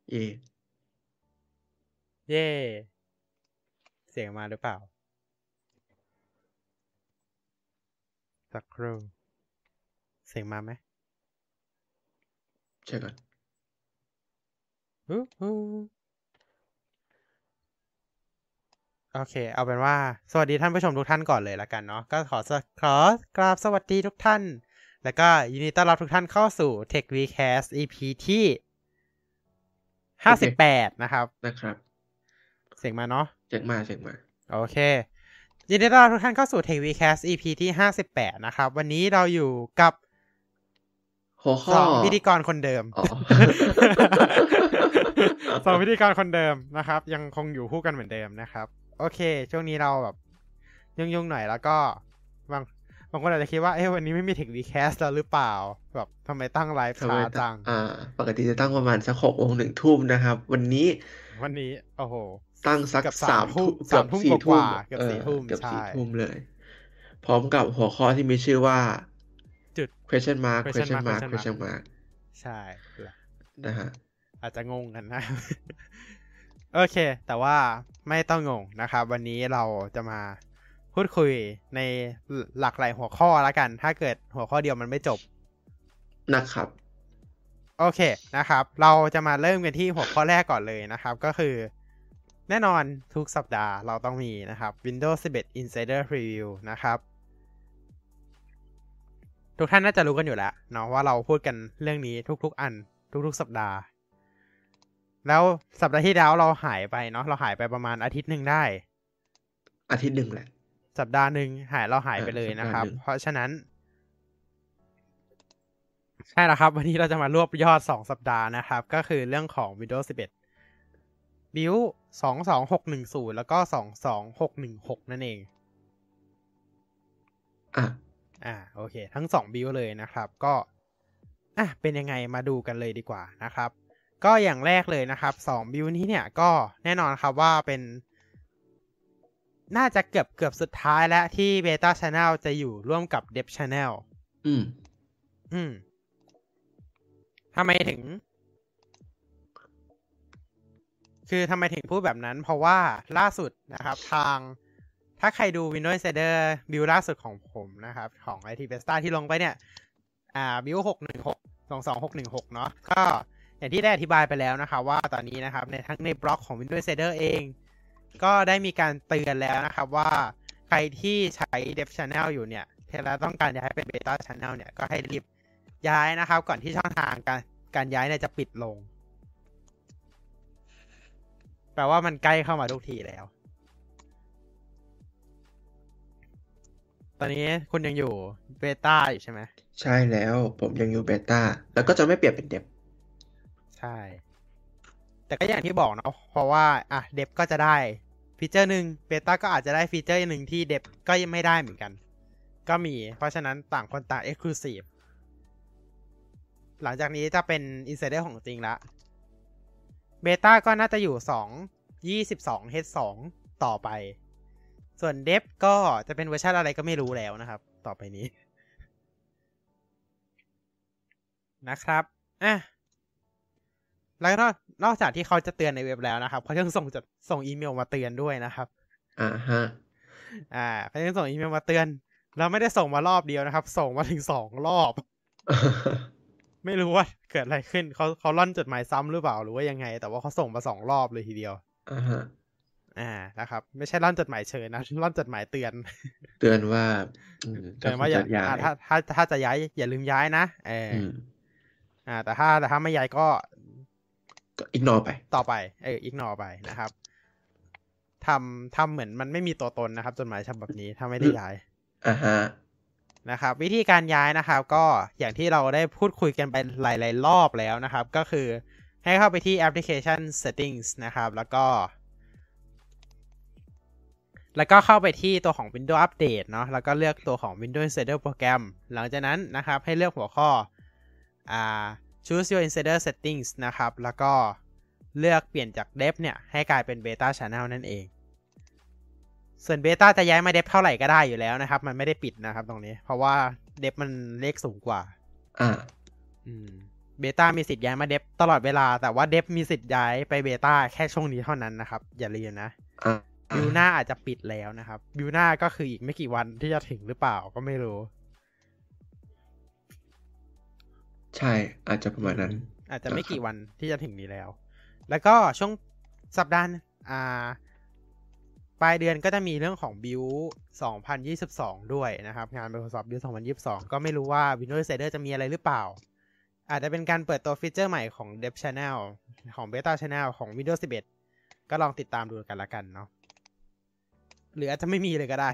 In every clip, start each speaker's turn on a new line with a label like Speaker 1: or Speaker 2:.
Speaker 1: เย่
Speaker 2: เย่เสียงมาหรือเปล่าสักครู่เสียงมาไหม
Speaker 1: ใช่ก่อน
Speaker 2: โอเคเอาเป็นว่าสวัสดีท่านผู้ชมทุกท่านก่อนเลยละกันเนาะก็ขอกราบสวัสดีทุกท่านแล้วก็ยินดีต้อนรับทุกท่านเข้าสู่ Tech Vcast EP ที่58นะครับเสียงมาเนาะ
Speaker 1: เสียงมา
Speaker 2: โอเคยินดีต้อนรับทุกท่านเข้าสู่ Tech Vcast EP ที่58นะครับวันนี้เราอยู่กับ
Speaker 1: หัวข้อ
Speaker 2: 2พิธีกรคนเดิม2พิธีกรคนเดิมนะครับยังคงอยู่คู่กันเหมือนเดิมนะครับโอเคช่วงนี้เราแบบยุ่งหน่อยแล้วก็บางคนอาจจะคิดว่าวันนี้ไม่มี Tech Vcast แล้วหรือเปล่าแบบทำไมตั้งไลฟ์ช้าจัง
Speaker 1: ปกติจะตั้งประมาณสัก6 โมง 1 ทุ่มนะครับวันนี้
Speaker 2: โอ้โห
Speaker 1: ตั้งสัก3 ทุ่ม
Speaker 2: เกือบ4 ทุ่มเกือบ4 ทุ่ม
Speaker 1: เกือบ4 ทุ่มเลยพร้อมกับหัวข้อที่มีชื่อว่า
Speaker 2: จุด
Speaker 1: question mark
Speaker 2: ใช่
Speaker 1: นะฮะ
Speaker 2: อาจจะงงกันนะโอเคแต่ว่าไม่ต้องงงนะครับวันนี้เราจะมาพูดคุยในหลากหลายหัวข้อแล้วกันถ้าเกิดหัวข้อเดียวมันไม่จบ
Speaker 1: นะครับ
Speaker 2: โอเคนะครับเราจะมาเริ่มกันที่หัวข้อแรกก่อนเลยนะครับก็คือแน่นอนทุกสัปดาห์เราต้องมีนะครับ Windows 11 Insider Preview นะครับทุกท่านน่าจะรู้กันอยู่แล้วเนาะว่าเราพูดกันเรื่องนี้ทุกๆอันทุกๆสัปดาห์แล้วสัปดาห์ที่แล้วเราหายไปเนาะเราหายไปประมาณอาทิตย์นึงได้
Speaker 1: อาทิตย์นึงแหละ
Speaker 2: สัปดาห์นึงเราหายไปเลยนะครับเพราะฉะนั้นใช่แล้วครับวันนี้เราจะมารวบยอด2สัปดาห์นะครับก็คือเรื่องของ Windows 11 Build 22610แล้วก็22616นั่นเองโอเคทั้ง2 Build เลยนะครับก็เป็นยังไงมาดูกันเลยดีกว่านะครับก็อย่างแรกเลยนะครับ2 Build นี้เนี่ยก็แน่นอนครับว่าเป็นน่าจะเกือบสุดท้ายแล้วที่ Beta Channel จะอยู่ร่วมกับ Dev Channel ทำไมถึงพูดแบบนั้นเพราะว่าล่าสุดนะครับถ้าใครดู Windows Insider Build ล่าสุดของผมนะครับของ IT Besta ที่ลงไปเนี่ยBuild 616 เนาะก็อย่างที่ได้อธิบายไปแล้วนะครับว่าตอนนี้นะครับทั้งในบล็อกของ Windows Insider เองก็ได้มีการเตือนแล้วนะครับว่าใครที่ใช้ Dev Channel อยู่เนี่ยแล้วต้องการย้ายเป็น Beta Channel เนี่ยก็ให้รีบย้ายนะครับก่อนที่ช่องทางการย้ายเนี่ยจะปิดลงแปลว่ามันใกล้เข้ามาทุกทีแล้วตอนนี้คุณยังอยู่เบต้าอยู่ใช่ไหม
Speaker 1: ใช่แล้วผมยังอยู่เบต้าแล้วก็จะไม่เปลี่ยนเป็นเดฟ
Speaker 2: ใช่แต่ก็อย่างที่บอกเนาะเพราะว่าเดฟก็จะได้ฟีเจอร์นึงเบต้าก็อาจจะได้ฟีเจอร์นึงที่เดฟก็ยังไม่ได้เหมือนกันก็มีเพราะฉะนั้นต่างคนต่าง Exclusive หลังจากนี้จะเป็น Insider ของจริงละเบต้าก็น่าจะอยู่22H2 ต่อไปส่วนเดฟก็จะเป็นเวอร์ชันอะไรก็ไม่รู้แล้วนะครับต่อไปนี้นะครับแล้วนอกจากที่เขาจะเตือนในเว็บแล้วนะครับเขายังส่งอีเมลมาเตือนด้วยนะครับเขายังส่งอีเมลมาเตือนแล้วไม่ได้ส่งมารอบเดียวนะครับส่งมาถึง2 รอบไม่รู้ว่าเกิดอะไรขึ้นเขาล่อนจดหมายซ้ำหรือเปล่าหรือว่ายังไงแต่ว่าเขาส่งมา2 รอบเลยทีเดียวนะครับไม่ใช่ล่อนจดหมายเชิญนะล่อนจดหมายเตือน
Speaker 1: ว่า
Speaker 2: ถ้าจะย้ายอย่าลืมย้ายนะแต่ถ้าไม่ย้ายก็
Speaker 1: อิกนอร์ไป
Speaker 2: ต่อไปอิกนอร์ไปนะครับทำเหมือนมันไม่มีตัวตนนะครับจดหมายฉบับนี้ถ้าไม่ได้ย้ายนะครับวิธีการย้ายนะครับก็อย่างที่เราได้พูดคุยกันไปหลายๆรอบแล้วนะครับก็คือให้เข้าไปที่ application settings นะครับแล้วก็เข้าไปที่ตัวของ Windows Update เนาะแล้วก็เลือกตัวของ Windows Insider Program หลังจากนั้นนะครับให้เลือกหัวข้อchoose your insider settings นะครับแล้วก็เลือกเปลี่ยนจาก dev เนี่ยให้กลายเป็น beta channel นั่นเองส่วน beta จะย้ายมา dev เท่าไหร่ก็ได้อยู่แล้วนะครับมันไม่ได้ปิดนะครับตรงนี้เพราะว่า dev มันเลขสูงกว่าเบต้ามีสิทธิ์ย้ายมาเดฟตลอดเวลาแต่ว่าเดฟมีสิทธิ์ย้ายไปเบต้าแค่ช่วงนี้เท่านั้นนะครับอย่าลืมนะบิวหน้าอาจจะปิดแล้วนะครับบิวหน้าก็คืออีกไม่กี่วันที่จะถึงหรือเปล่าก็ไม่รู้
Speaker 1: ใช่อาจจะประมาณนั้น
Speaker 2: อาจจะไม่กี่วันที่จะถึงนี้แล้วก็ช่วงสัปดาห์ปลายเดือนก็จะมีเรื่องของบิว2022ด้วยนะครับงาน Microsoft Build 2022ก็ไม่รู้ว่า Windows Insider จะมีอะไรหรือเปล่าอาจจะเป็นการเปิดตัวฟีเจอร์ใหม่ของ Dev Channel ของ Beta Channel ของ Windows 11ก็ลองติดตามดูกันละกันเนาะหรืออาจจะไม่มีเลยก็ได้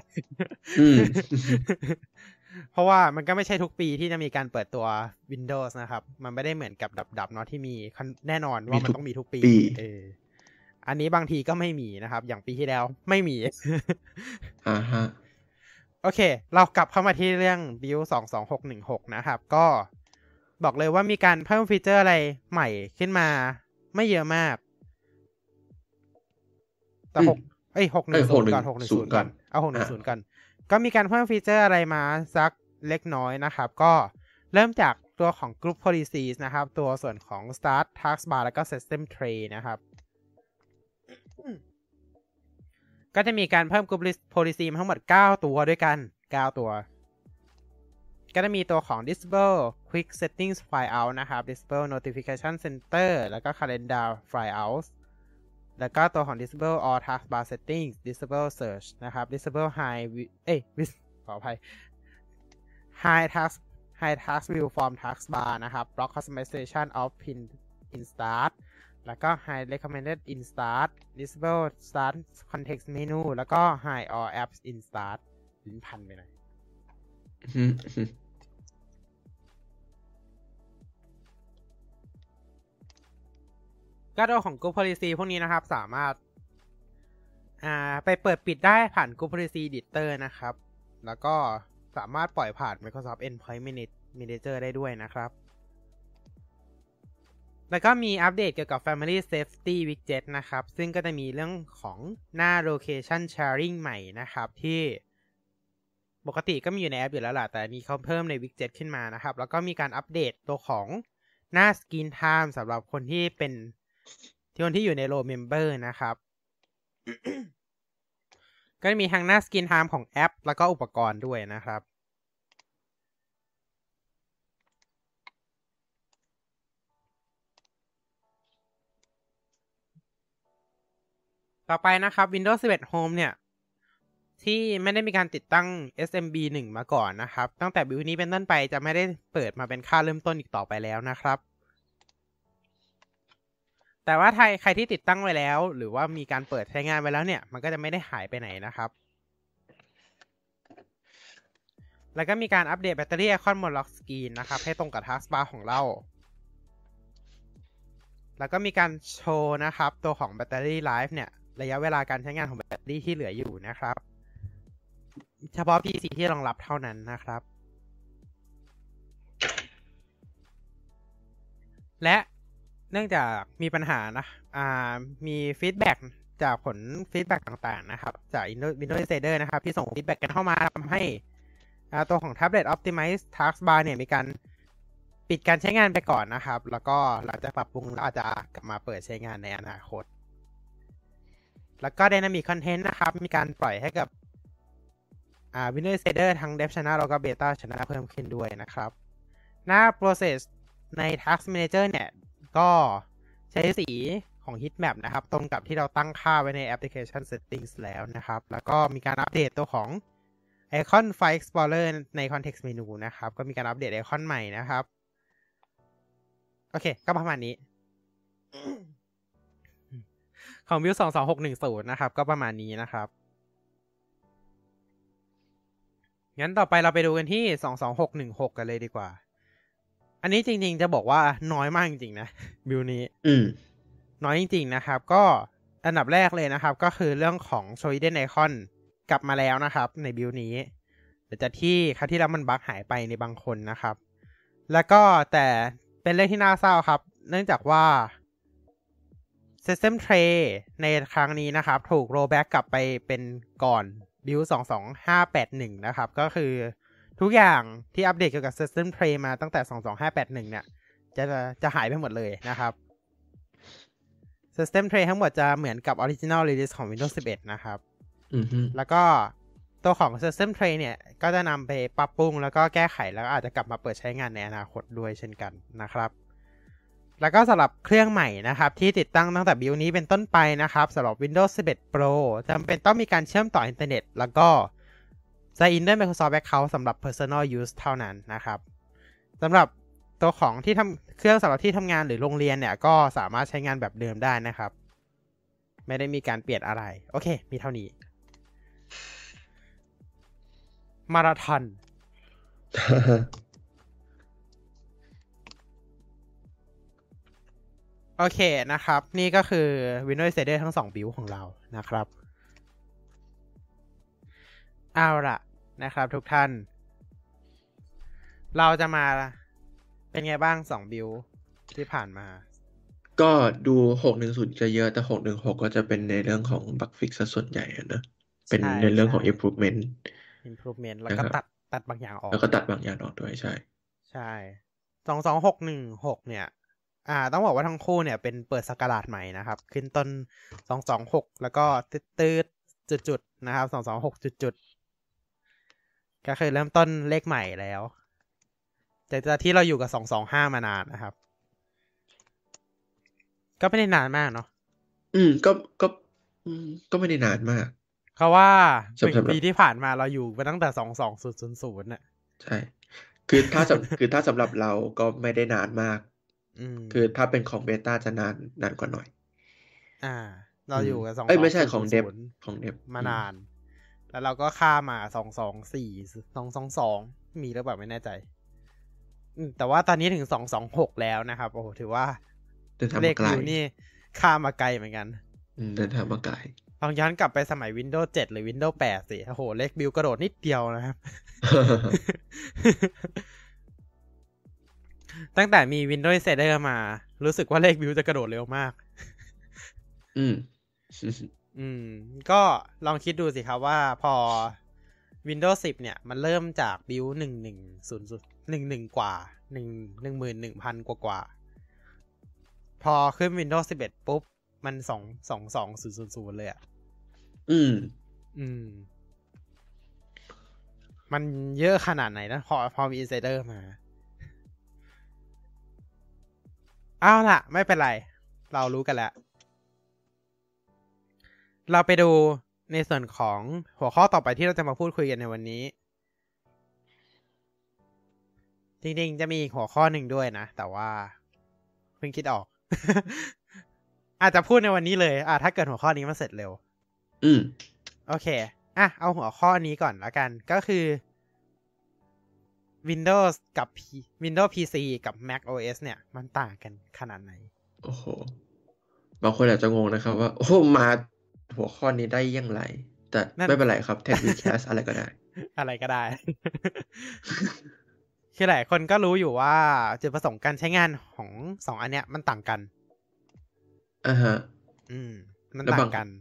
Speaker 2: เพราะว่ามันก็ไม่ใช่ทุกปีที่จะมีการเปิดตัว Windows นะครับมันไม่ได้เหมือนกับดับเนาะที่มีแน่นอนว่ามันต้องมีทุกปีอันนี้บางทีก็ไม่มีนะครับอย่างปีที่แล้วไม่มี
Speaker 1: ฮะ
Speaker 2: โอเคเรากลับเข้ามาที่เรื่อง Build 22616นะครับก็บอกเลยว่ามีการเพิ่มฟีเจอร์อะไรใหม่ขึ้นมาไม่เยอะมากแต่610ก่อน610ก่อนเอา610ก่อนก็มีการเพิ่มฟีเจอร์อะไรมาสักเล็กน้อยนะครับก็เริ่มจากตัวของ Group Policies นะครับตัวส่วนของ Start Taskbar แล้วก็ System Tray นะครับก็จะมีการเพิ่ม Group Policy ทั้งหมด9ตัวด้วยกัน9ตัวก็จะมีตัวของ Disable Quick Settings Flyout นะครับ Disable Notification Center แล้วก็ Calendar Flyout แล้วก็ตัวของ Disable All Taskbar Settings Disable Search นะครับ Disableขออภัย High Task View from Taskbar นะครับ Block Customization of Pin in Start แล้วก็ High Recommended in Start Disable Start Context Menu แล้วก็ High All Apps in Start ลิ้นพันไปหน่อยก็ตัวของ Group Policy พวกนี้นะครับสามารถไปเปิดปิดได้ผ่าน Group Policy Editor นะครับแล้วก็สามารถปล่อยผ่าน Microsoft Endpoint Manager ได้ด้วยนะครับแล้วก็มีอัปเดตเกี่ยวกับ Family Safety Widget นะครับซึ่งก็จะมีเรื่องของหน้า Location Sharing ใหม่นะครับที่ปกติก็มีอยู่ในแอปอยู่แล้วล่ะแต่นี้เขาเพิ่มใน Widget ขึ้นมานะครับแล้วก็มีการอัปเดตตัวของหน้า Screen Time สำหรับคนที่เป็นคนที่อยู่ใน Low Member นะครับ ก็จะมีทั้งหน้า Screen Time ของแอปแล้วก็อุปกรณ์ด้วยนะครับต่อไปนะครับ Windows 11 Home เนี่ยที่ไม่ได้มีการติดตั้ง SMB 1 มาก่อนนะครับตั้งแต่บิลนี้เป็นต้นไปจะไม่ได้เปิดมาเป็นค่าเริ่มต้นอีกต่อไปแล้วนะครับแต่ว่าใครที่ติดตั้งไว้แล้วหรือว่ามีการเปิดใช้งานไว้แล้วเนี่ยมันก็จะไม่ได้หายไปไหนนะครับแล้วก็มีการอัปเดตแบตเตอรี่ไอคอนบนล็อกสกรีนนะครับให้ตรงกับ Taskbar ของเราแล้วก็มีการโชว์นะครับตัวของแบตเตอรี่ไลฟ์เนี่ยระยะเวลาการใช้งานของแบตเตอรี่ที่เหลืออยู่นะครับเฉพาะ PC ที่รองรับเท่านั้นนะครับและเนื่องจากมีปัญหานะมีฟีดแบ็กจากผลฟีดแบ็กต่างๆนะครับจาก Windows Insider นะครับที่ส่งฟีดแบ็กกันเข้ามาทำให้ตัวของ Tablet Optimize Taskbar เนี่ยมีการปิดการใช้งานไปก่อนนะครับแล้วก็หลังจากปรับปรุงแล้วอาจจะกลับมาเปิดใช้งานในอนาคตแล้วก็ Dynamic Content นะครับมีการปล่อยให้กับWindows Insider ทั้ง Dev Channel แล้วก็ Beta Channel เพิ่มขึ้นด้วยนะครับหน้า Process ใน Task Manager เนี่ยก็ใช้สีของ Heatmap นะครับตรงกับที่เราตั้งค่าไว้ใน Application Settings แล้วนะครับแล้วก็มีการอัปเดตตัวของ Icon File Explorer ใน Context Menu นะครับก็มีการอัปเดตไอคอนใหม่นะครับโอเคก็ประมาณนี้ ของ Build 22610นะครับก็ประมาณนี้นะครับงั้นต่อไปเราไปดูกันที่22616กันเลยดีกว่าอันนี้จริงๆจะบอกว่าน้อยมากจริงๆนะบิลนี้น้อยจริงๆนะครับก็อันดับแรกเลยนะครับก็คือเรื่องของ Show Hidden Icon กลับมาแล้วนะครับในบิลนี้แต่จากที่ครั้งที่แล้วมันบั๊กหายไปในบางคนนะครับแล้วก็แต่เป็นเรื่องที่น่าเศร้าครับเนื่องจากว่า System Tray ในครั้งนี้นะครับถูก rollback กลับไปเป็นก่อน Build 22581นะครับก็คือทุกอย่างที่อัปเดตเกี่ยวกับ System Tray มาตั้งแต่22581เนี่ยจะหายไปหมดเลยนะครับ System Tray ทั้งหมดจะเหมือนกับ Original Release ของ Windows 11 นะครับแล้วก็ตัวของ System Tray เนี่ยก็จะนำไปปรับปรุงแล้วก็แก้ไขแล้วก็อาจจะกลับมาเปิดใช้งานในอนาคตด้วยเช่นกันนะครับแล้วก็สำหรับเครื่องใหม่นะครับที่ติดตั้งตั้งแต่บิลนี้เป็นต้นไปนะครับสำหรับ Windows 11 Pro จำเป็นต้องมีการเชื่อมต่ออินเทอร์เน็ตแล้วก็ sign in ด้วย Microsoft Account สำหรับ Personal Use เท่านั้นนะครับสำหรับตัวของที่เครื่องสำหรับที่ทำงานหรือโรงเรียนเนี่ยก็สามารถใช้งานแบบเดิมได้นะครับไม่ได้มีการเปลี่ยนอะไรโอเคมีเท่านี้มาราธอน โอเคนะครับนี่ก็คือ Windows Insider ทั้ง2บิลของเรานะครับเอาล่ะนะครับทุกท่านเราจะมาเป็นไงบ้าง2บิลที่ผ่านมา
Speaker 1: ก็ดู610จะเยอะแต่616ก็จะเป็นในเรื่องของบั๊กฟิกซะส่วนใหญ่นะเป็นในเรื่องของ improvement
Speaker 2: แล้วก็ตัดบางอย่างออก
Speaker 1: แล้วก็ตัดบางอย่างออกด้วยใช่
Speaker 2: 22616เนี่ยต้องบอกว่าทั้งคู่เนี่ยเป็นเปิดศักราชใหม่นะครับขึ้นต้น226แล้วก็ตืดจุดๆนะครับ226จุดๆก็คือเริ่มต้นเลขใหม่แล้วจากที่เราอยู่กับ225มานานนะครับก็ไม่ได้นานมากเนาะ
Speaker 1: ก็ไม่ได้นานมาก
Speaker 2: เพราะว่า1 ปีที่ผ่านมาเราอยู่มาตั้งแต่22000น่ะ
Speaker 1: ใช่คือถ้าสำหรับเราก็ไม่ได้นานมากคือถ้าเป็นของเบต้าจะนานกว่าหน่อย
Speaker 2: เราอยู่กับ
Speaker 1: ไม่ใช่ของเดฟ
Speaker 2: มานานแล้วเราก็ข้ามมา224 222มีหรือเปล่าไม่แน่ใจแต่ว่าตอนนี้ถึง226แล้วนะครับโอ้โหถือว่าเลขบิลนี่ข้ามมาไกลเหมือนกัน
Speaker 1: เดินทางมาไกล
Speaker 2: ลองย้อนกลับไปสมัย Windows 7 หรือ Windows 8 สิโอ้โหเลขบิลกระโดดนิดเดียวนะครับ ตั้งแต่มี Windows Insider มารู้สึกว่าเลขบิลจะกระโดดเร็วมากก็ลองคิดดูสิครับว่าพอ Windows 10 เนี่ยมันเริ่มจากบิล110011กว่า11000กว่าพอขึ้น Windows 11 ปุ๊บมัน22000เลยอ่ะมันเยอะขนาดไหนนะพอมี Insider มาเอาล่ะไม่เป็นไรเรารู้กันแล้วเราไปดูในส่วนของหัวข้อต่อไปที่เราจะมาพูดคุยกันในวันนี้จริงๆจะมีหัวข้อหนึ่งด้วยนะแต่ว่าเพิ่งคิดออก อาจจะพูดในวันนี้เลยถ้าเกิดหัวข้อนี้มันเสร็จเร็วโอเคเอาหัวข้อนี้ก่อนแล้วกันก็คือ Windows กับ Windows PC กับ Mac OS เนี่ยมันต่างกันขนาดไหน
Speaker 1: โอ้โหบางคนอาจจะงงนะครับว่าโอ้มาหัวข้อนี้ได้ยังไงแต่ไม่เป็นไรครับ Tech Recast อะไรก็ได้
Speaker 2: อะไรก็ได้ คือหลายคนก็รู้อยู่ว่าจุดประสงค์การใช้งานของ2อันเนี้ยมันต่างกันมันต่างกัน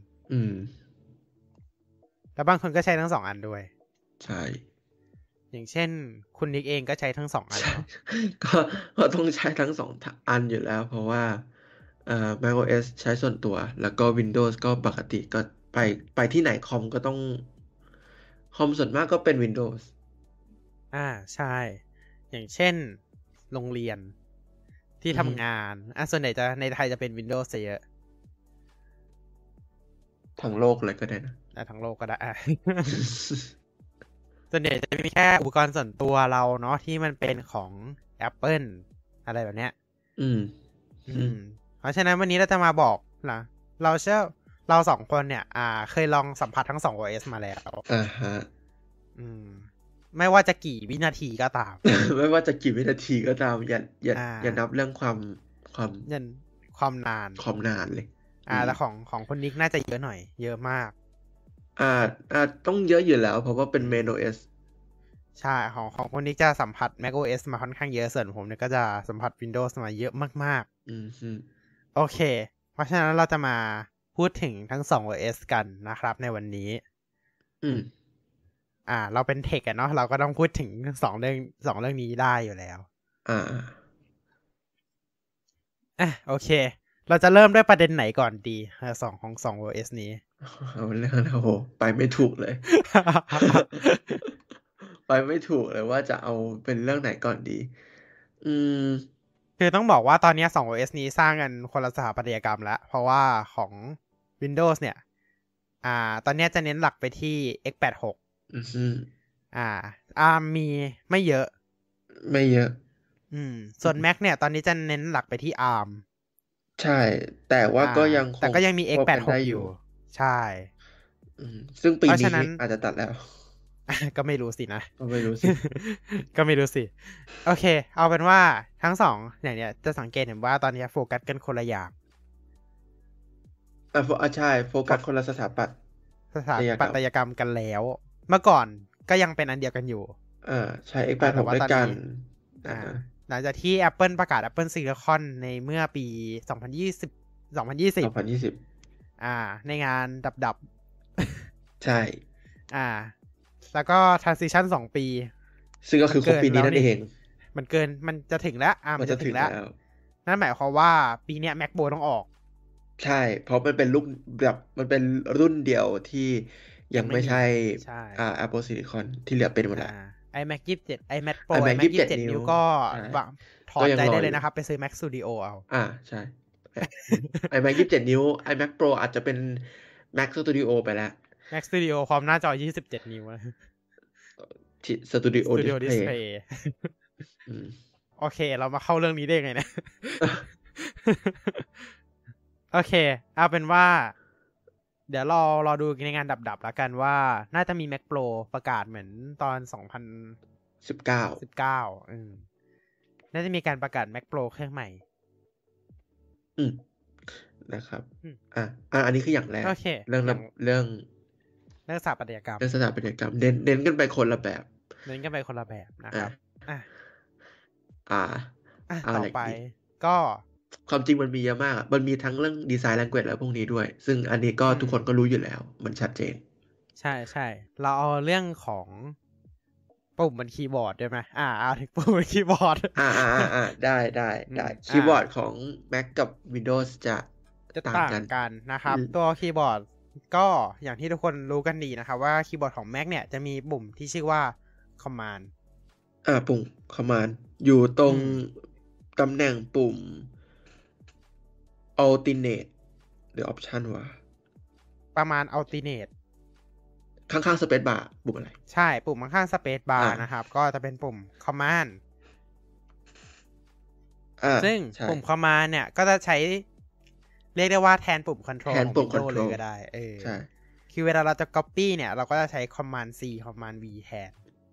Speaker 2: แล้วบางคนก็ใช้ทั้ง2อันด้วย
Speaker 1: ใช่
Speaker 2: อย่างเช่นคุณนิกเองก็ใช้ทั้ง2อัน
Speaker 1: ก็ต้องใช้ทั้ง2อันอยู่แล้วเพราะว่าmacOS ใช้ส่วนตัวแล้วก็ Windows ก็ปกติก็ไปที่ไหนคอมก็ต้องคอมส่วนมากก็เป็น Windows
Speaker 2: ใช่อย่างเช่นโรงเรียนที่ทำงานส่วนใหญ่จะในไทยจะเป็น Windows เยอะ
Speaker 1: ทั้งโลกเลยก็ได้นะ
Speaker 2: ทั้งโลกก็ได้ ส่วนใหญ่จะมีแค่อุปกรณ์ส่วนตัวเราเนาะที่มันเป็นของ Apple อะไรแบบเนี้ยเพราะฉะนั้นวันนี้เราจะมาบอกนะเรา2คนเนี่ยเคยลองสัมผัสทั้ง2 OS มาแล้วไม่ว่าจะกี่วินาทีก็ตาม
Speaker 1: ไม่ว่าจะกี่วินาทีก็ตามอย่านับเรื่องความนานเลย
Speaker 2: แต่ของคนนิกน่าจะเยอะหน่อยเยอะมาก
Speaker 1: ต้องเยอะอยู่แล้วเพราะว่าเป็น Main OS
Speaker 2: ใช่ของคนนิกจะสัมผัส Mac OS มาค่อนข้างเยอะส่วนผมเนี่ยก็จะสัมผัส Windows มาเยอะมากๆโอเคเพราะฉะนั้นเราจะมาพูดถึงทั้ง2 OS กันนะครับในวันนี้เราเป็นเทคเนาะเราก็ต้องพูดถึง2เรื่องนี้ได้อยู่แล้วโอเค เราจะเริ่มด้วยประเด็นไหนก่อนดีของ OS นี้
Speaker 1: เอาเรื่องนะโหไปไม่ถูกเลย ไปไม่ถูกเลยว่าจะเอาเป็นเรื่องไหนก่อนดี อืม
Speaker 2: คือต้องบอกว่าตอนนี้2 OS นี้สร้างกันคนละสถาปัตยกรรมแล้ว เพราะว่าของ Windows เนี่ย ตอนนี้จะเน้นหลักไปที่ x86
Speaker 1: อือฮึ
Speaker 2: ARM มีไม่เยอะ
Speaker 1: ไม่เยอะ
Speaker 2: ส่วน Mac เนี่ยตอนนี้จะเน้นหลักไปที่ ARM
Speaker 1: ใช่ แต่ว่าก็ยังค
Speaker 2: แต่
Speaker 1: ง
Speaker 2: ก็ยังมี
Speaker 1: ควบกัน
Speaker 2: x86
Speaker 1: ได้
Speaker 2: อ
Speaker 1: อยู่
Speaker 2: ยู่ ใช่
Speaker 1: ซึ่งปี
Speaker 2: เพราะ
Speaker 1: นี้
Speaker 2: ฉะนั้น
Speaker 1: อาจจะตัดแล้ว
Speaker 2: ก็ไม่รู้สินะ
Speaker 1: ก็ไม่รู้สิ
Speaker 2: ก็ไม่รู้สิ โอเค เอาเป็นว่าทั้งสองอย่างเนี้ยจะสังเกตเห็นว่าตอนนี้โฟกัสกันคนละอย่าง
Speaker 1: ใช่โฟกัสคนละสถาปัต
Speaker 2: สถาปัตยกรรมกันแล้ว เมื่อก่อนก็ยังเป็นอันเดียวกันอยู่
Speaker 1: ใช้ X86 ด้วยกัน
Speaker 2: หลังจากที่ Apple ประกาศ Apple Silicon ในเมื่อปี 2020 ในงานดับ
Speaker 1: ใช่
Speaker 2: แล้วก็ transition 2 ปี
Speaker 1: ซึ่งก็คือครบปีนี้นั่นเอง
Speaker 2: มันจะถึงแล้วมันจะถึงแล้ว นั่นหมายความว่าปีเนี้ย MacBook ต้องออก
Speaker 1: ใช่ เพราะมันเป็นลูกแบบมันเป็นรุ่นเดียวที่ยังไม่ใช่Apple Silicon ที่เหลือเป็นหมดแล้ว
Speaker 2: iMac 27 iMac Pro iMac 27 นิ้วก็ถอดใจได้เลยนะครับไปซื้อ Mac Studio เอา
Speaker 1: ใช่ iMac 27 นิ้ว iMac Pro อาจจะเป็น Mac Studio ไปแล้ว
Speaker 2: Mac Studio พร้อมหน้าจอ27 นิ้ว
Speaker 1: Studio Display
Speaker 2: โอเคเรามาเข้าเรื่องนี้ได้ไงนะ โอเคเอาเป็นว่าเดี๋ยวรอดูในงานดับแล้วกันว่าน่าจะมี Mac Pro ประกาศเหมือนตอน2019น่าจะมีการประกาศ Mac Pro เครื่องใหม่
Speaker 1: นะครับอันนี้คืออย่างแรกเรื่อง
Speaker 2: สถาปัตยกรรม
Speaker 1: เน้นกันไปคนละแบบ
Speaker 2: นะครับต่อไปก็
Speaker 1: ความจริงมันมีเยอะมากมันมีทั้งเรื่องดีไซน์ language แล้วพวกนี้ด้วยซึ่งอันนี้ก็ทุกคนก็รู้อยู่แล้วมันชัดเจน
Speaker 2: ใช่เราเอาเรื่องของปุ่มบนคีย์บอร์ดได้ไหมเอาถึงปุ่มบนคีย์บอร์ด
Speaker 1: ได้คีย์บอร์ดของ Mac กับ Windows จะต่าง
Speaker 2: กันนะครับตัวคีย์บอร์ดก็อย่างที่ทุกคนรู้กันดีนะครับว่าคีย์บอร์ดของ Mac เนี่ยจะมีปุ่มที่ชื่อว่า Command
Speaker 1: ปุ่ม Command อยู่ตรงตำแหน่งปุ่ม Alternate หรือ Option วะ
Speaker 2: ประมาณ Alternate
Speaker 1: ข้างๆ Space Bar ปุ่มอะไร
Speaker 2: ใช่ปุ่มข้างๆ Space Bar นะครับก็จะเป็นปุ่ม Command ซึ่งปุ่ม Command เนี่ยก็จะใช้เรียกได้ว่าแทนปุ่ม Control ของ Windows เลยก็ได้
Speaker 1: ใช่
Speaker 2: คือเวลาเราจะ Copy เนี่ยเราก็จะใช้ Command C Command V แทน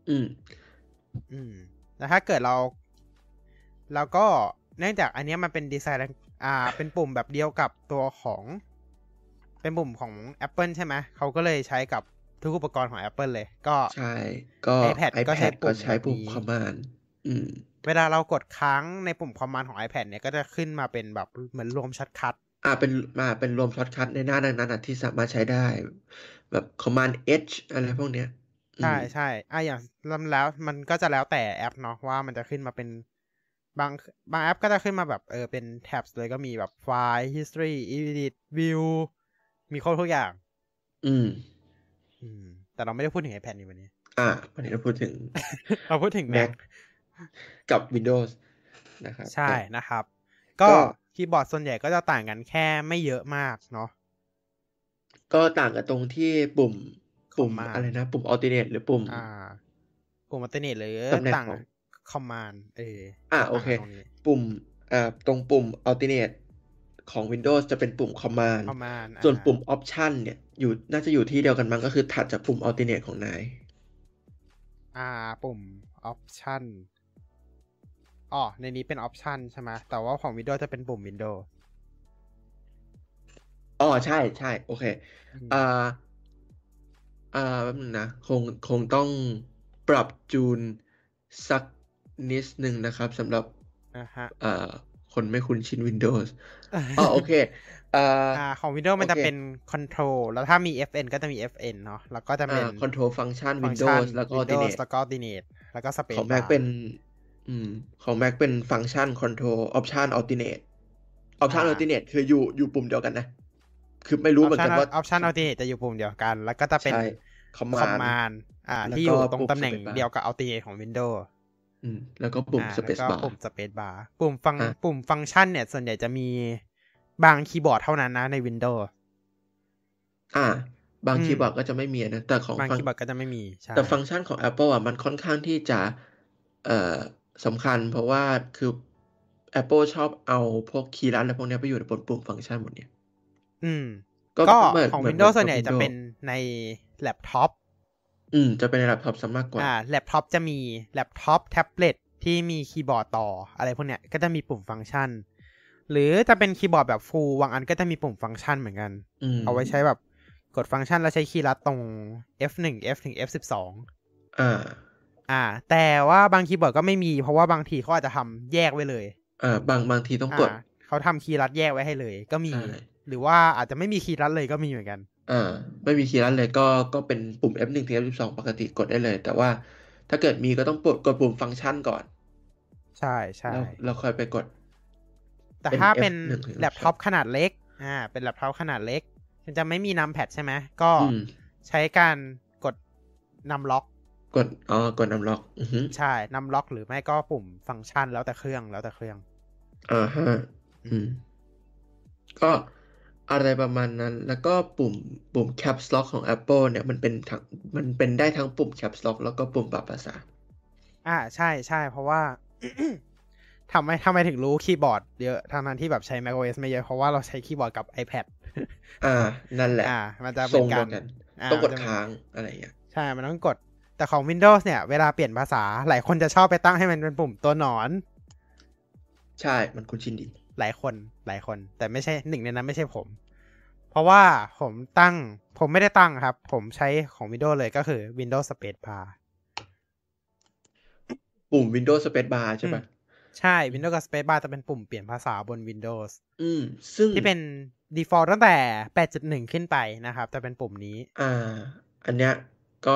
Speaker 2: แล้วถ้าเกิดเราก็เนื่องจากอันนี้มันเป็นดีไซน์เป็นปุ่มแบบเดียวกับตัวของเป็นปุ่มของ Apple ใช่ไหมเขาก็เลยใช้กับทุกอุปกรณ์ของ Apple เลยก็
Speaker 1: ใช่ก็
Speaker 2: iPad ก็ใช้ปุ่ม
Speaker 1: Command
Speaker 2: เวลาเรากดค้างในปุ่ม Command ของ iPad เนี่ยก็จะขึ้นมาเป็นแบบเหมือนรวมช็อตคัท
Speaker 1: เป็นรวมช็อตคัทในหน้านั้นที่สามารถใช้ได้แบบ Command H อะไรพวกเนี้ย
Speaker 2: ใช่อย่างแล้วมันก็จะแล้วแต่แอปเนาะว่ามันจะขึ้นมาเป็นบางแอปก็จะขึ้นมาแบบเป็นแท็บเลยก็มีแบบไฟล์ history edit view มีครบทุกอย่างแต่เราไม่ได้พูดถึง iPad นี่วันนี้
Speaker 1: วันนี้เราพูดถึง
Speaker 2: Mac
Speaker 1: กับ Windows นะครับ
Speaker 2: ใช่นะครับก็คีย์บอร์ดส่วนใหญ่ก็จะต่างกันแค่ไม่เยอะมากเนาะ
Speaker 1: ก็ต่างกันตรงที่ปุ่มอะไรนะปุ่ม alternate หรือปุ่ม
Speaker 2: alternate หรือต่าง command
Speaker 1: โอเคปุ่มตรงปุ่ม alternate ของ Windows จะเป็นปุ่ม command ส่วนปุ่ม option เนี่ยน่าจะอยู่ที่เดียวกันมั้งก็คือถัดจากปุ่ม alternate ของนาย
Speaker 2: ปุ่ม option ในนี้เป็น option ใช่ไหมแต่ว่าของ Windows จะเป็นปุ่ม Windows
Speaker 1: ใช่โอเคแป๊บนึงนะคงต้องปรับจูนสักนิดนึงนะครับสำหรับคนไม่คุ้นชิน Windows โอเค
Speaker 2: ของ Windows มันจะเป็น Control แล้วถ้ามี FN ก็จะมี FN เนาะแล้วก็จะเป็น
Speaker 1: Control Function Windows แล้วก็
Speaker 2: Alternate แล้วก็ Space
Speaker 1: ของ Mac เป็นของ Mac เป็น Function Control Option Alternate Option Alternate คืออยู่ปุ่มเดียวกันนะคือไม่รู้เหมือนกันว่า
Speaker 2: Option Alternate จะอยู่ปุ่มเดียวกันแล้วก็จะเป็น
Speaker 1: ใช่
Speaker 2: Command ที่อยู่ตรงตำแหน่งเดียวกับ Alternate ของ Windows
Speaker 1: แล้วก็ปุ่ม
Speaker 2: แล้ว
Speaker 1: Space
Speaker 2: ก็
Speaker 1: Bar
Speaker 2: ปุ่ม Space Bar ปุ่มฟังก์ชันเนี่ยส่วนใหญ่จะมีบางคีย์บอร์ดเท่านั้นนะใน Windows
Speaker 1: บางคีย์บอร์ดก็จะไม่มีนะแต่ของ
Speaker 2: บางคีย์บอร์ดก็จะไม่มีใช่
Speaker 1: แต่ฟังก์ชันของ Apple มันค่อนข้างที่จะสำคัญเพราะว่าคือ Apple ชอบเอาพวกคีย์ลัดอะไรพวกนี้ไปอยู่ในบนปุ่มฟังก์ชันหมดเนี่ย
Speaker 2: ก็ของ Windows ส่วนใหญ่จะเป็นในแล็ปท็อป
Speaker 1: จะเป็นในแล็ปท็อปซะมากกว่า
Speaker 2: แล็ปท็อปจะมีแล็ปท็อปแท็บเล็ตที่มีคีย์บอร์ดต่ออะไรพวกเนี้ยก็จะมีปุ่มฟังก์ชันหรือจะเป็นคีย์บอร์ดแบบฟูลบางอันก็จะมีปุ่มฟังก์ชันเหมือนกันเอาไว้ใช้แบบกดฟังก์ชันแล้วใช้คีย์ลัดตรง F1 F1 F12 แต่ว่าบางคีย์บอร์ดก็ไม่มีเพราะว่าบางทีเขาอาจจะทำแยกไว้เลย
Speaker 1: บางทีต้องกด
Speaker 2: เขาทำคีย์ลัดแยกไว้ให้เลยก็มีหรือว่าอาจจะไม่มีคีย์ลัดเลยก็มีเหมือนกัน
Speaker 1: ไม่มีคีย์ลัดเลยก็เป็นปุ่ม F1 ถึง F12 ปกติกดได้เลยแต่ว่าถ้าเกิดมีก็ต้องกดปุ่มฟังก์ชันก่อน
Speaker 2: ใช่ใช่
Speaker 1: แล้วค่อยไปกด
Speaker 2: แต่ถ้าเป็นแล็ปท็อปขนาดเล็กเป็นแล็ปท็อปขนาดเล็กมันจะไม่มีนัมแพดใช่ไหมก็ใช้การกดนัมล็อก
Speaker 1: กดนัมล็อก
Speaker 2: ใช่นัมล็อกหรือไม่ก็ปุ่มฟังก์ชันแล้วแต่เครื่อง
Speaker 1: ฮะก็อะไรประมาณนั้นแล้วก็ปุ่ม Caps Lock ของ Apple เนี่ยมันเป็นได้ทั้งปุ่ม Caps Lock แล้วก็ปุ่มปรับภาษา
Speaker 2: ใช่เพราะว่า ทำไมถึงรู้คีย์บอร์ดเยอะทางนั้นที่แบบใช้ macOS ไม่เยอะเพราะว่าเราใช้คีย์บอร์ดกับ iPad
Speaker 1: นั่นแหละ
Speaker 2: มันจะเป็นการ
Speaker 1: ต้องกดค้างอะไรอย่างเงี้ย
Speaker 2: ใช่มันต้องกดแต่ของ Windows เนี่ยเวลาเปลี่ยนภาษาหลายคนจะชอบไปตั้งให้มันเป็นปุ่มตัวหนอน
Speaker 1: ใช่มันคุ้นชินดี
Speaker 2: หลายคนแต่ไม่ใช่หนึ่งในนั้นไม่ใช่ผมเพราะว่าผมไม่ได้ตั้งครับผมใช้ของ Windows เลยก็คือ Windows Space Bar
Speaker 1: ปุ่ม Windows Space Bar ใช่ปะ
Speaker 2: ใช่ Windows กับ Space Bar จะเป็นปุ่มเปลี่ยนภาษาบน Windows
Speaker 1: ซึ่ง
Speaker 2: ที่เป็น default ตั้งแต่ 8.1 ขึ้นไปนะครับจะเป็นปุ่มนี้
Speaker 1: อันเนี้ยก็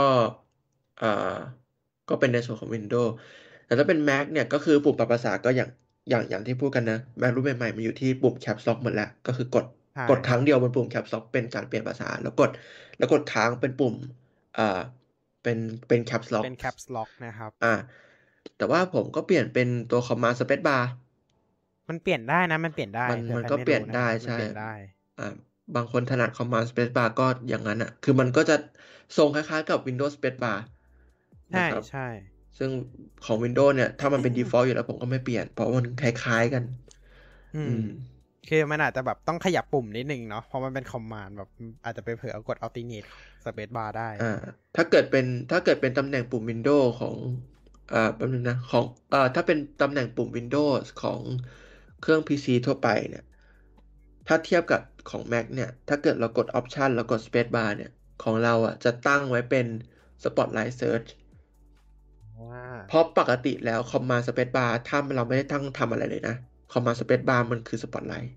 Speaker 1: เป็นในส่วนของ Windows แต่ถ้าเป็น Mac เนี่ยก็คือปุ่มปรับภาษาก็อย่างที่พูดกันนะ Mac รุ่นใหม่ๆมันอยู่ที่ปุ่ม Caps Lock หมดแล้วก็คือกดครั้งเดียวบนปุ่ม Caps Lock เป็นการเปลี่ยนภาษาแล้วกดค้างเป็นปุ่มเป็น Caps Lock
Speaker 2: เป็น Caps Lock นะครับ
Speaker 1: แต่ว่าผมก็เปลี่ยนเป็นตัว Command Space Bar
Speaker 2: มันเปลี่ยนได้นะมันเปลี่ยนได้
Speaker 1: มันก็เปลี่ยนได้ใช่บางคนถนัด Command Space Bar ก็อย่างนั้นคือมันก็จะทรงคล้ายๆกับ Windows Space Bar
Speaker 2: นะครับใช่
Speaker 1: ซึ่งของ Windows เนี่ยถ้ามันเป็น default อยู่แล้วผมก็ไม่เปลี่ยนเพราะมันคล้ายๆกัน
Speaker 2: คือมันอาจจะแบบต้องขยับปุ่มนิดนึงเนาะเพราะมันเป็น command แบบอาจจะไปเผลอกด alternate space bar ได้
Speaker 1: ถ้าเกิดเป็นตำแหน่งปุ่ม Windows ของแป๊บนึงนะของถ้าเป็นตำแหน่งปุ่ม Windows ของเครื่อง PC ทั่วไปเนี่ยถ้าเทียบกับของ Mac เนี่ยถ้าเกิดเรากด Option แล้วกด Space Bar เนี่ยของเราจะตั้งไว้เป็น Spotlight Search เพราะปกติแล้ว Command Space Bar ถ้าเราไม่ได้ตั้งทำอะไรเลยนะ Command Space Bar มันคือ Spotlight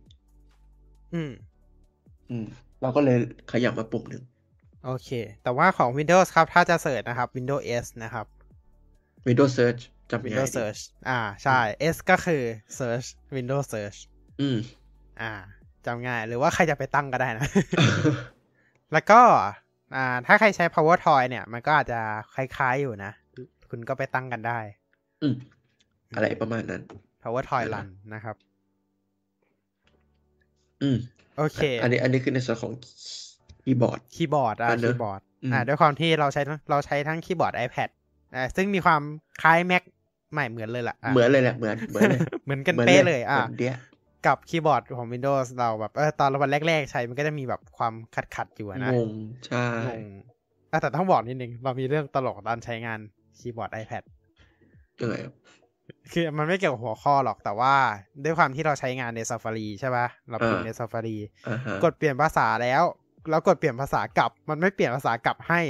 Speaker 1: เราก็เลยขยับมาปุ่มหนึ่ง
Speaker 2: โอเคแต่ว่าของ Windows ครับถ้าจะเสิร์ชนะครับ Windows S นะครับ
Speaker 1: Windows Search จำ
Speaker 2: Windows Search ใช่ S ก็คือ Search Windows Search จำง่ายหรือว่าใครจะไปตั้งก็ได้นะ แล้วก็ถ้าใครใช้ PowerToy เนี่ยมันก็อาจจะคล้ายๆอยู่นะคุณก็ไปตั้งกันได้
Speaker 1: อะไรประมาณนั้น
Speaker 2: PowerToy Run นะครับโอเค
Speaker 1: อันนี้คือในส่วนของคีย์บอร์ด
Speaker 2: ด้วยความที่เราใช้ทั้งคีย์บอร์ด iPad ซึ่งมีความคล้าย Mac ใหม่เหมือนเลยล่ะ
Speaker 1: เหมือนเลยแหละเหมือนเลย
Speaker 2: เหมือนกันเป๊ะเลยกับคีย์บอร์ดของ Windows เราแบบตอนวันแรกๆใช้มันก็จะมีแบบความขัดอยู่นะ
Speaker 1: งงใช่
Speaker 2: แต่ต้องบอกนิดนึงเรามีเรื่องตลกตอนใช้งานคีย์บอร์ด iPad คือมันไม่เกี่ยวกับหัวข้อหรอกแต่ว่าด้วยความที่เราใช้งานใน Safari ใช่ป่ะเราพิมพ์ใน Safari กดเปลี่ยนภาษาแล้วกดเปลี่ยนภาษากลับมันไม่เปลี่ยนภาษากลับให้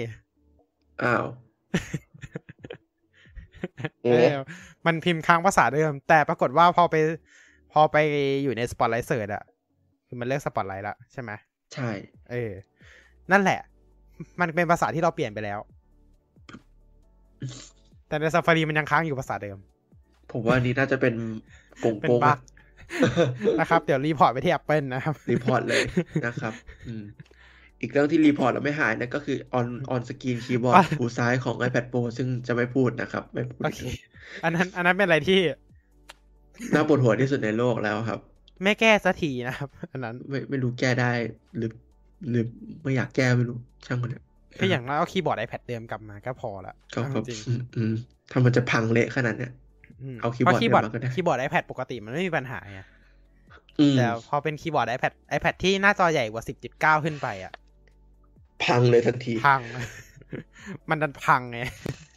Speaker 2: มันพิมพ์ค้างภาษาเดิมแต่ปรากฏว่าพอไปอยู่ใน Spotlight Search คือมันเลือก Spotlight แล้วใช่ไหม
Speaker 1: ใช่
Speaker 2: นั่นแหละมันเป็นภาษาที่เราเปลี่ยนไปแล้วแต่ใน Safari มันยังค้างอยู่ภาษาเดิม
Speaker 1: ผมว่านี้น่าจะเป็นโกง
Speaker 2: นะครับ เดี๋ยวรีพอร์ตไปที่ Apple นะครับ
Speaker 1: รีพอร์ตเลยนะครับอีกเรื่องที่รีพอร์ตแล้วไม่หายนั่นก็คือออนสกรีนคีย์บอร์ดหูซ้ายของ iPad Pro ซึ่งจะไม่พูดนะครับ ไม่พูด
Speaker 2: โอเค อันนั้นเป็นอะไรที่
Speaker 1: น่าปวดหัวที่สุดในโลกแล้วครับ
Speaker 2: ไม่แก้สักทีนะครับ อันนั้น
Speaker 1: ไม่รู้แก้ได้หรือไม่อยากแก้ไม่รู้ช่างมันเนี่ย
Speaker 2: คืออย่างน้อยเอาคีย์บอร์ด iPad เดิมกลับมาก็พอละ
Speaker 1: ก็
Speaker 2: เอาจริง
Speaker 1: ถ้ามันจะพังเละขนาดเนี้ย เอาคีย์บอร์ดเดิมมาก็ได้
Speaker 2: คีย์บอร์ด iPad ปกติมันไม่มีปัญหาไง
Speaker 1: อืม
Speaker 2: แต่พอเป็นคีย์บอร์ด iPad ที่หน้าจอใหญ่กว่า 10.9 ขึ้นไปอ่ะ
Speaker 1: พังเลยทันที
Speaker 2: พัง มันดันพังไง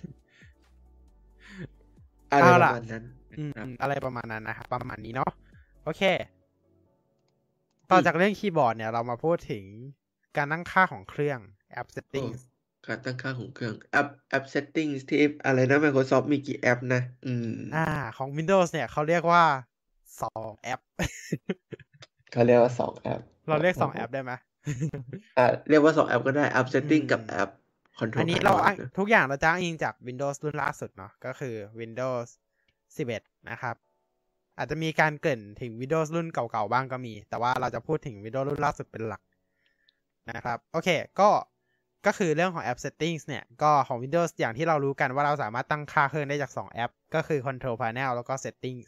Speaker 1: อะไร
Speaker 2: เอา
Speaker 1: ป
Speaker 2: ล่ะ
Speaker 1: ระมาณนั้นครับ
Speaker 2: อะไรประมาณนั้นนะครับประมาณนี้เนาะโอเค ต่อจากเรื่องคีย์บอร์ดเนี่ยเรามาพูดถึงการตั้งค่าของเครื่อง App Settings
Speaker 1: การตั้งค่าของเครื่องแอป settings ที่อะไรนะ Microsoft มีกี่แอปนะ
Speaker 2: ของ Windows เนี่ยเขาเรียกว่า2แอป
Speaker 1: เขาเรียกว่า2แอป
Speaker 2: เราเรียก2แอปได้ไหม
Speaker 1: เรียกว่า2แอปก็ได้แอป setting กับแอป control
Speaker 2: อันนี้เรา
Speaker 1: panel
Speaker 2: ทุกอย่างเราจะอ้างอิงจาก Windows รุ่นล่าสุดเนาะก็คือ Windows 11 นะครับ อาจจะมีการเกริ่นถึง Windows รุ่นเก่าๆบ้างก็มี แต่ว่าเราจะพูดถึง Windows รุ่นล่าสุดเป็นหลักนะครับโอเคก็คือเรื่องของ App Settings เนี่ยก็ของ Windows อย่างที่เรารู้กันว่าเราสามารถตั้งค่าเครื่องได้จาก2แอปก็คือ Control Panel แล้วก็ Settings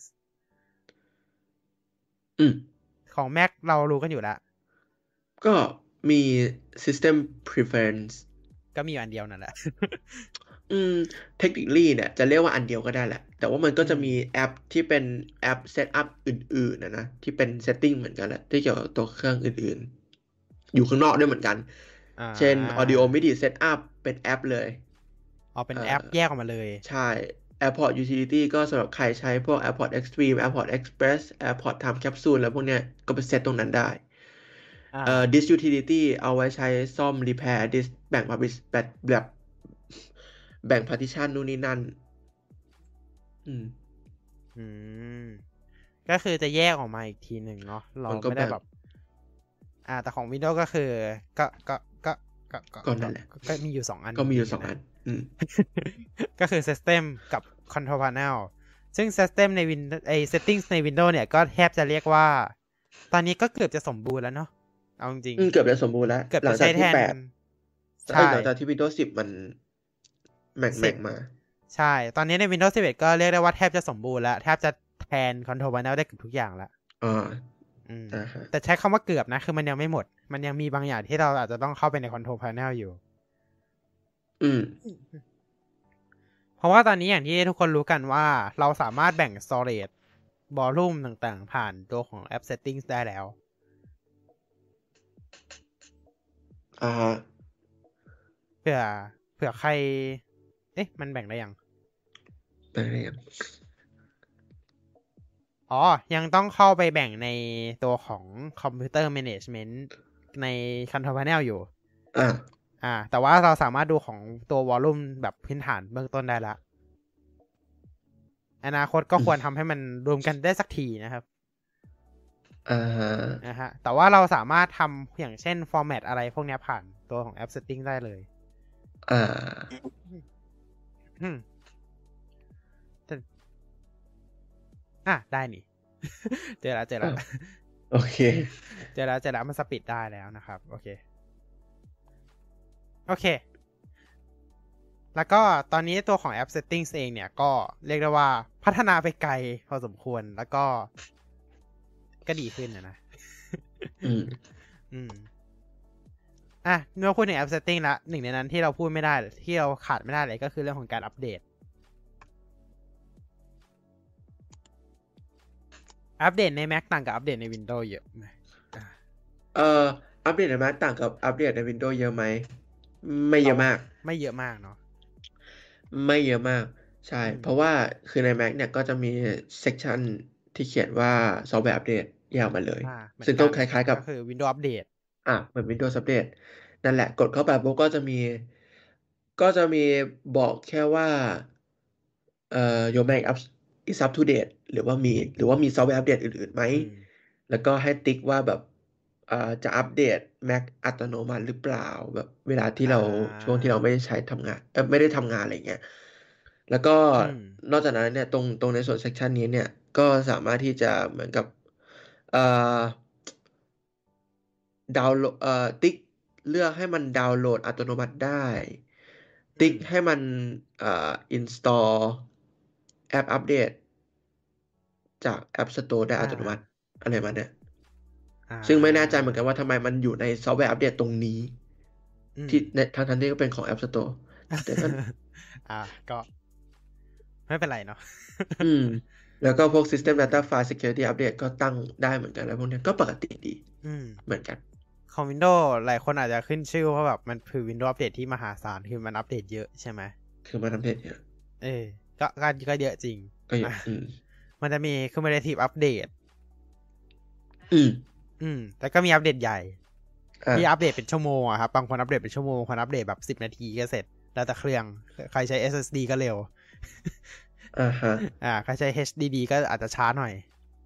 Speaker 2: ของ Mac เรารู้กันอยู่แล้ว
Speaker 1: ก็มี System Preference
Speaker 2: ก็มีอันเดียวนั่นแหละ
Speaker 1: technically เนี่ยจะเรียกว่าอันเดียวก็ได้แหละแต่ว่ามันก็จะมีแอปที่เป็นแอป setup อื่นๆนะที่เป็น setting เหมือนกันแหละที่เกี่ยวกับตัวเครื่องอื่นๆอยู่ข้างนอกด้วยเหมือนกันเช่น Audio MIDI Setup เป็นแอปเลย
Speaker 2: เป็นแอปแยกออกมาเลย
Speaker 1: ใช่ AirPod Utility ก็สำหรับใครใช้พวก AirPod Extreme AirPod Express AirPod Time Capsule แล้วพวกเนี้ยก็ไปเซตตรงนั้นได้Disk Utility เอาไว้ใช้ซ่อม repair disk แบ่ง แบบแบ่ง partition นู่นนี่นั่น
Speaker 2: ก็คือจะแยกออกมาอีกทีหนึ่งเนาะเราไม่ได้แบบแต่ของ Windows ก็คือก็
Speaker 1: นั่นแหละ
Speaker 2: ก็มีอยู่2อัน
Speaker 1: ก็มีอยู่2อัน
Speaker 2: ก็คือ System กับ Control Panel ซึ่ง System ใน Settings ใน Windows เนี่ยก็แทบจะเรียกว่าตอนนี้ก็เกือบจะสมบูรณ์แล้วเนาะเอาจริง
Speaker 1: เกือบจะสมบูรณ์แล้ว
Speaker 2: หลังจากที่8
Speaker 1: ใช่หลังจากที่ Windows 10 มันแม็กมา
Speaker 2: ใช่ตอนนี้ใน Windows 11 ก็เรียกได้ว่าแทบจะสมบูรณ์แล้วแทบจะแทน Control Panel ได้เกือบทุกอย่างแล้วแต่ใช้คำว่าเกือบนะคือมันยังไม่หมดมันยังมีบางอย่างที่เราอาจจะต้องเข้าไปใน Control Panel อยู่เพราะว่าตอนนี้อย่างที่ทุกคนรู้กันว่าเราสามารถแบ่ง storage volume ต่างๆผ่านตัวของ App Settings ได้แล้วเผื่อใครมันแบ่งได้ยังยังต้องเข้าไปแบ่งในตัวของ Computer Management ใน Control Panel อยู่แต่ว่าเราสามารถดูของตัว Volume แบบพื้นฐานเบื้องต้นได้แล้วอนาคตก็ควรทำให้มันรวมกันได้สักทีนะครับนะฮะแต่ว่าเราสามารถทำอย่างเช่น format อะไรพวกนี้ผ่านตัวของ App Setting ได้เลยได้นี่ เจอแล้ว
Speaker 1: โอเค
Speaker 2: เจอแล้วมันสปิดได้แล้วนะครับโอเคแล้วก็ตอนนี้ตัวของ App Settings เองเนี่ยก็เรียกได้ว่าพัฒนาไปไกลพอสมควรแล้วก็ดีขึ้นนะเมื่อพูดถึง App Setting ละหนึ่งในนั้นที่เราพูดไม่ได้ที่เราขาดไม่ได้เลยก็คือเรื่องของการอัปเดตใน Mac ต่างกับอัปเดตใน Windows เยอะไหม
Speaker 1: อัปเดตใน Mac ต่างกับอัปเดตใน Windows เยอะไหมไม่เยอะมาก
Speaker 2: เนาะไม่เยอะมาก
Speaker 1: ใช่เพราะว่าคือใน Mac เนี่ยก็จะมี section ที่เขียนว่า software update แยกมาเลยซึ่งก็คล้ายๆกับ
Speaker 2: คือ Windows Update
Speaker 1: เหมือน Windows Update นั่นแหละกดเข้าไปปุ๊บก็จะมีบอกแค่ว่าyour Mac is up to date หรือว่ามี software update อื่นๆไหมแล้วก็ให้ติ๊กว่าแบบจะอัปเดต Mac อัตโนมัติหรือเปล่าแบบเวลาที่เราช่วงที่เราไม่ได้ใช้ทำงานไม่ได้ทำงานอะไรเงี้ยแล้วก็นอกจากนั้นเนี่ยตรงในส่วน section นี้เนี่ยก็สามารถที่จะเหมือนกับเอ่อดาวน์โหลดติ๊กเลือกให้มันดาวน์โหลดอัตโนมัติได้ ติ๊กให้มันinstall แอปอัปเดตจาก App Store ได้อัตโนมัติอะไรมาเนี่ยซึ่งไม่แน่ใจเหมือนกันว่าทำไมมันอยู่ในซอฟต์แวร์อัปเดตตรงนี้ที่ในทั้งที่ก็เป็นของ App Store แต่ก็
Speaker 2: ก็ไม่เป็นไรเนาะ
Speaker 1: แล้วก็พวก System Data File Security Update ก็ตั้งได้เหมือนกันแล้วพวกนี้ก็ปกติดีเหมือนกัน
Speaker 2: ของ Windows หลายคนอาจจะขึ้นชื่อเพราะแบบมันคือ Windows อัปเดตที่มหาศาลคือมันอัปเดตเยอะใช่ไหม
Speaker 1: คือมันอัปเดตเยอะ
Speaker 2: ก็เยอะจริง
Speaker 1: ก็เยอะ
Speaker 2: มันจะมี cumulative update แต่ก็มีอัปเดตใหญ่ที่อัปเดตเป็นชั่วโมงอะครับบางคนอัปเดตเป็นชั่วโมงคนอัปเดตแบบ10 นาทีก็เสร็จแล้วแต่เครื่องใครใช้ SSD ก็เร็วใครใช้ HDD ก็อาจจะช้าหน่อย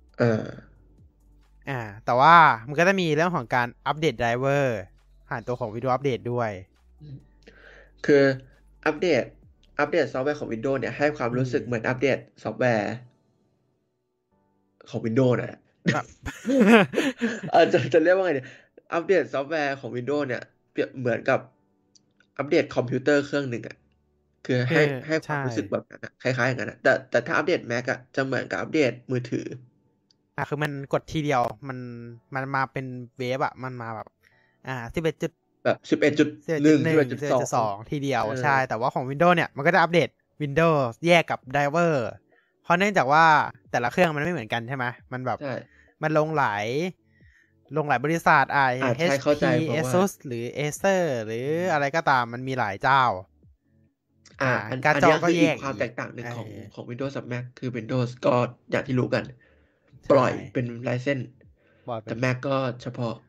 Speaker 2: แต่ว่ามันก็จะมีเรื่องของการอัปเดตไดรเวอร์ผ่านตัวของ Windows Update ด้วย
Speaker 1: คืออัปเดตซอฟต์แวร์ของ Windows เนี่ยให้ความรู้สึกเหมือนอัปเดตซอฟต์แวร์ของ Windows นะครับจะเรียกว่าไงเนี่ยอัปเดตซอฟต์แวร์ของ Windows เนี่ยเปรียบเหมือนกับอัปเดตคอมพิวเตอร์เครื่องหนึ่งคือให้ความรู้สึกแบบนั้นคล้ายๆอย่างนั้นแต่ถ้าอัปเดต Mac จะเหมือนกับอัปเดตมือถือ
Speaker 2: คือมันกดทีเดียวมันมาเป็นเวฟมันมาแบบ11จุด
Speaker 1: แบบ11.1
Speaker 2: 11.2 ทีเดียวใช่แต่ว่าของ Windows เนี่ยมันก็จะอัปเดต Windows แยกกับไดรเวอร์เพราะเนื่องจากว่าแต่ละเครื่องมันไม่เหมือนกันใช่ไหมมันแบบมันลงหลายบริษัทHP Asus หรือ Acer หรืออะไรก็ตามมันมีหลายเจ้า
Speaker 1: การจอก็แยกความแตกต่างหนึ่งของ Windows กับ Mac คือ Windows ก็อย่างที่รู้กันปล่อยเป็นไลเซนส์แต่ Mac ก็เฉพาะ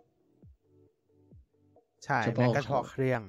Speaker 2: ใช่ Mac ก็เฉพาะเครื่อง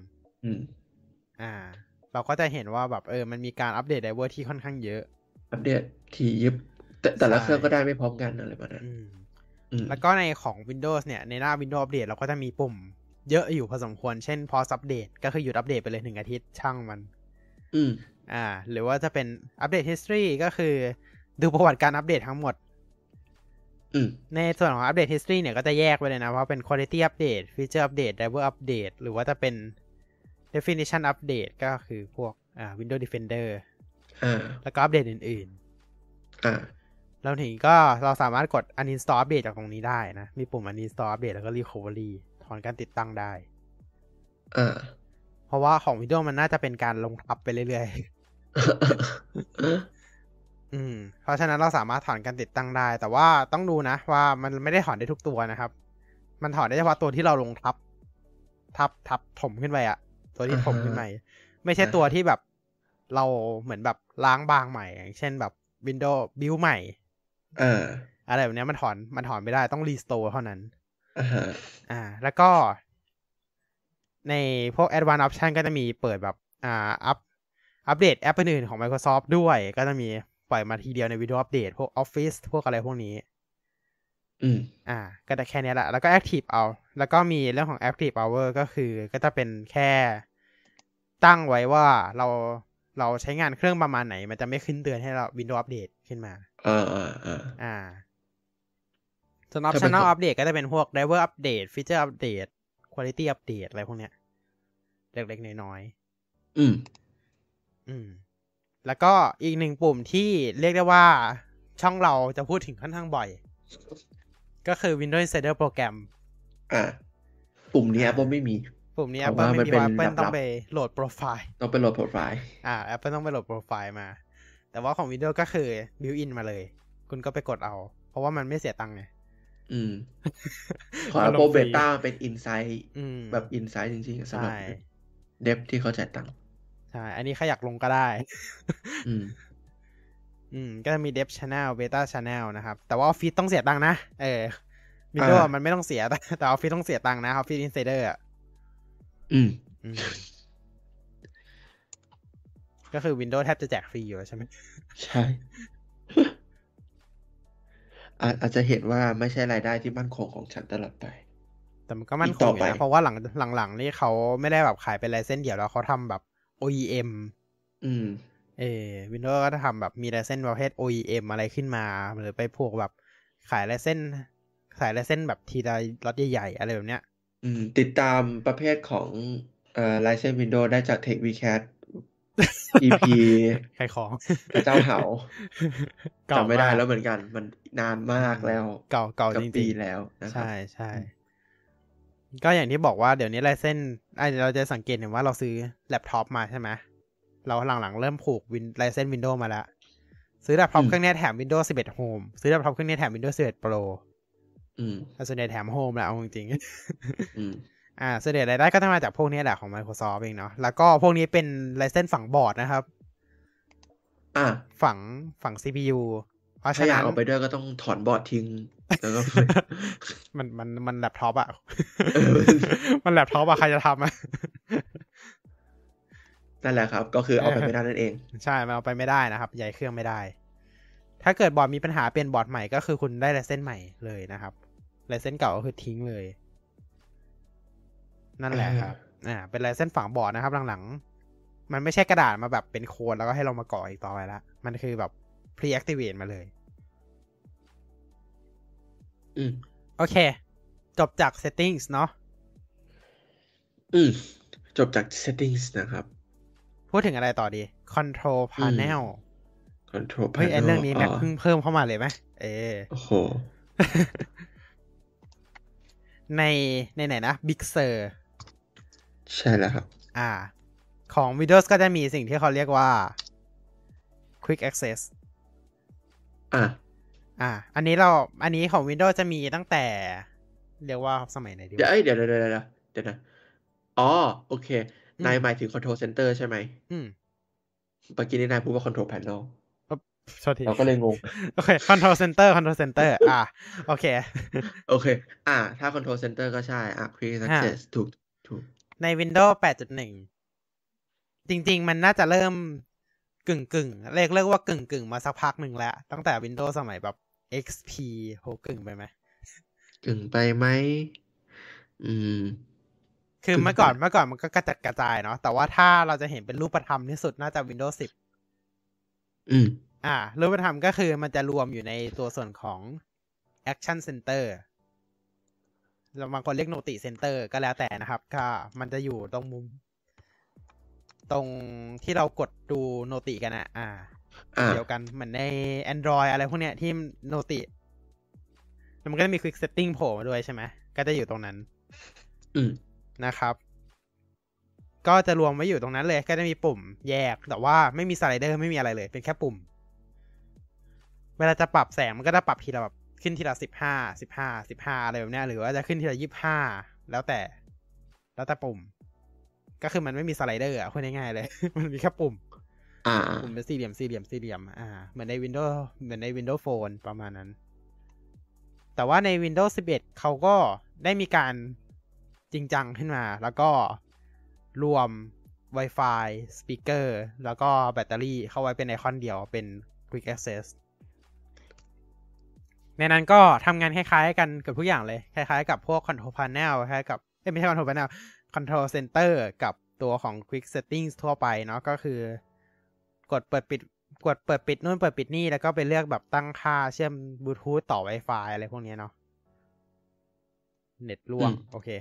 Speaker 2: เราก็จะเห็นว่าแบบมันมีการอัปเดตไดรเวอร์ที่ค่อนข้างเยอะ
Speaker 1: อัปเดตที่ยิบแต่ละเครื่องก็ได้ไม่พร้อมกันอะไรแบบนั้น
Speaker 2: แล้วก็ในของ Windows เนี่ยในหน้า Windows Update เราก็จะมีปุ่มเยอะอยู่พอสมควรเช่น Pause Update ก็คือหยุดอัปเดตไปเลย1 อาทิตย์ช่างมันหรือว่าจะเป็นอัปเดต history ก็คือดูประวัติการอัปเดตทั้งหมดในส่วนของอัปเดต history เนี่ยก็จะแยกไปเลยนะว่าเป็น quality update feature update driver update หรือว่าจะเป็น definition update ก็คือพวกWindows Defender แล้วก็อัปเดตอื่นๆแล้วถึงก็เราสามารถกด uninstall update จากตรงนี้ได้นะมีปุ่ม uninstall update แล้วก็ recovery ถอนการติดตั้งได้เพราะว่าของ Windows มันน่าจะเป็นการลงทับไปเรื่อยๆเพราะฉะนั้นเราสามารถถอนการติดตั้งได้แต่ว่าต้องดูนะว่ามันไม่ได้ถอนได้ทุกตัวนะครับมันถอนได้เฉพาะตัวที่เราลงทับถมขึ้นไปตัวที่ถมขึ้นไปไม่ใช่ตัวที่แบบเราเหมือนแบบล้างบางใหม่อย่างเช่นแบบ Windows build ใหม่อะไรแบบนี้มันถอนไม่ได้ต้อง restore เท่านั้นแล้วก็ในพวก Advanced Option ก็จะมีเปิดแบบอัปเดตแอปอื่นๆของ Microsoft ด้วยก็จะมีปล่อยมาทีเดียวใน Windows Update พวก Office พวกอะไรพวกนี้ก็ได้แค่นี้แหละแล้วก็ Active แล้วก็มีเรื่องของ Active Hour ก็คือก็จะเป็นแค่ตั้งไว้ว่าเราใช้งานเครื่องประมาณไหนมันจะไม่ขึ้นเตือนให้เรา Windows Update ขึ้นมาส่วน Optional Update ก็จะเป็นพวก Driver Update Feature Update Quality Update อะไรพวกเนี้ยเล็กๆน้อยๆแล้วก็อีกหนึ่งปุ่มที่เรียกได้ว่าช่องเราจะพูดถึงค่อนข้างบ่อยก็คือ Windows Insider Program
Speaker 1: ปุ่มนี้ Apple ไม่มี
Speaker 2: ปุ่มนี้ Apple ไม่มีเพราะ Apple ต้องไปโหลดโปรไฟล์ Apple ต้องไปโหลดโปรไฟล์มาแต่ว่าของ Windows ก็คือ built in มาเลยคุณก็ไปกดเอาเพราะว่ามันไม่เสียตังค์ไง
Speaker 1: ของ Apple Beta เป็น Insight แบบ Insight จริงๆสำหรับเดฟที่เขาจ่ายตังค์
Speaker 2: ใช่อันนี้ใครอยากลงก็ได้ก็จะมี Dev Channel Beta Channel นะครับแต่ว่า Office ต้องเสียตังค์นะWindows มันไม่ต้องเสียแต่ Office ต้องเสียตังค์นะ Office Insider ก็คือ Windows แทบจะแจกฟรีอยู่ใช่ไหม
Speaker 1: ใช่อาจจะเห็นว่าไม่ใช่รายได้ที่มั่นคงของฉันตลอดไป
Speaker 2: แต่มันก็มั่นคงนะเพราะว่าหลังนี่เขาไม่ได้แบบขายเป็นไลเซนส์เดี่ยวแล้วเขาทำแบบ OEM Windows ก็จะทำแบบมีไลเซนส์ประเภท OEM อะไรขึ้นมาหรือไปพวกแบบขายไลเซนส์สายลายเส้นแบบทีละล็อตใหญ่ๆอะไรแบบเนี้ย
Speaker 1: ติดตามประเภทของRyzen Windows ได้จาก TechVCAT EP
Speaker 2: ขายของ
Speaker 1: พระเจ้าเหา
Speaker 2: เก่า
Speaker 1: จำไม่ได้
Speaker 2: มาก
Speaker 1: แล้วเหมือนกัน มันนานมากแล้ว
Speaker 2: เก่า
Speaker 1: เกือ
Speaker 2: จ
Speaker 1: บ
Speaker 2: ริ
Speaker 1: ปี
Speaker 2: ง
Speaker 1: แล้ว
Speaker 2: ๆ
Speaker 1: นะครับ
Speaker 2: ใช่ ก็อย่างที่บอกว่าเดี๋ยวนี้ลายเส้นเราจะสังเกตเห็นว่าเราซื้อแล็ปท็อปมาใช่ไหม เราหลังๆเริ่มผูกลายเส้น Windows มาแล้ว ซื้อแล็ปท็อปเครื่องนี้แถม Windows 11 Home ซื้อแล็ปท็อปเครื่องนี้แถม Windows 11 Pro แต่ส่วนใหญ่แถม Home แหละเอาจริงๆส่วนใหญ่รายได้ก็จะมาจากพวกนี้แหละของ Microsoft เองเนาะ แล้วก็พวกนี้เป็นลายเส้นฝังบอร์ดนะครับฝัง CPU เพราะฉะนั้นถ้าอยากเอาไปด้วยก็ต้องถอนบอร์ดทิ้งแล้วก็ มันแล็ปท็อปอ่ะ มันแล็ปท็อปอ่ะใครจะทำอ่ะ นั่นแหละครับก็คือเอาไปไม่ได้นั่นเองใช่มันเอาไปไม่ได้นะครับย้ายเครื่องไม่ได้ถ้าเกิดบอร์ดมีปัญหาเปลี่ยนบอร์ดใหม่ก็คือคุณได้ลายเส้นใหม่เลยนะครับลายเส้นเก่าก็คือทิ้งเลยนั่นแหละครับเป็นลายเส้นฝังบอร์ดนะครับหลังๆมันไม่ใช่กระดาษมาแบบเป็นโค้ดแล้วก็ให้เรามาก่ออีกต่อไปละมันคือแบบ pre-activate มาเลยโอเคจบจาก settings เนาะจบจาก settings นะครับพูดถึงอะไรต่อดี control panel เฮ้ยเรื่องนี้แม็กเพิ่งเพิ่มเข้ามาเลยไหมโอ้โห ในไหนนะ Big Sur ใช่แล้วครับของ Windows ก็จะมีสิ่งที่เขาเรียกว่า Quick Access อันนี้ของ Windows จะมีตั้งแต่เรียกว่าสมัยไหนดีเดี๋ยวนะอ๋อโอเคนายหมายถึง Control Center ใช่ไหมเมื่อกี้นี้นายพูดว่า Control Panel เราก็เลยงงโอเค Control Center โอเคถ้า Control Center ก็ใช่Quick Access ถูกใน Windows 8.1 จริงๆมันน่าจะเริ่มกึ่งเรียกว่ากึ่งมาสักพักหนึ่งแล้วตั้งแต่ Windows สมัยแบบ XP โหกึ่งไปไหมคือเมื่อก่อนมันก็กระจัดกระจายเนาะแต่ว่าถ้าเราจะเห็นเป็นรูปธรรมที่สุดน่าจะ Windows 10รูปธรรมก็คือมันจะรวมอยู่ในตัวส่วนของ Action Center แล้วบางคนเรียก Noti Center ก็แล้วแต่นะครับก็มันจะอยู่ตรงมุมตรงที่เรากดดู Noti กันเดียวกันเหมือนใน Android อะไรพวกเนี้ยที่ Noti แล้วมันก็จะมี Quick Setting โผล่มาด้วยใช่ไหมก็จะอยู่ตรงนั้นนะครับก็จะรวมไว้อยู่ตรงนั้นเลยก็จะมีปุ่มแยกแต่ว่าไม่มีสไลเดอร์ไม่มีอะไรเลยเป็นแค่ปุ่มเวลาจะปรับแสงมันก็จะปรับทีละแบบขึ้นทีละ15อะไรแบบเนี้ยหรือว่าจะขึ้นทีละ25แล้วแต่ปุ่มก็คือมันไม่มีสไลเดอร์พูดง่ายๆเลย มันมีแค่ปุ่มปุ่มเป็นสี่เหลี่ยมเหมือนใน Windows Phone ประมาณนั้นแต่ว่าใน Windows 11เขาก็ได้มีการจริงจังขึ้นมาแล้วก็รวม Wi-Fi Speaker แล้วก็แบตเตอรี่เข้าไว้เป็นไอคอนเดียวเป็น Quick Access ในนั้นก็ทำงานคล้ายๆกันกับทุกอย่างเลยคล้ายๆกับพวก Control Panel คล้ายกับไม่ใช่ Control Panel Control Center กับตัวของ Quick Settings ทั่วไปเนาะก็คือกดเปิดปิดนู่นเปิดปิดนี่แล้วก็ไปเลือกแบบตั้งค่าเชื่อมบลูทูธต่อ Wi-Fi อะไรพวกนี้เนาะเน็ตล่วงโอเค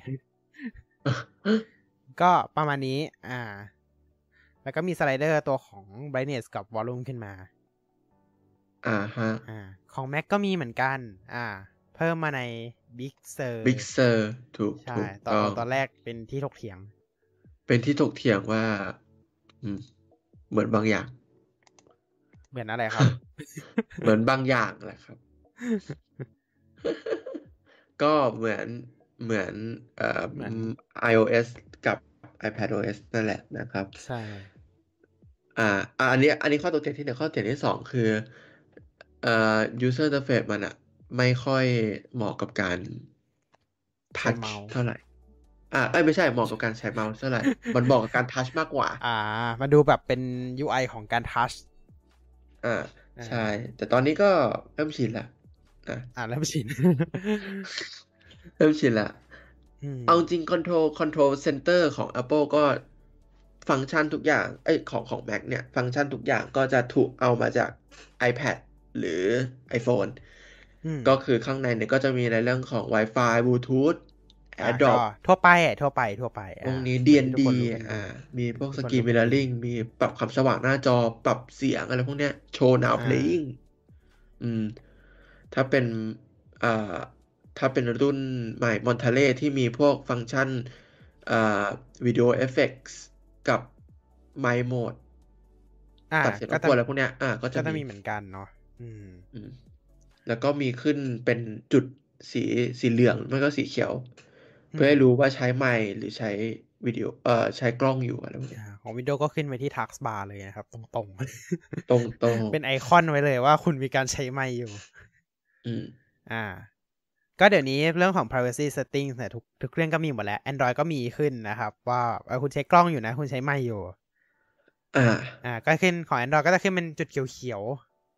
Speaker 2: ก็ประมาณนี้แล้วก็มีสไลเดอร์ตัวของ brightness กับ volume ขึ้นมาของ Mac ก็มีเหมือนกันเพิ่มมาใน Big Sur ถูกใช่ตอนแรกเป็นที่ถกเถียงว่าเหมือนบางอย่างเหมือนอะไรครับ เหมือนบางอย่างแหละครับ ก็เหมือนiOS กับ iPadOS นั่นแหละนะครับใช่อันนี้ข้อตกเถียงที่1ข้อตกเถียงที่2คือuser interface มันไม่ค่อยเหมาะกับการทัชเท่าไหร่ไม่ใช่เหมาะกับการใช้เมาส์เท่าไหร่มันเหมาะกับการทัชมากกว่ามันดูแบบเป็น UI ของการทัชใช่แต่ตอนนี้ก็เริ่มชินละเริ่มชิน ละเอาจริง control center ของ Apple ก็ฟังก์ชันทุกอย่างของ Mac เนี่ยฟังก์ชันทุกอย่างก็จะถูกเอามาจาก iPad หรือ iPhone
Speaker 1: ก็คือข้างในเนี่ยก็จะมีในเรื่องของ Wi-Fi Bluetooth
Speaker 2: ก็
Speaker 1: AirDrop
Speaker 2: ทั่วไป
Speaker 1: พวกนี้
Speaker 2: เหมือนที่ทุก
Speaker 1: D&D
Speaker 2: คนรู้กันดี
Speaker 1: มีพวก
Speaker 2: ทุกคน
Speaker 1: Screen
Speaker 2: รู้กันดี
Speaker 1: Mirroring มีปรับความสว่างหน้าจอปรับเสียงอะไรพวกเนี้ย Show Now Playing อืมถ้าเป็นอ่าถ้าเป็นรุ่นใหม่ Monterey ที่มีพวกฟังก์ชันวิดีโอเอฟเฟกต์กับ Mic Mode ตัดเสียงรบกวนอะไรพวกเนี้ยก็จะมี
Speaker 2: เหมือนกันเนาะ
Speaker 1: แล้วก็มีขึ้นเป็นจุดสีเหลืองไม่ก็สีเขียว เพื่อให้รู้ว่าใช้ไมค์หรือใช้วิดีโอใช้กล้องอยู่อะไรพวกนี้
Speaker 2: ของ Windows ก็ขึ้นไปที่ Taskbar เลยนะครับตรง
Speaker 1: ตรง
Speaker 2: เป็นไอคอนไว้เลยว่าคุณมีการใช้ไมค์อยู่ก็เดี๋ยวนี้เรื่องของ privacy settings เนี่ยทุกเครื่องก็มีหมดแล้ว Android ก็มีขึ้นนะครับว่าคุณใช้กล้องอยู่นะคุณใช้ไมค์อยู่ก็ขึ้นของ Android ก็จะขึ้นเป็นจุดเขียว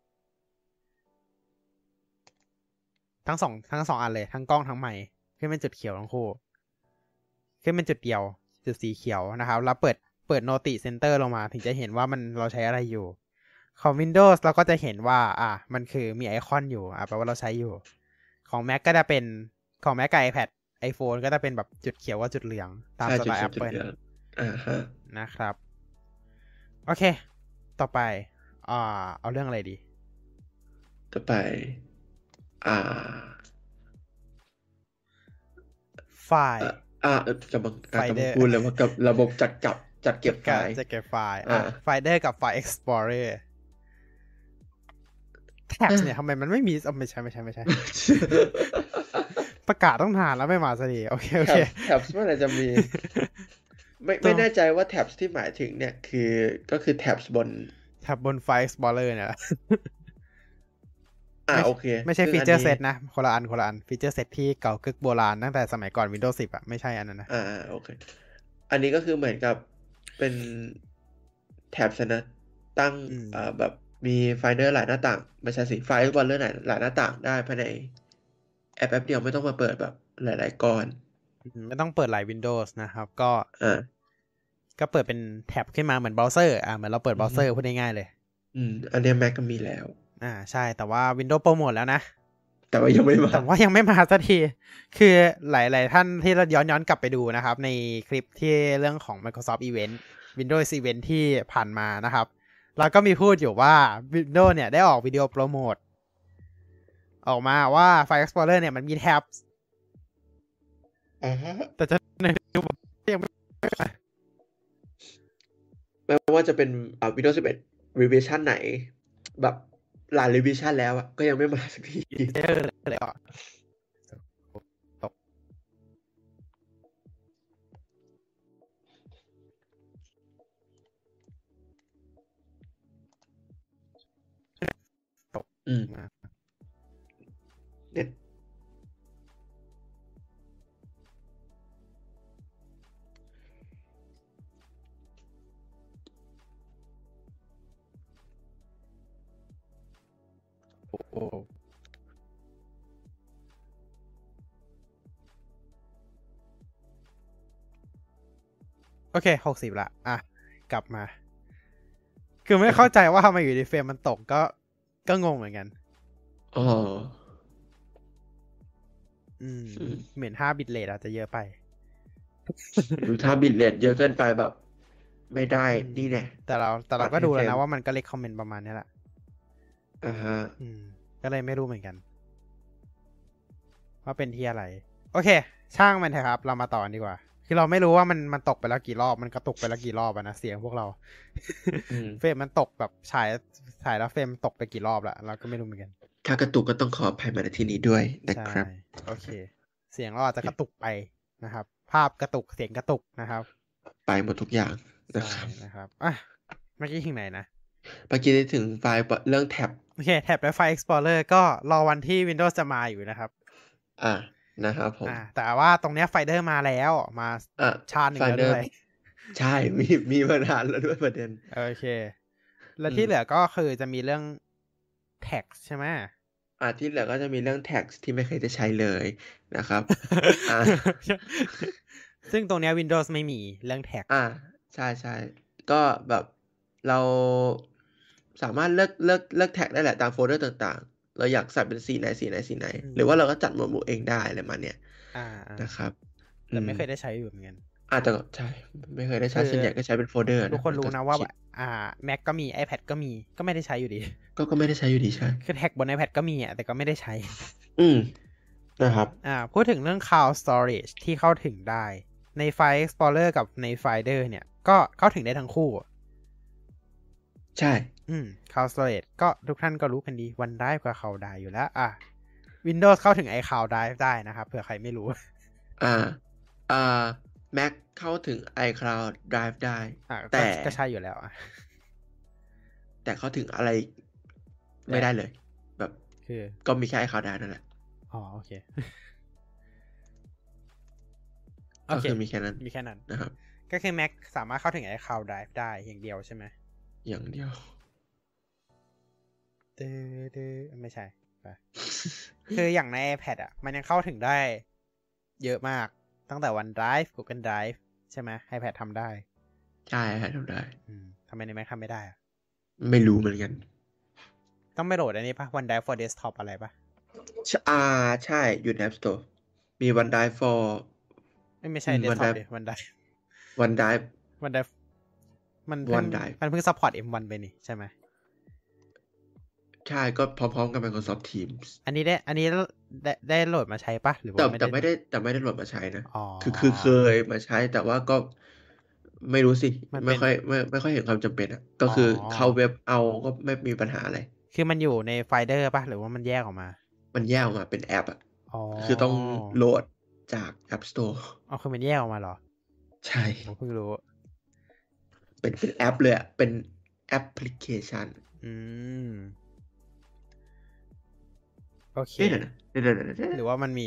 Speaker 2: ๆทั้งสองอันเลยทั้งกล้องทั้งไมค์ขึ้นเป็นจุดเขียวทั้งคู่ขึ้นเป็นจุดเดียวจุดสีเขียวนะครับแล้วเปิด Notice Center ลงมาถึงจะเห็นว่าเราใช้อะไรอยู่ของ Windows เราก็จะเห็นว่ามันคือมีไอคอนอยู่แปลว่าเราใช้อยู่ของ Mac ก็จะเป็นของ Mac กับ iPad iPhone ก็จะเป็นแบบจุดเขียวกับจุดเหลืองตามสไตล์ Apple นะครับโอเคต่อไปเอาเรื่องอะไรดี
Speaker 1: ต่อไป
Speaker 2: ไฟล์
Speaker 1: กำลังพูดเลยว่ากับระบบจัดเก็บไฟล์
Speaker 2: ไฟเดอร์กับไฟล์ Explorer tabs เนี่ยทำไมมันไม่มีไม่ใช่ประกาศต้องนานแล้วไม่มาสักทีโอเค
Speaker 1: tabs เมื่อไหร่จะมี ไม่แน่ใจว่า tabs ที่หมายถึงเนี่ยก็คือ tabs บ
Speaker 2: นไฟล์ Explorer เนี่ย
Speaker 1: โอเค
Speaker 2: ไม่ใช่ฟีเจอร์เซตนะคนละอันฟีเจอร์เซตที่เก่ากึกโบราณตั้งแต่สมัยก่อน Windows 10ไม่ใช่อันนั้นนะ
Speaker 1: โอเคอันนี้ก็คือเหมือนกับเป็นแท็บนะตั้งแบบมีไฟล์เดอร์หลายหน้าต่างไม่ใช่สิไฟล์บอลเลอร์หลายหน้าต่างได้ภายในแอปเดียวไม่ต้องมาเปิดแบบหลายๆก้อน
Speaker 2: ไม่ต้องเปิดหลาย Windows นะครับก็เปิดเป็นแท็บขึ้นมาเหมือนเบราว์เซอร์เหมือนเราเปิดเบราว์เซอร์พูดง่ายๆเลย
Speaker 1: อันนี้ Mac ก็มีแล้ว
Speaker 2: ใช่แต่ว่า Windows โปรโมทแล้วนะ
Speaker 1: แต่ว่ายังไม่
Speaker 2: มาสักทีคือหลายๆท่านที่เราย้อนกลับไปดูนะครับในคลิปที่เรื่องของ Microsoft Event Windows Event ที่ผ่านมานะครับเราก็มีพูดอยู่ว่า Windows เนี่ยได้ออกวิดีโอโปรโมทออกมาว่า File Explorer เนี่ยมันมีแท็บแต่จะยัง
Speaker 1: ไม่ว่าจะเป็นWindows 11 revision ไหนแบบหลาย revision แล้วก็ยังไม่มาสักที
Speaker 2: เลย
Speaker 1: เน็ต
Speaker 2: โอเค60ละกลับมาคือไม่เข้าใจว่าทำไมอยู่ดีเฟรมมันตกก็งงเหมือนกันเหมือน5 บิตเรทอาจจะเยอะไป
Speaker 1: ถ้าบิตเรทเยอะเกินไปแบบไม่ได้นี่แน่
Speaker 2: แต่เราก็ดูแล้วนะว่ามันก็เลคคอมเมนต์ประมาณนี้แหละก็เลยไม่รู้เหมือนกันว่าเป็นที่อะไรโอเคช่างมันเถอะครับเรามาต่อดีกว่าคือเราไม่รู้ว่ามันตกไปแล้วกี่รอบมันกระตุกไปแล้วกี่รอบนะเสียงพวกเราเฟรมมันตกแบบฉายแล้วเฟรมตกไปกี่รอบละเราก็ไม่รู้เหมือนกัน
Speaker 1: ถ้ากระตุกก็ต้องขออภัยมาณที่นี้ด้วยนะครับ
Speaker 2: โอเคเสียงเราอาจจะกระตุกไปนะครับภาพกระตุกเสียงกระตุกนะครับ
Speaker 1: ไปหมดทุกอย่าง
Speaker 2: นะครับเมื่อกี้ถึงไหนนะ
Speaker 1: เมื่อกี้ได้ถึงไฟล์เรื่องแท็บ
Speaker 2: โอเคแท็บและไฟล์ Explorer ก็รอวันที่ Windows จะมาอยู่นะครับ
Speaker 1: นะครับผม
Speaker 2: แต่ว่าตรงเนี้ยไฟเดอร์มาแล้วมาชาหนึ่งแล้วด้วย
Speaker 1: ใช่มีมานานแล้วด้วยประเด็น
Speaker 2: โอเคแล้วที่เหลือก็คือจะมีเรื่อง text ใช่ไหม
Speaker 1: ที่เหลือก็จะมีเรื่อง text ที่ไม่เคยจะใช้เลยนะครับ
Speaker 2: ซึ่งตรงเนี้ย Windows ไม่มีเรื่อง text
Speaker 1: ใช่ก็แบบเราสามารถเลือก text ได้แหละตามโฟลเดอร์ต่างเราอยากใส่เป็นสีไหน
Speaker 2: อื
Speaker 1: หรือ
Speaker 2: ม
Speaker 1: ว่าเราก็จัดหมวดหมู่เองได้อะไรมาเนี่ย
Speaker 2: อ่า
Speaker 1: นะครับ
Speaker 2: แต่ไม่เคยได้ใช้อยู่เหมือนกัน
Speaker 1: แต่ก็ใช่ไม่เคยได้ใช้
Speaker 2: คือ
Speaker 1: ส่วนใหญ่ก็ใช้เป็นโฟลเดอร์
Speaker 2: ทุกคนรู้นะว่า
Speaker 1: ชิป
Speaker 2: Mac ก็มี iPad ก็มีก็ไม่ได้ใช้อยู่ดี
Speaker 1: ก็ไม่ได้ใช้อยู่ดีใช่
Speaker 2: คือแท็กบน iPad ก็มีแต่ก็ไม่ได้ใช้
Speaker 1: อืมนะครับ
Speaker 2: พูดถึงเรื่อง Cloud Storage ที่เข้าถึงได้ใน File Explorer กับใน Finder เนี่ยก็เข้าถึงได้ทั้งคู่
Speaker 1: ใช่
Speaker 2: Cloud Storage ก็ทุกท่านก็รู้กันดี OneDrive กับ Cloud Drive อยู่แล้วWindows เข้าถึง iCloud Drive ได้นะครับเผื่อใครไม่รู้
Speaker 1: อ่าMac เข้าถึง iCloud Drive ได้แต่
Speaker 2: ก็ใช่อยู่แล้ว
Speaker 1: แต่เข้าถึงอะไรไม่ได้เลยแบบ
Speaker 2: คือ
Speaker 1: ก็มีแค่ iCloud Drive นั่นแหละ
Speaker 2: โอเค
Speaker 1: ก็คือมีแค่นั้นนะครับ
Speaker 2: ก็คือ Mac สามารถเข้าถึง iCloud Drive ได้อย่างเดียวใช่ไหม
Speaker 1: อย่างเดียว
Speaker 2: ไม่ใช่ คืออย่างใน iPad มันยังเข้าถึงได้เยอะมากตั้งแต่ OneDrive Google Drive ใช่ไหม iPad ทำได้
Speaker 1: ใช่ทำได้
Speaker 2: ทำไมใน Mac ทำไม่ได้
Speaker 1: ไม่รู้เหมือนกัน
Speaker 2: ต้องไปโหลดอันนี้ปะ OneDrive for Desktop อะไรปะ
Speaker 1: ใช่อยู่ใน App Store มี OneDrive for
Speaker 2: ไม่ใช่ Desktop ดิ OneDrive
Speaker 1: OneDrive
Speaker 2: มันเพิ่ง support M1 ไปนี่ใช่ไหม
Speaker 1: ใช่ก็พร้อมๆกับ Microsoft Teams
Speaker 2: อันนี้ได้โหลดมาใช้ปะหรือว่า
Speaker 1: แต่ไม่ได้โหลดมาใช้นะ
Speaker 2: อ๋อ
Speaker 1: คือเคยมาใช้แต่ว่าก็ไม่รู้สิไม่ค่อยเห็นความจำเป็นก็คือเข้าเว็บเอาก็ไม่มีปัญหาอะไร
Speaker 2: คือมันอยู่ใน Finder ปะหรือว่ามันแยกออกมา
Speaker 1: มันแยกออกมาเป็นแอปคือต้องโหลดจาก App Store
Speaker 2: คือมันแยกออกมาเหรอ
Speaker 1: ใช่
Speaker 2: ผมเพิ่งรู้
Speaker 1: เป็นแอปเลยเป็นแอปพลิเคชัน
Speaker 2: โอเค
Speaker 1: เดี๋ยว
Speaker 2: หรือว่ามันมี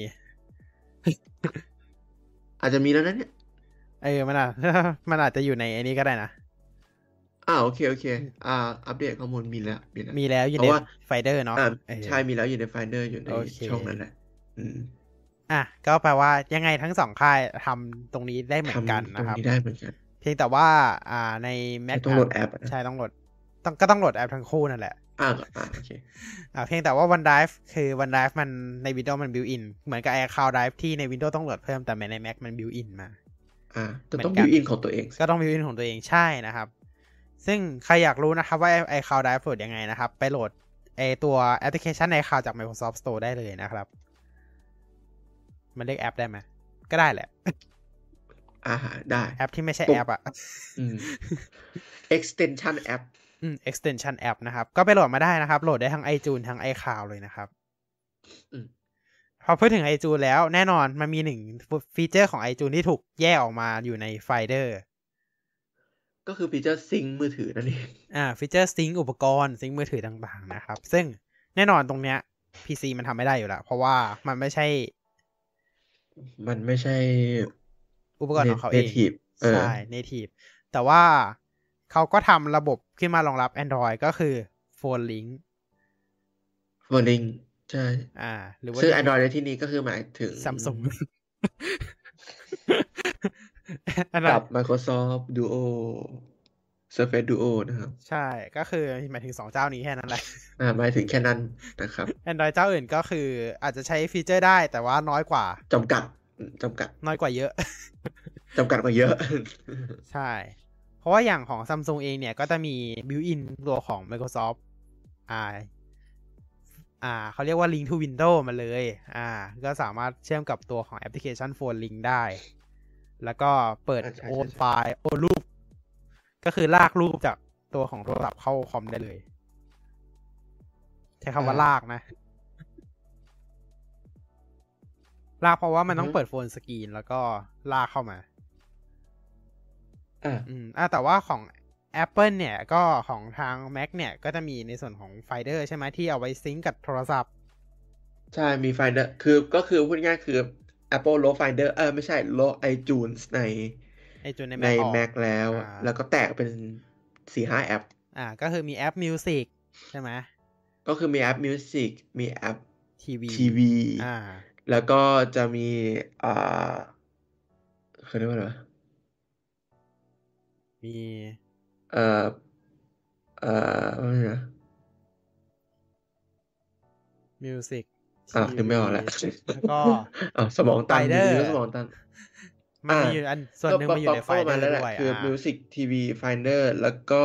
Speaker 1: อาจจะมีแล้วนะเนี่ย
Speaker 2: มันอาจจะอยู่ในอันนี้ก็ได้นะ
Speaker 1: โอเคอัปเดตข้อมูลมี
Speaker 2: แล้วอยู่ในไฟเดอร์เนาะ
Speaker 1: ใช่มีแล้วอยู่ใน Finder อยู่ในช่องนั้นแหละ
Speaker 2: ก็แปลว่ายังไงทั้งสองค่ายทำตรงนี้ได้เหมือนกันนะครับ
Speaker 1: ตรงนี้ได้เหมือนกัน
Speaker 2: เพียงแต่ว่าใน Mac
Speaker 1: ต้องโหลดแอป
Speaker 2: ใช่ต้องโหลดก็ต้องโหลดแอปทั้งคู่นั่นแหละ
Speaker 1: โอเค
Speaker 2: เพียงแต่ว่า OneDrive คือ OneDrive มันใน Windows มัน built in เหมือนกับ iCloud Drive ที่ใน Windows ต้องโหลดเพิ่มแต่ใน Mac มัน built in มา
Speaker 1: แต่ต้อง built in ของตัวเอง
Speaker 2: ก็ต้อง built in ของตัวเองใช่นะครับซึ่งใครอยากรู้นะครับว่า iCloud Drive โหลดยังไงนะครับไปโหลดตัวแอปพลิเคชัน iCloud จาก Microsoft Store ได้เลยนะครับมันเรียกแอปได้ไหมก็ได้แหละ
Speaker 1: ได้
Speaker 2: แอปที่ไม่ใช่แอป
Speaker 1: extension app
Speaker 2: extension app นะครับก็ไปโหลดมาได้นะครับโหลดได้ทั้ง iTunes ทั้ง iCloud เลยนะครับพอพูดถึง iTunes แล้วแน่นอนมันมีหนึ่งฟีเจอร์ของ iTunes ที่ถูกแยกออกมาอยู่ใน Finder
Speaker 1: ก็คือฟีเจอร์ซิงค์มือถือนั่นเอง
Speaker 2: ฟีเจอร์ซิงค์อุปกรณ์ซิงค์มือถือต่างๆนะครับซึ่งแน่นอนตรงเนี้ย PC มันทำไม่ได้อยู่แล้วเพราะว่ามันไม่ใช่อุปกรณ์ของเขาเองใช่ native แต่ว่าเขาก็ทำระบบขึ้นมารองรับ Android ก็คือ Phone Link
Speaker 1: ใช่
Speaker 2: หรือว่า
Speaker 1: ซึ่ง Android ในที่นี้ก็คือหมายถึง
Speaker 2: Samsung
Speaker 1: กับ Microsoft Duo Surface Duo นะครับ
Speaker 2: ใช่ก็คือหมายถึง2เจ้านี้แค่นั้นแหละ
Speaker 1: หมายถึงแค่นั้นนะครับ
Speaker 2: Android เจ้าอื่นก็คืออาจจะใช้ฟีเจอร์ได้แต่ว่าน้อยกว่า
Speaker 1: จำกัด
Speaker 2: น้อยกว่าเยอะ
Speaker 1: จำกัดกว่าเยอะ
Speaker 2: ใช่เพราะว่าอย่างของ Samsung เองเนี่ยก็จะมี built-in ตัวของ Microsoft เขาเรียกว่า Link to Windows มาเลยก็สามารถเชื่อมกับตัวของแอปพลิเคชัน Phone Link ได้แล้วก็เปิดโอนไฟล์โอนรูปก็คือลากรูปจากตัวของโทรศัพท์เข้าคอมได้เลยใช้คำว่าลากนะลากเพราะว่ามันต้องเปิดโฟนสกรีนแล้วก็ลากเข้ามาแต่ว่าของ Apple เนี่ยก็ของทาง Mac เนี่ยก็จะมีในส่วนของ Finder ใช่ไหมที่เอาไว้ซิงก์กับโทรศัพท์
Speaker 1: ใช่มี Finder ก็คือพูดง่ายคือ Apple ลบ Finder ไม่ใช่ลบ iTunes ใน Mac แล้วก็แตกเป็น 4-5 แอป
Speaker 2: ก็คือมีแอป Music ใช่ไหม
Speaker 1: ก็คือมีแอป Music มีแอป
Speaker 2: TV
Speaker 1: แล้วก็จะมีเขาเรียกว่าอะไร
Speaker 2: มี
Speaker 1: อะไรนะ
Speaker 2: Music
Speaker 1: นึกไม่ออกแล้ว
Speaker 2: แล้วก็
Speaker 1: สมองตันอยู่
Speaker 2: Finder
Speaker 1: ดีก็สมองตัน
Speaker 2: มันมีอยู่อันส่วนหนึ่งมันอยู่ใน
Speaker 1: ก็ประมา
Speaker 2: Finder
Speaker 1: ณนั้นแหละ
Speaker 2: ด้วย
Speaker 1: คือ Music TV Finder แล้วก็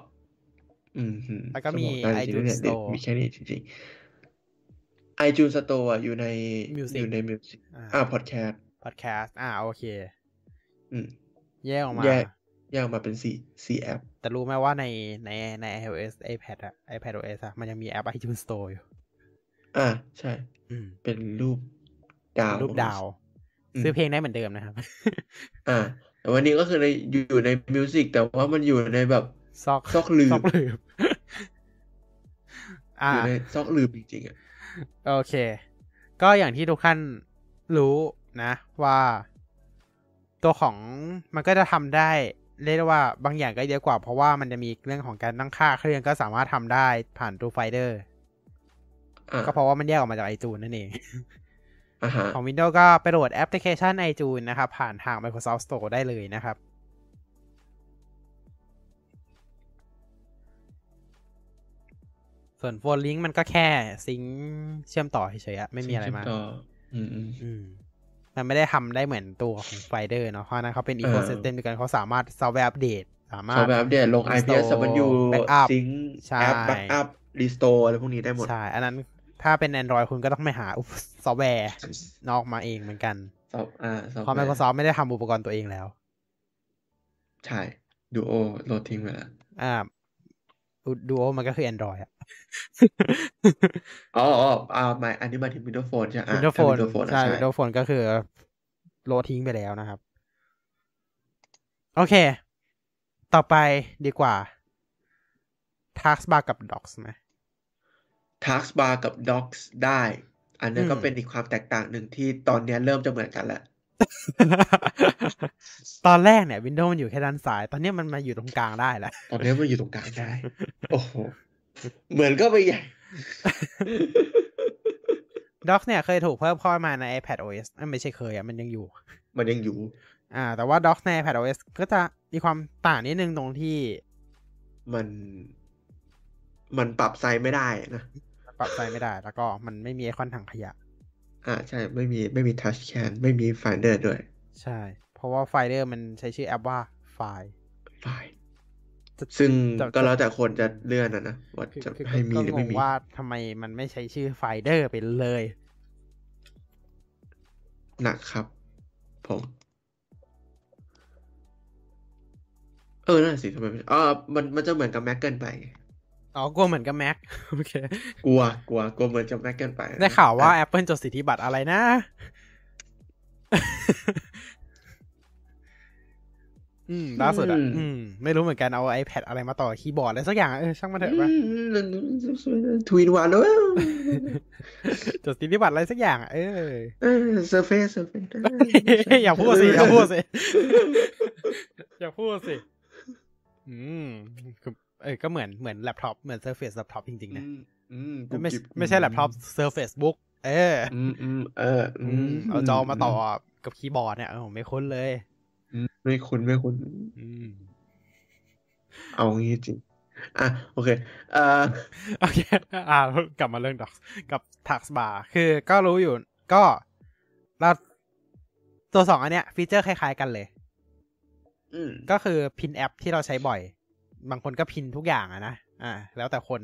Speaker 2: แล้วก็มี
Speaker 1: สองตันจริงๆ
Speaker 2: iTunes
Speaker 1: เนี่ยเด็ก
Speaker 2: Store
Speaker 1: มีแค่นี้จริงๆ iTunes Store อยู่ใน
Speaker 2: Music
Speaker 1: อยู่ใน Music Podcast
Speaker 2: โอเค แยกออกมา
Speaker 1: แยกออกมาเป็น4แอป
Speaker 2: แต่รู้ไหมว่าใน iOS iPad iPadOS มันยังมีแอป iTunes Store อยู่
Speaker 1: ใช่เป็นรูปดาว
Speaker 2: ซื้อเพลงได้เหมือนเดิมนะครับ
Speaker 1: แต่วันนี้ก็คืออยู่ใน Music แต่ว่ามันอยู่ในแบบซอกหลืบอยู่ในซอกหลืบจริงๆ
Speaker 2: โอเคก็อย่างที่ทุกท่านรู้นะว่าตัวของมันก็จะทำได้เรียกได้ว่าบางอย่างก็เยอะกว่าเพราะว่ามันจะมีเรื่องของการตั้งค่าเครื่องก็สามารถทำได้ผ่านตัว Finder ก็เพราะว่ามันแยกออกมาจาก iTunes นั่นเองของ Windows ก็ไปโหลดแอปพลิเคชัน iTunes นะครับผ่านทาง Microsoft Store ได้เลยนะครับส่วน Phone Link มันก็แค่ซิงค์เชื่อมต่อเฉยๆไม่มีอะไรมากมันไม่ได้ทำได้เหมือนตัวของ Finder เนาะเพราะนั้นเขาเป็น Ecosystem ด้วยกันเขาสามารถ Software Update สามารถ
Speaker 1: Software Update ลง IPS สามารถอยู่ ซิงค์แอป Backup Restore อะไรพวกนี้ได้หมด
Speaker 2: ใช่อันนั้นถ้าเป็น Android คุณก็ต้องไปหาซอฟต์แวร์นอกมาเองเหมือนกันเพราะ Microsoft ไม่ได้ทำอุปกรณ์ตัวเองแล้ว
Speaker 1: ใช่ Duo โหลดทิ้งไปแล้ว
Speaker 2: Duo มันก็คือ Android
Speaker 1: ไม่อันนี้มาถึง Windows Phone ใช่
Speaker 2: Windows Phone ใช่ Windows Phone ก็คือโหลดทิ้งไปแล้วนะครับโอเคต่อไปดีกว่า Taskbar กับ Docs ไหม
Speaker 1: Taskbar กับ Docs ได้อันนั้นก็เป็นอีกความแตกต่างหนึ่งที่ตอนนี้เริ่มจะเหมือนกันแล้ว
Speaker 2: ตอนแรกเนี่ย Windows มันอยู่แค่ด้านซ้ายตอนนี้มันมาอยู่ตรงกลางได้แล้ว
Speaker 1: ตอนนี้มันอยู่ตรงกลางได้ โอ้โหเหมือนก็ไปใหญ่
Speaker 2: Docs เนี่ยเคยถูกเพิ่มเข้ามาใน iPadOS ไม่ใช่เคยมันยังอยู่แต่ว่า Docs ใน iPadOS ก็จะมีความต่างนิดนึงตรงที่
Speaker 1: มันปรับไซส์ไม่ได้นะ
Speaker 2: ปรับไซส์ไม่ได้แล้วก็มันไม่มีไอคอนถังขยะ
Speaker 1: ใช่ไม่มี touch can ไม่มี Finder ด้วย
Speaker 2: ใช่เพราะว่า Finder มันใช้ชื่อแอปว่าไฟล์
Speaker 1: ซึ่งก็แล้วแต่คนจะเลื่อนนะว่าจะให้มีหรือไม่มี
Speaker 2: ว่าทำไมมันไม่ใช้ชื่อ Finder ไปเลย
Speaker 1: หนักครับผมนั่นสิทำไมมันจะเหมือนกับ Mac เกินไป
Speaker 2: กลัวเหมือนกับ Mac โอเค
Speaker 1: กลัวเหมือนกับ Mac เกินไป
Speaker 2: ได้ข่าวว่า Apple จดสิทธิบัตรอะไรนะล่าสุดไม่รู้เหมือนกันเอา iPad อะไรมาต่อคีย์บอร์ดอะไรสักอย่างช่างมันเถอะป่ะ
Speaker 1: ทวีนวันแล้ว
Speaker 2: จดสิทธิบัตรอะไรสักอย่าง
Speaker 1: Surface
Speaker 2: อย่าพูดสิก็เหมือนแล็ปท็อปเหมือน Surface แล็ปท็อปจริงๆนะไม่ใช่แล็ปท็อป Surface Book เอาจอมาต่อกับคีย์บอร์ดเนี่ยผมไม่คุ้นเลย
Speaker 1: ไม่คุ้นเอางี้จริงโอเค
Speaker 2: กลับมาเรื่อง Docs กับ Taskbar คือก็รู้อยู่ก็เราตัว2อันเนี้ยฟีเจอร์คล้ายๆกันเลยก็คือพินแอปที่เราใช้บ่อยบางคนก็พินทุกอย่างนะแล้วแต่คน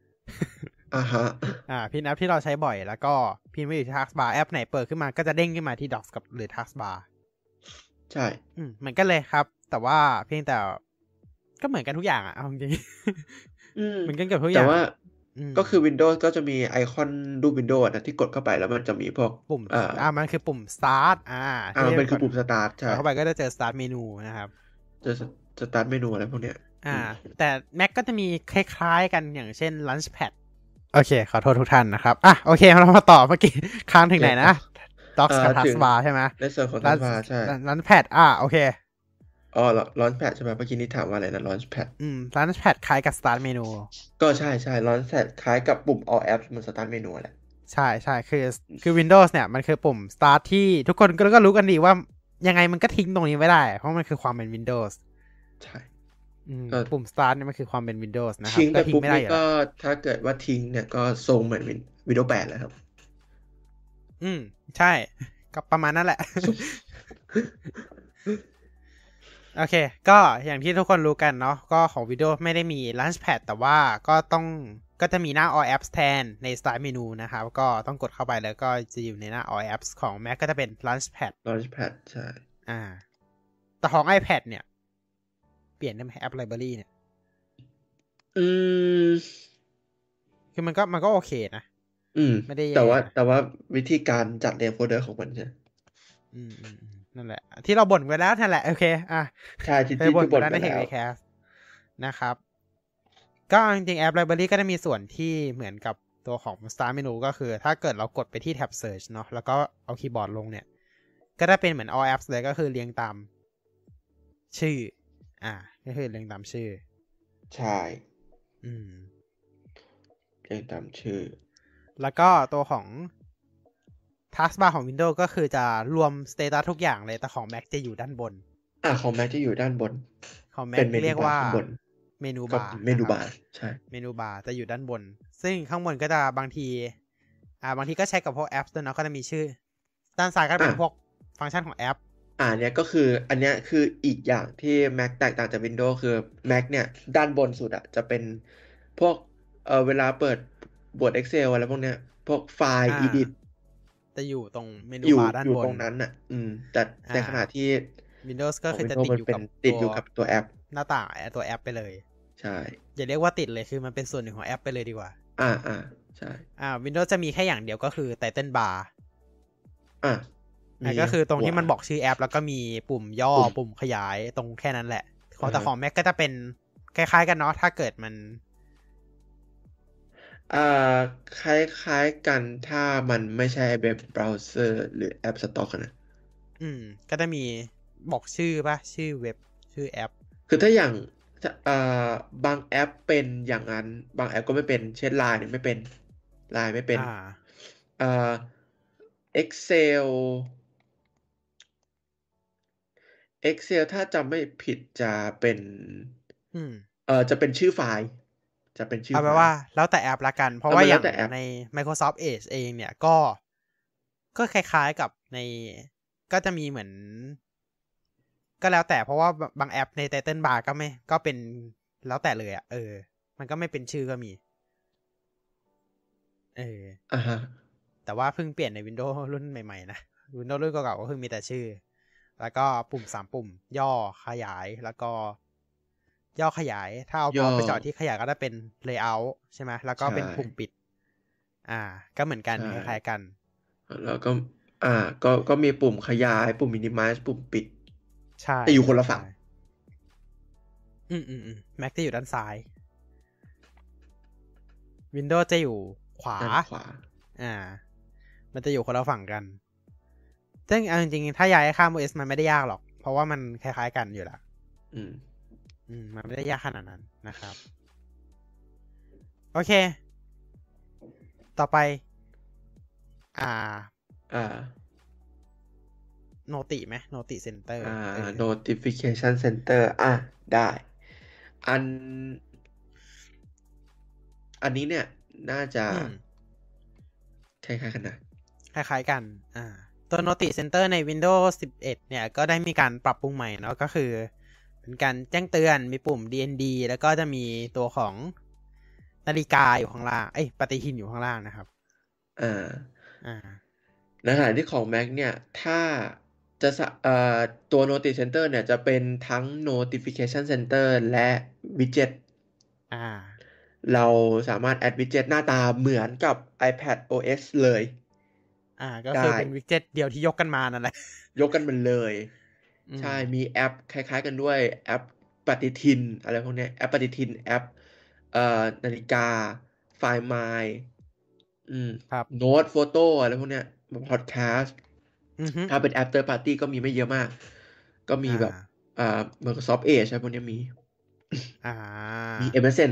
Speaker 2: พินแอปที่เราใช้บ่อยแล้วก็พินไว้อยู่ที่ Taskbar แอปไหนเปิดขึ้นมาก็จะเด้งขึ้นมาที่ Docs กับหรือ Taskbar
Speaker 1: ใช่
Speaker 2: เหมือนกันเลยครับแต่ว่าเพียงแต่ก็เหมือนกันทุกอย่างเอาจริงเหมือนกันกับทุกอย่าง
Speaker 1: แต่ว่าก็คือ Windows ก็จะมีไอคอนรูป Windows นะที่กดเข้าไปแล้วมันจะมีพวก
Speaker 2: ปุ่มมันคือปุ่ม Start
Speaker 1: มันคือปุ่ม Start ใช่
Speaker 2: เข้าไปก็จะเจอ Start เมนูนะครับ
Speaker 1: เจอ Start เมนูอะไรพวกเนี้ย
Speaker 2: แต่ Mac ก็จะมีคล้ายๆกันอย่างเช่น Launchpad โอเคขอโทษทุกท่านนะครับโอเคเรามาต่อเมื่อกี้ค้างถึงไหนนะ Docs กับ Taskbar ใช่ไหม
Speaker 1: ในส่วนของ Taskbar ใช่
Speaker 2: Launchpad โอเค
Speaker 1: Launchpad ใช่ไหมเมื่อกี้นี้ถามว่าอะไรนะ Launchpad
Speaker 2: Launchpad คล้ายกับ Start เมนู
Speaker 1: ก็ใช่ Launchpad คล้ายกับปุ่ม All Apps มัน Start เมนูแหละ
Speaker 2: ใช่คือ Windows เนี่ยมันคือปุ่ม Start ที่ทุกคนก็รู้กันดีว่ายังไงมันก็ทิ้งตรงนี้ไม่ได้เพราะมันคือความเป็น Windows
Speaker 1: ใช่
Speaker 2: ปุ่ม start เนี่ยมันคือความเป็น Windows นะครับ
Speaker 1: ทิ้งไป
Speaker 2: ก็ทิ้ง
Speaker 1: ปุ๊บ
Speaker 2: ไม่ได้
Speaker 1: นี่ก็
Speaker 2: อยู่แล้ว
Speaker 1: ถ้าเกิดว่าทิ้งเนี่ยก็ทรงเหมือน Windows 8แล้วครับ
Speaker 2: ใช่ก็ประมาณนั้นแหละ โอเคก็อย่างที่ทุกคนรู้กันเนาะก็ของ Windows ไม่ได้มี Launchpad แต่ว่าก็จะมีหน้า All Apps แทนใน Start Menu นะครับก็ต้องกดเข้าไปแล้วก็จะอยู่ในหน้า All Apps ของ Mac ก็จะเป็น Launchpad
Speaker 1: ใช่
Speaker 2: แต่ของ iPad เนี่ยเปลี่ยนได้ไหม App Library เนี่ยคือมันก็โอเคนะไม่ได้แย่
Speaker 1: แต่ว่าวิธีการจัดเรียงโฟลเดอร์ของมันใช่
Speaker 2: นั่นแหละที่เราบ่นไปแล้วนั่นแหละโอเค
Speaker 1: ใช่ที่
Speaker 2: บ่นไป
Speaker 1: บ่น
Speaker 2: แล้วใน TechCast นะครับก็จริงๆ App Library ก็จะมีส่วนที่เหมือนกับตัวของ Start Menu ก็คือถ้าเกิดเรากดไปที่แท็บ Search เนาะแล้วก็เอาคีย์บอร์ดลงเนี่ยก็จะเป็นเหมือน All Apps เลยก็คือเรียงตามชื่อก็คือเรียงตามชื่อ
Speaker 1: ใช่เรียงตามชื่อ
Speaker 2: แล้วก็ตัวของ Taskbar ของ Windows ก็คือจะรวม Status ทุกอย่างเลยแต่ของ Mac จะอยู่ด้านบน
Speaker 1: ของ Mac จะอยู่ด้านบน
Speaker 2: ของ Mac เรียกว่าเมนูบาร์
Speaker 1: ใช่
Speaker 2: เมนูบาร์จะอยู่ด้านบนซึ่งข้างบนก็จะบางทีก็ใช้กับพวกแอปด้วยนะก็จะมีชื่อด้านซ้ายก็เป็นพวกฟังก์ชันของแอป
Speaker 1: เนี่ยก็คืออันเนี้ยคืออีกอย่างที่ Mac แตกต่างจาก Windows คือ Mac เนี่ยด้านบนสุดจะเป็นพวกเวลาเปิดบท Excel อะไรพวกเนี้ยพวกไฟล์ edit
Speaker 2: จะอยู่ตรงเมนูบาร์ด้านบน
Speaker 1: อยู่ตรงนั้นแต่ในขณะที่
Speaker 2: Windows ก็คือจะติดอยู่กับ
Speaker 1: ตัวแอป
Speaker 2: หน้าต่างตัวแอปไปเลย
Speaker 1: ใช่
Speaker 2: อย่าเรียกว่าติดเลยคือมันเป็นส่วนหนึ่งของแอปไปเลยดีกว่า
Speaker 1: ใช่
Speaker 2: Windows จะมีแค่อย่างเดียวก็คือ Title Bar ก็คือตรงที่มันบอกชื่อแอปแล้วก็มีปุ่มย่อปุ่มขยายตรงแค่นั้นแหละแต่ของ Mac ก็จะเป็นคล้ายๆกันเนาะถ้าเกิดมัน
Speaker 1: คล้ายๆกันถ้ามันไม่ใช่เว็บเบราว์เซอร์หรือแอปสต็อกนะ
Speaker 2: ก็จะมีบอกชื่อป่ะชื่อเว็บชื่อแอป
Speaker 1: คือถ้าอย่างบางแอปเป็นอย่างนั้นบางแอปก็ไม่เป็นเช่น Line ไม่เป็น Line ไม่เป็นExcel ถ้าจำไม่ผิดจะเป็นจะเป็นชื่อไฟล์
Speaker 2: เอาไปว่าแล้วแต่แอปละกันเพราะว่าอย่างใน Microsoft Edge เองเนี่ยก็คล้ายๆกับในก็จะมีเหมือนก็แล้วแต่เพราะว่าบางแอปใน Title Bar ก็เป็นแล้วแต่เลยมันก็ไม่เป็นชื่อก็มีแต่ว่าเพิ่งเปลี่ยนใน Windows รุ่นใหม่ๆนะ Windows รุ่นเก่าๆก็คือมีแต่ชื่อแล้วก็ปุ่ม3ปุ่มย่อขยายแล้วก็ย่อขยายถ้าเอาไปจอดที่ขยายก็จะเป็น layout ใช่ไหมแล้วก็เป็นปุ่มปิดก็เหมือนกันคล้ายๆกัน
Speaker 1: แล้วก็ก็มีปุ่มขยายปุ่ม minimize ปุ่มปิด
Speaker 2: ใช่
Speaker 1: แต่อยู่คนละฝั่ง
Speaker 2: Mac จะอยู่ด้านซ้าย Windows จะอยู่ขวามันจะอยู่คนละฝั่งกันซึ่งจริงๆถ้าย้ายข้าม OS มันไม่ได้ยากหรอกเพราะว่ามันคล้ายๆกันอยู่แล้วมันไม่ได้ยากขนาดนั้นนะครับโอเคต่อไปโนติไหมโนติเซ็นเตอร์
Speaker 1: notification center ได้อันนี้เนี่ยน่าจะคล้ายๆกันนะ
Speaker 2: คล้ายๆกันตัว Notice Center ใน Windows 11 เนี่ยก็ได้มีการปรับปรุงใหม่เนาะก็คือเป็นการแจ้งเตือนมีปุ่ม DND แล้วก็จะมีตัวของนาฬิกาอยู่ข้างล่างปฏิทินอยู่ข้างล่างนะครับ
Speaker 1: ในขณะที่ของ Mac เนี่ยถ้าจะตัว Notice Center เนี่ยจะเป็นทั้ง Notification Center และ Widgetเราสามารถแอด Widget หน้าตาเหมือนกับ iPad OS เลย
Speaker 2: ก็คือเป็น Widget เดียวที่ยกกันมานั่นแหละ
Speaker 1: ยกกันมันเลยใช่มีแอปคล้ายๆกันด้วยแอปปฏิทินอะไรพวกนี้แอปปฏิทินแอปนาฬิกาไฟล์ My โน้ตโฟโต้อะไรพวกเนี้ยพอดแคสต์ถ้าเป็นแอป Third Party ก็มีไม่เยอะมากก็มีแบบMicrosoft Edge อะไรพวกนี้มีMSN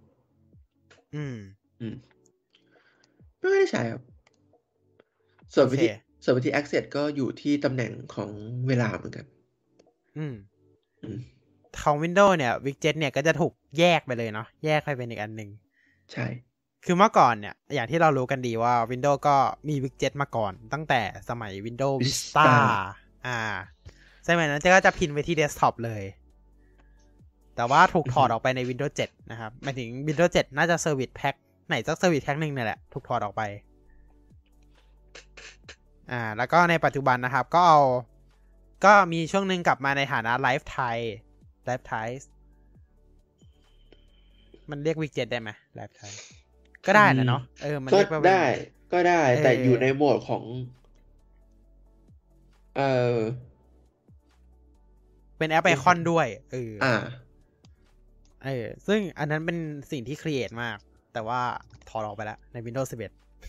Speaker 1: ไม่ได้ใช่ครับส่วนวิธี access ก็อยู่ที่ตำแหน่งของเวลาเหมือนกัน
Speaker 2: ของ Windows เนี่ย widget เนี่ยก็จะถูกแยกไปเลยเนาะแยกไปเป็นอีกอันหนึ่ง
Speaker 1: ใช่
Speaker 2: คือเมื่อก่อนเนี่ยอย่างที่เรารู้กันดีว่า Windows ก็มี widget มาก่อนตั้งแต่สมัย Windows Vista สมัยนั้นก็จะพิมพ์ไปที่ desktop เลยแต่ว่าถูกถอดออกไปใน Windows 7 นะครับหมายถึง Windows 7 น่าจะ Service Pack ไหนสัก Service Pack นึงเนี่ยแหละถูกถอดออกไปแล้วก็ในปัจจุบันนะครับก็มีช่วงนึงกลับมาในฐานะ Live Thai มันเรียก widget ได้ไหม Live Thai ก็ได้นะเนาะมันเรียกว่า
Speaker 1: ก็ได้แต่อยู่ในโหมดของ
Speaker 2: เป็นแอปไอคอนด้วยซึ่งอันนั้นเป็นสิ่งที่ครีเอทมากแต่ว่าถอดออกไปแล้วใน Windows 11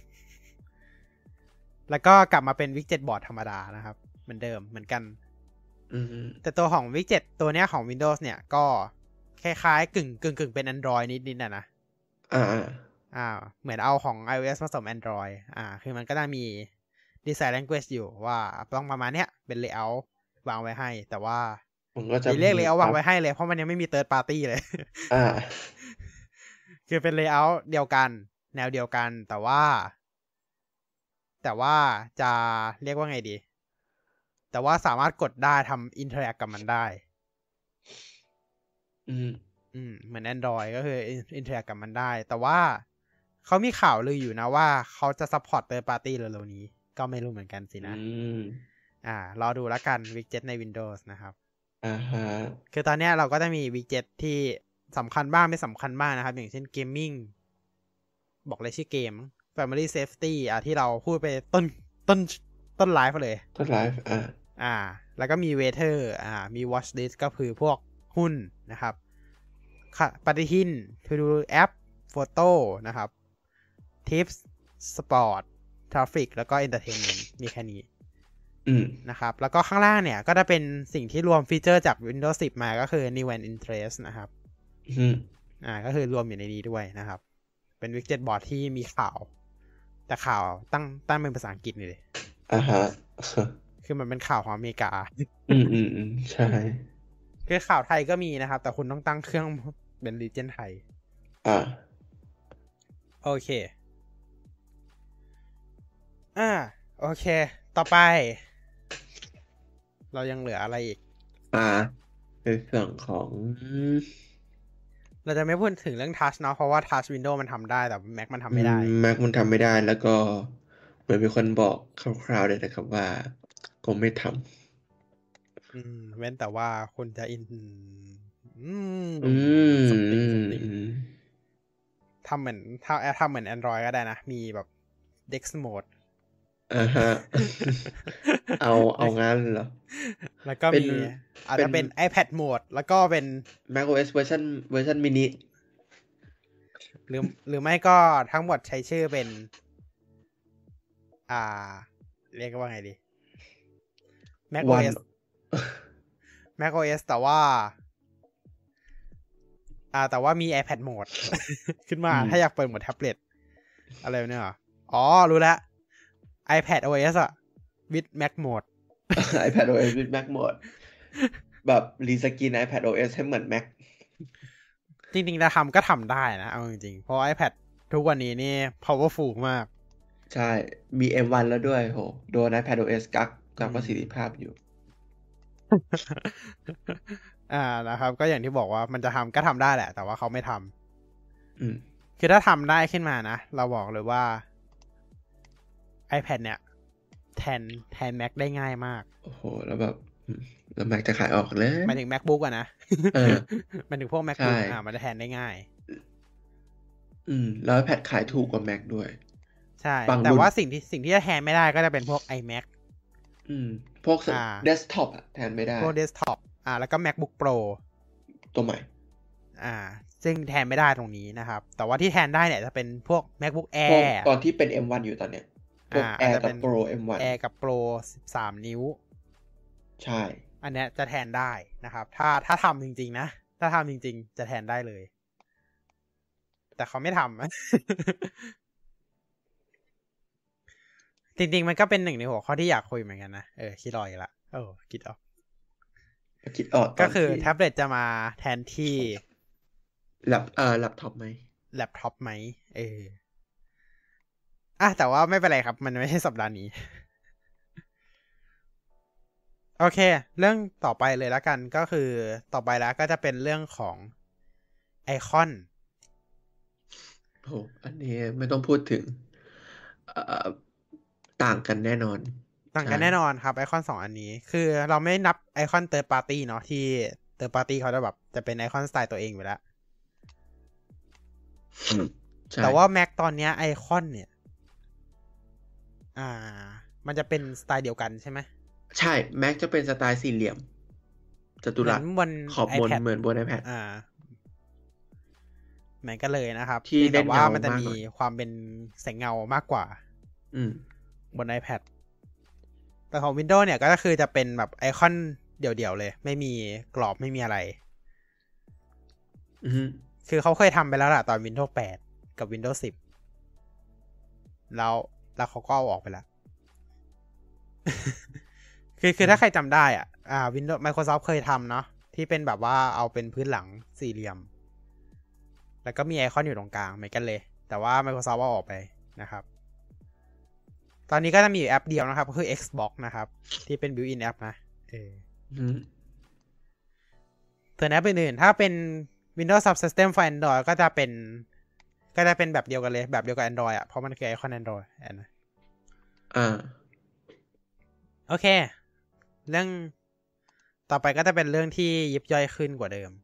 Speaker 2: แล้วก็กลับมาเป็น widget board ธรรมดานะครับเหมือนเดิมเหมือนกันแต่ตัวของ widget ตัวเนี้ยของ Windows เนี่ยก็คล้ายๆกึ่งเป็น Android นิดๆนะเหมือนเอาของ iOS ผสม Android คือมันก็จะมี design language อยู่ว่าต้องประมาณเนี้ยเป็น layout วางไว้ให้แต่ว่าเรียก layout วางไว้ให้เลยเพราะมันยังไม่มี third party เลยคือเป็น layout เดียวกันแนวเดียวกันแต่ว่าจะเรียกว่าไงดีแต่ว่าสามารถกดได้ทำ interact กับมันได้เหมือน Android ก็คือ interact กับมันได้แต่ว่าเขามีข่าวลืออยู่นะว่าเขาจะ support third party เร็วๆนี้ก็ไม่รู้เหมือนกันสินะรอดูแล้วกัน widget ใน Windows นะครับคือตอนนี้เราก็จะมี widget ที่สำคัญบ้างไม่สำคัญบ้างนะครับอย่างเช่น gaming บอกเลยชื่อเกม family safety ที่เราพูดไปต้นไลฟ์เลย
Speaker 1: ต้นไลฟ์
Speaker 2: แล้วก็มี weather มี watch list ก็คือพวกหุ้นนะครับปฏิทิน to do app photo นะครับ tips sport traffic แล้วก็ entertainment มีแค่นี้นะครับแล้วก็ข้างล่างเนี่ยก็จะเป็นสิ่งที่รวมฟีเจอร์จาก Windows 10 มาก็คือ new and interest นะครับก็คือรวมอยู่ในนี้ด้วยนะครับเป็น widget board ที่มีข่าวแต่ข่าวตั้งเป็นภาษาอังกฤษนี่เลยคือมันเป็นข่าวของอเมริกา
Speaker 1: ใช่
Speaker 2: คือข่าวไทยก็มีนะครับแต่คุณต้องตั้งเครื่องเป็น region ไทยโอเคโอเคต่อไปเรายังเหลืออะไรอีก
Speaker 1: ในส่วนของ
Speaker 2: เราจะไม่พูดถึงเรื่อง Touch เนาะเพราะว่า Touch Windows มันทำได้แต่ Mac มันทำไม่ได้
Speaker 1: Mac มันทำไม่ได้แล้วก็เหมือนมีคนบอกคร่าวๆเลยนะครับว่าคงไม่ท
Speaker 2: ำเว้นแต่ว่าคุณจะทำเหมือน Android ก็ได้นะมีแบบ Dex Mode
Speaker 1: เอางั้นเหรอ
Speaker 2: แล้วก็มีอาจจะเป็น iPad Mode แล้วก็เป็น
Speaker 1: macOS เวอร์ชันมินิ
Speaker 2: หรือไม่ก็ทั้งหมดใช้ชื่อเป็นเรียกว่าไงดี macOS แต่ว่ามี iPad Mode ขึ้นมาถ้าอยากเปิดโหมดแท็บเล็ตอะไรเนี่ยรู้แล้ว iPad OS with Mac Mode
Speaker 1: iPad OS with Mac Mode แบบรีสกิน iPad OS ให้เหมือน Mac
Speaker 2: จริงๆถ้าทำก็ทำได้นะเอาจริงๆเพราะ iPad ทุกวันนี้นี่ powerful มาก
Speaker 1: ใช่มี M1 แล้วด้วยโหโดน iPad OS กักประสิทธิภาพอยู่
Speaker 2: นะครับก็อย่างที่บอกว่ามันจะทำก็ทำได้แหละแต่ว่าเขาไม่ทำคือถ้าทำได้ขึ้นมานะเราบอกเลยว่า iPad เนี่ยแทน Mac ได้ง่ายมาก
Speaker 1: โอ้โหแล้วแบบแล้ว Mac จะขายออกเลย
Speaker 2: หมายถึง MacBook อะนะมันถึงพวก MacBook มันจะแทนได้ง่าย
Speaker 1: แล้ว iPad ขายถูกกว่า Mac ด้วย
Speaker 2: ใช่แต่ว่าสิ่งที่จะแทนไม่ได้ก็จะเป็นพวก iMac
Speaker 1: พวกdesktop แทนไม่ได้
Speaker 2: พวก desktop แล้วก็ MacBook Pro
Speaker 1: ตัวใหม่
Speaker 2: ซึ่งแทนไม่ได้ตรงนี้นะครับแต่ว่าที่แทนได้เนี่ยจะเป็นพวก MacBook Air
Speaker 1: ตอนที่เป็น M1 อยู่ตอนเนี้ยพวก Air กับ Pro M1
Speaker 2: Air กับ Pro 13 นิ้ว
Speaker 1: ใช่
Speaker 2: อันเนี้ยจะแทนได้นะครับถ้าทำจริงๆนะถ้าทำจริงๆจะแทนได้เลยแต่เขาไม่ทำ จริงๆมันก็เป็นหนึ่งในหัวข้อที่อยากคุยเหมือนกันนะคิดรออีกละคิดออก
Speaker 1: คิดออกต
Speaker 2: ก็
Speaker 1: อน
Speaker 2: คือ
Speaker 1: ที่
Speaker 2: แท็บเล็ตจะมาแทนที่
Speaker 1: แล็ปท็อปไหม
Speaker 2: แล็ปท็อปไหมแต่ว่าไม่เป็นไรครับ มันไม่ใช่สัปดาห์นี้ โอเค เรื่องต่อไปเลยแล้วกันก็คือต่อไปแล้วก็จะเป็นเรื่องของไอคอน
Speaker 1: โหอันนี้ไม่ต้องพูดถึงต่างกันแน่นอน
Speaker 2: ต่างกันแน่นอนครับไอคอน2อันนี้คือเราไม่นับไอคอนเติร์ดปาร์ตี้เนาะที่เติร์ดปาร์ตี้เขาจะเป็นไอคอนสไตล์ตัวเองอยู่แล้วแต่ว่า Mac ตอนนี้ไอคอนเนี่ยมันจะเป็นสไตล์เดียวกันใช่ไหม
Speaker 1: ใช่ Mac จะเป็นสไตล์สี่เหลี่ยมจัตุรัสขอบบนเหมือนบน iPad
Speaker 2: เหมือนกันเลยนะครับ
Speaker 1: ที่แต่ว่า
Speaker 2: มันจะมีความเป็นแสงเงามากกว่าบน iPad แต่ของ Windows เนี่ยก็คือจะเป็นแบบไอคอนเดี่ยวๆเลยไม่มีกรอบไม่มีอะไรคือเขาเคยทำไปแล้วล่ะตอน Windows 8 กับ Windows 10 แล้วเขาก็เอาออกไปแล้ว คือถ้าใครจำได้Windows Microsoft เคยทำเนาะที่เป็นแบบว่าเอาเป็นพื้นหลังสี่เหลี่ยมแล้วก็มีไอคอนอยู่ตรงกลางเหมือนกันเลยแต่ว่า Microsoft เอาออกไปนะครับตอนนี้ก็จะมีอยู่แอปเดียวนะครับก็คือ Xbox นะครับที่เป็น built-in app นะส่วนแอปอื่นๆถ้าเป็น Windows Subsystem for Android ก็จะเป็นแบบเดียวกันเลยแบบเดียวกับ Android เพราะมันคือไอคอน Android นะโอเคเรื่องต่อไปก็จะเป็นเรื่องที่ยิบย่อยขึ้นกว่าเดิม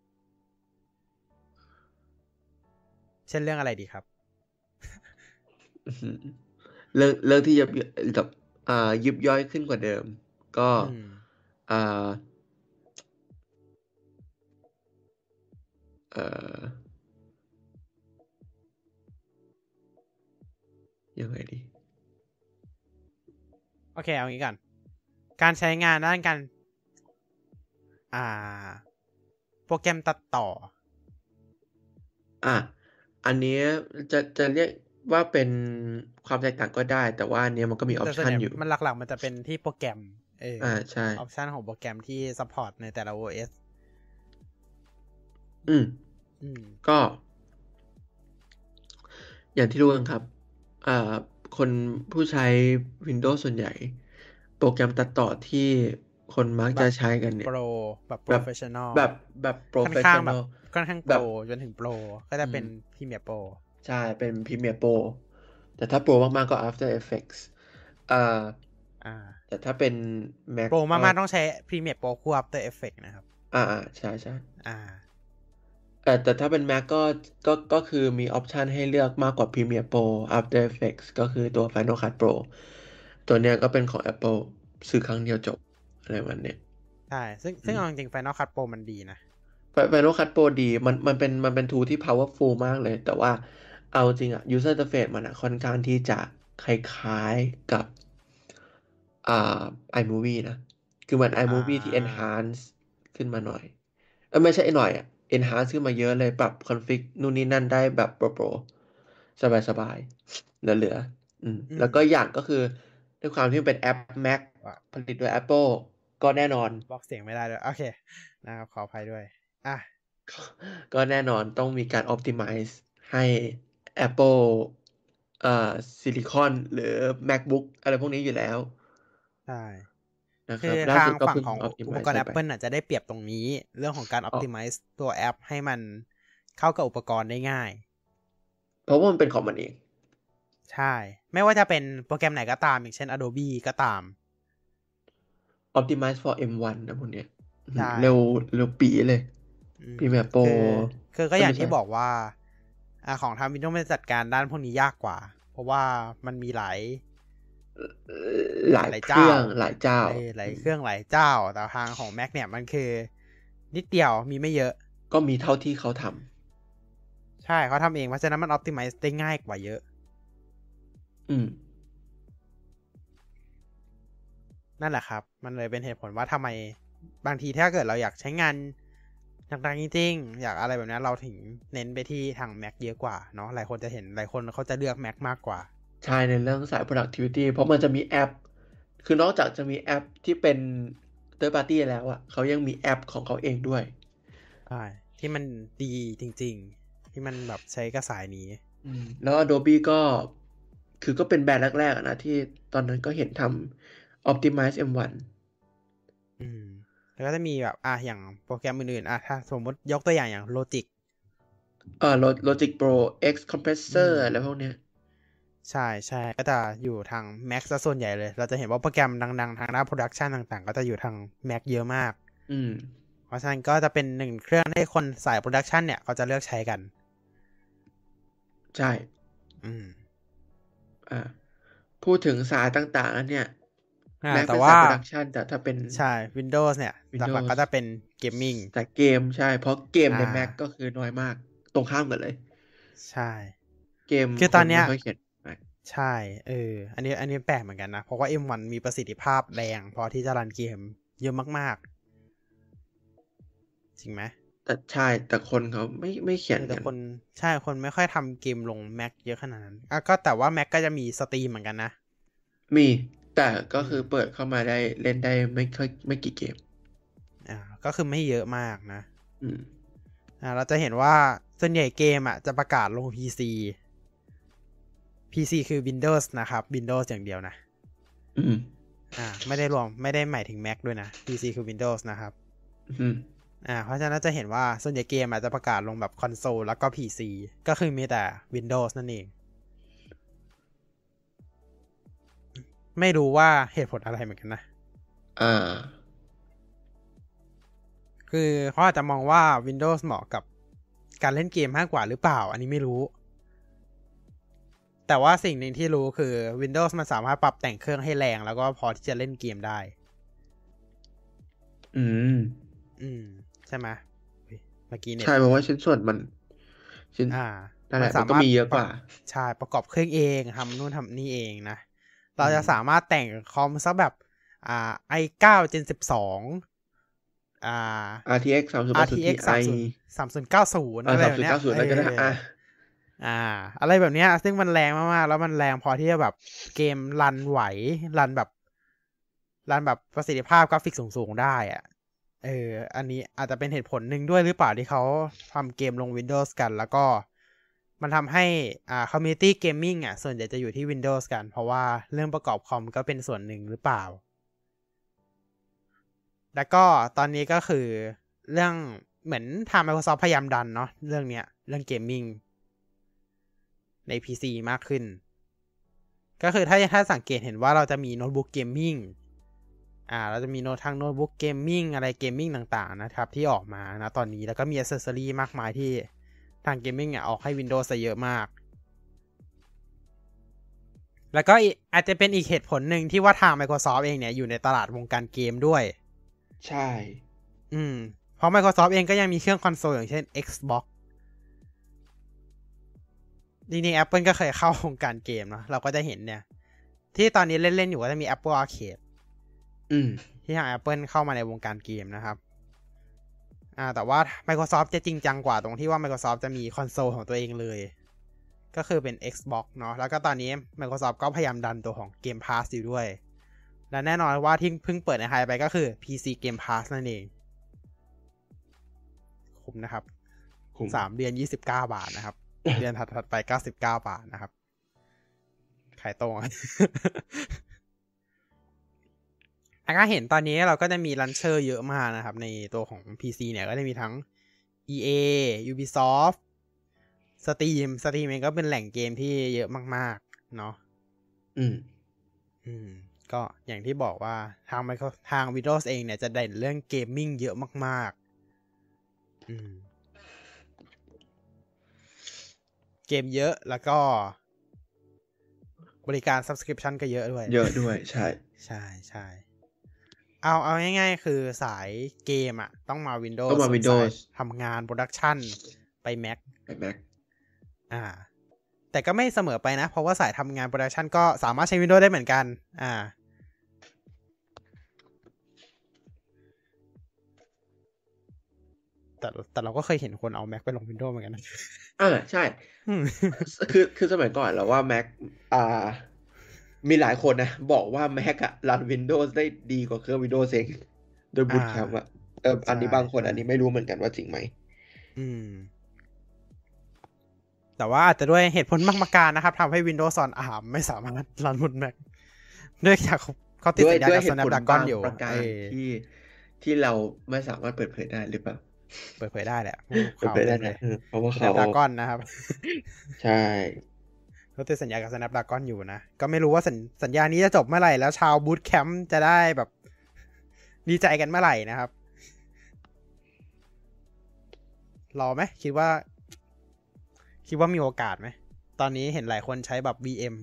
Speaker 2: เช่นเรื่องอะไรดีครับ
Speaker 1: เรื่องที่ยิบย่อยขึ้นกว่าเดิมก็ยังไงดี
Speaker 2: โอเคเอางี้ก่อนการใช้งานด้านการโปรแกรมตัดต่อ
Speaker 1: อันนี้จะเรียกว่าเป็นความแตกต่างก็ได้แต่ว่าอันนี้มันก็มีออปชันอยู่
Speaker 2: มันหลักๆมันจะเป็นที่โปรแกรม
Speaker 1: ใช่
Speaker 2: ออปชันของโปรแกรมที่ซัพพอร์ตในแต่ละ OS
Speaker 1: ก็อย่างที่รู้กันครับคนผู้ใช้ Windows ส่วนใหญ่โปรแกรมตัดต่อที่คนมักจะใช้กันเนี่ย
Speaker 2: แบบ professional
Speaker 1: แบบ professional
Speaker 2: ค่อนข้างโปรจนถึงโปรก็จะเป็น Premiere Pro
Speaker 1: ใช่เป็น Premiere Pro แต่ถ้าโปรมากๆก็ After Effects แต่ถ้าเป็น Mac
Speaker 2: โปรมากๆต้องใช้ Premiere Pro คู่ After Effects นะครับ
Speaker 1: ใช่แต่ถ้าเป็น Mac ก็คือมีออปชันให้เลือกมากกว่า Premiere Pro After Effects ก็คือตัว Final Cut Pro ตัวเนี้ยก็เป็นของ Apple ซื้อครั้งเดียวจบอะไรวันเนี้ย
Speaker 2: ใช่ซึ่งเอาจริงๆ Final Cut Pro มันดีนะ
Speaker 1: Final Cut Pro ดีมันเป็น tool ที่ powerful มากเลยแต่ว่าเอาจริงuser interface มันค่อนข้างที่จะคล้ายๆกับiMovie นะคือเหมือน iMovie ที่ enhance ขึ้นมาหน่อยไม่ใช่หน่อยenhance ขึ้นมาเยอะเลยปรับ config นู่นนี่นั่นได้แบบโปรสบายๆเหลือแล้วก็อย่างก็คือด้วยความที่เป็นแอป Mac ผลิตโดย Apple ก็แน่นอน
Speaker 2: บอกเสียงไม่ได้ด้วยโอเคนะครับขออภัยด้วย
Speaker 1: ก็แน่นอนต้องมีการ optimize ให้ Apple Silicon หรือ MacBook อะไรพวกนี้อยู่แล้ว
Speaker 2: ใช่
Speaker 1: คือ
Speaker 2: ทางฝั่งของอุปกรณ์ Apple จะได้เปรียบตรงนี้เรื่องของการ optimize ตัวแอปให้มันเข้ากับอุปกรณ์ได้ง่าย
Speaker 1: เพราะว่ามันเป็นของมันเอง
Speaker 2: ใช่ไม่ว่าจะเป็นโปรแกรมไหนก็ตามอย่างเช่น Adobe ก็ตาม
Speaker 1: optimize for M1 นะพวกเนี้ยเร็วปีเลยPremiere Pro
Speaker 2: คือก็อย่างที่บอกว่าของทาง Windows มันจัดการด้านพวกนี้ยากกว่าเพราะว่ามันมีหลาย
Speaker 1: เครื่องหลายเจ้า
Speaker 2: แต่ทางของ Mac เนี่ยมันคือนิดเดียวมีไม่เยอะ
Speaker 1: ก็มีเท่าที่เขาท
Speaker 2: ำใช่เขาทำเองเพราะฉะนั้นมัน optimize ได้ง่ายกว่าเยอะนั่นแหละครับมันเลยเป็นเหตุผลว่าทำไมบางทีถ้าเกิดเราอยากใช้งานต่างๆจริงๆอยากอะไรแบบนี้เราถึงเน้นไปที่ทาง Mac เยอะกว่าเนาะหลายคนจะเห็นหลายคนเขาจะเลือก Mac มากกว่า
Speaker 1: ใช่ในเรื่องสาย productivity เพราะมันจะมีแอปคือนอกจากจะมีแอปที่เป็น third party แล้วอ่ะเขายังมีแอปของเขาเองด้วย
Speaker 2: ใช่ที่มันดีจริงๆที่มันแบบใช้กระสายนี้
Speaker 1: แล้ว Adobe ก็คือก็เป็นแบรนด์แรกๆนะที่ตอนนั้นก็เห็นทำ Optimize M1
Speaker 2: แล้วก็จะมีแบบอย่างโปรแกรมอื่นๆถ้าสมมติยกตัวอย่างLogic
Speaker 1: Logic Pro X Compressor อะไรพวกเนี้ย
Speaker 2: ใช่ใช่ก็จะอยู่ทาง Mac ซะส่วนใหญ่เลยเราจะเห็นว่าโปรแกรมดังๆทางด้าน Production ต่างๆก็จะอยู่ทาง Mac เยอะมากเพราะฉะนั้นก็จะเป็นหนึ่งเครื่องที่คนสาย Production เนี่ยเขาจะเลือกใช้กัน
Speaker 1: ใช่พูดถึงสายต่างๆแล้วเนี่ยMac เป็นสาย Production แต่ถ้าเป็น
Speaker 2: ใช่ Windows เนี่ยหลักๆก็จะเป็น Gaming
Speaker 1: แต่เกมใช่เพราะเกมใน Mac ก็คือน้อยมากตรงข้ามกันเลย
Speaker 2: ใช่
Speaker 1: เกม
Speaker 2: คือตอนเนี้ย
Speaker 1: ไม่ค่อยเขียน
Speaker 2: ใช่อันนี้แปลกเหมือนกันนะเพราะว่า M1 มีประสิทธิภาพแรงพอที่จะรันเกมเยอะมากๆจริงไหม
Speaker 1: แต่ใช่แต่คนเขาไม่เขียน
Speaker 2: แต่คนใช่คนไม่ค่อยทำเกมลง Mac เยอะขนาดนั้นก็แต่ว่า Mac ก็จะมีสตรีมเหมือนกันนะ
Speaker 1: มีแต่ก็คือเปิดเข้ามาได้เล่นได้ไม่กี่เกม
Speaker 2: ก็คือไม่เยอะมากนะเราจะเห็นว่าส่วนใหญ่เกมจะประกาศลง PC คือ Windows นะครับ Windows อย่างเดียวนะไม่ได้หมายถึง Mac ด้วยนะ PC คือ Windows นะครับเพราะฉะนั้นจะเห็นว่าส่วนใหญ่เกมจะประกาศลงแบบคอนโซลแล้วก็ PC ก็คือมีแต่ Windows นั่นเองไม่รู้ว่าเหตุผลอะไรเหมือนกันนะคือเขาอาจจะมองว่า Windows เหมาะกับการเล่นเกมมากกว่าหรือเปล่าอันนี้ไม่รู้แต่ว่าสิ่งหนึ่งที่รู้คือ Windows มันสามารถปรับแต่งเครื่องให้แรงแล้วก็พอที่จะเล่นเกมได้ใช่ไหมเมื่อกี้เนี่ย
Speaker 1: ใช่เพราะว่าชิ้นส่วนมันนั่นแหละมันก็มีเยอะกว่า
Speaker 2: ใช่ประกอบเครื่องเองทำนู่นทำนี่เองนะเราจะสามารถแต่งคอมสักแบบi9 Gen 12
Speaker 1: RTX
Speaker 2: 3090อะไรแบบเนี้ย
Speaker 1: 3090อะไรก็ได้
Speaker 2: อะไรแบบเนี้ยซึ่งมันแรงมากๆแล้วมันแรงพอที่จะแบบเกมรันไหวรันแบบประสิทธิภาพกราฟิกสูงๆได้อันนี้อาจจะเป็นเหตุผลหนึ่งด้วยหรือเปล่าที่เขาทำเกมลง Windows กันแล้วก็มันทำให้community gaming ส่วนใหญ่จะอยู่ที่ Windows กันเพราะว่าเรื่องประกอบคอมก็เป็นส่วนหนึ่งหรือเปล่าแล้วก็ตอนนี้ก็คือเรื่องเหมือนทาง Microsoft พยายามดันเนาะเรื่องเกมมิ่งใน PC มากขึ้นก็คือถ้าสังเกตเห็นว่าเราจะมีโน้ตบุ๊กเกมมิ่งเราจะมีโน้ตบุ๊กเกมมิ่งอะไรเกมมิ่งต่างๆนะครับที่ออกมานะตอนนี้แล้วก็มี accessory มากมายที่ทางเกมมิ่งออกให้ Windows เยอะมากแล้วก็อาจจะเป็นอีกเหตุผลหนึ่งที่ว่าทาง Microsoft เองเนี่ยอยู่ในตลาดวงการเกมด้วย
Speaker 1: ใช่
Speaker 2: เพราะ Microsoft เองก็ยังมีเครื่องคอนโซลอย่างเช่น Xbox จริงๆ Apple ก็เคยเข้าวงการเกมเนาะเราก็จะเห็นเนี่ยที่ตอนนี้เล่นๆอยู่ก็จะมี Apple Arcade ที่ทาง Apple เข้ามาในวงการเกมนะครับแต่ว่า Microsoft จะจริงจังกว่าตรงที่ว่า Microsoft จะมีคอนโซลของตัวเองเลยก็คือเป็น Xbox เนาะแล้วก็ตอนนี้ Microsoft ก็พยายามดันตัวของ Game Pass อยู่ด้วยและแน่นอนว่าที่เพิ่งเปิดในไทยไปก็คือ PC Game Pass นั่นเองคุ้มนะครับ3 เดือน29 บาทนะครับเดือนถัดไป99 บาทนะครับขายตรงก็เห็นตอนนี้เราก็จะมีลันเชอร์เยอะมากนะครับในตัวของ PC เนี่ยก็จะมีทั้ง EA Ubisoft Steam เองก็เป็นแหล่งเกมที่เยอะมากๆเนาะก็อย่างที่บอกว่าทาง Windows เองเนี่ยจะเด่นเรื่องเกมมิ่งเยอะมากๆเกมเยอะแล้วก็บริการ Subscription ก็เยอะด้วย
Speaker 1: ใช่
Speaker 2: ใช่เอาง่ายๆคือสายเกมต้องมา Windows ทำงาน Production ไป Mac แต่ก็ไม่เสมอไปนะเพราะว่าสายทำงาน Production ก็สามารถใช้ Windows ได้เหมือนกันแต่เราก็เคยเห็นคนเอา Mac ไปลง Windows เหมือนกันนะ
Speaker 1: ใช่คือสมัยก่อนเราว่า Mac มีหลายคนนะบอกว่า Mac รัน Windows ได้ดีกว่าเครื่อง Windows เองโดยบูตแคมป์อะอันนี้บางคนอันนี้ไม่รู้เหมือนกันว่าจริงไหม
Speaker 2: แต่ว่าอาจจะด้วยเหตุผลบางประการนะครับทำให้ Windows on ARM ไม่สามารถรันบน Mac ด้วยจากเขาติดสัญญากับ Snapdragon อยู่
Speaker 1: ประการที่เราไม่สามารถเปิดเผยได้หรือเปล่า
Speaker 2: เปิดเผยได้แหละ
Speaker 1: เปิดเผยได้นะเพราะว่าเขา
Speaker 2: Snapdragon นะครับ
Speaker 1: ใช่
Speaker 2: เขาติดสัญญากับ Snapdragon อยู่นะก็ไม่รู้ว่าสัญญานี้จะจบเมื่อไหร่แล้วชาว Boot Camp จะได้แบบดีใจกันเมื่อไหร่นะครับรอไหมคิดว่ามีโอกาสไหมตอนนี้เห็นหลายคนใช้แบบ VM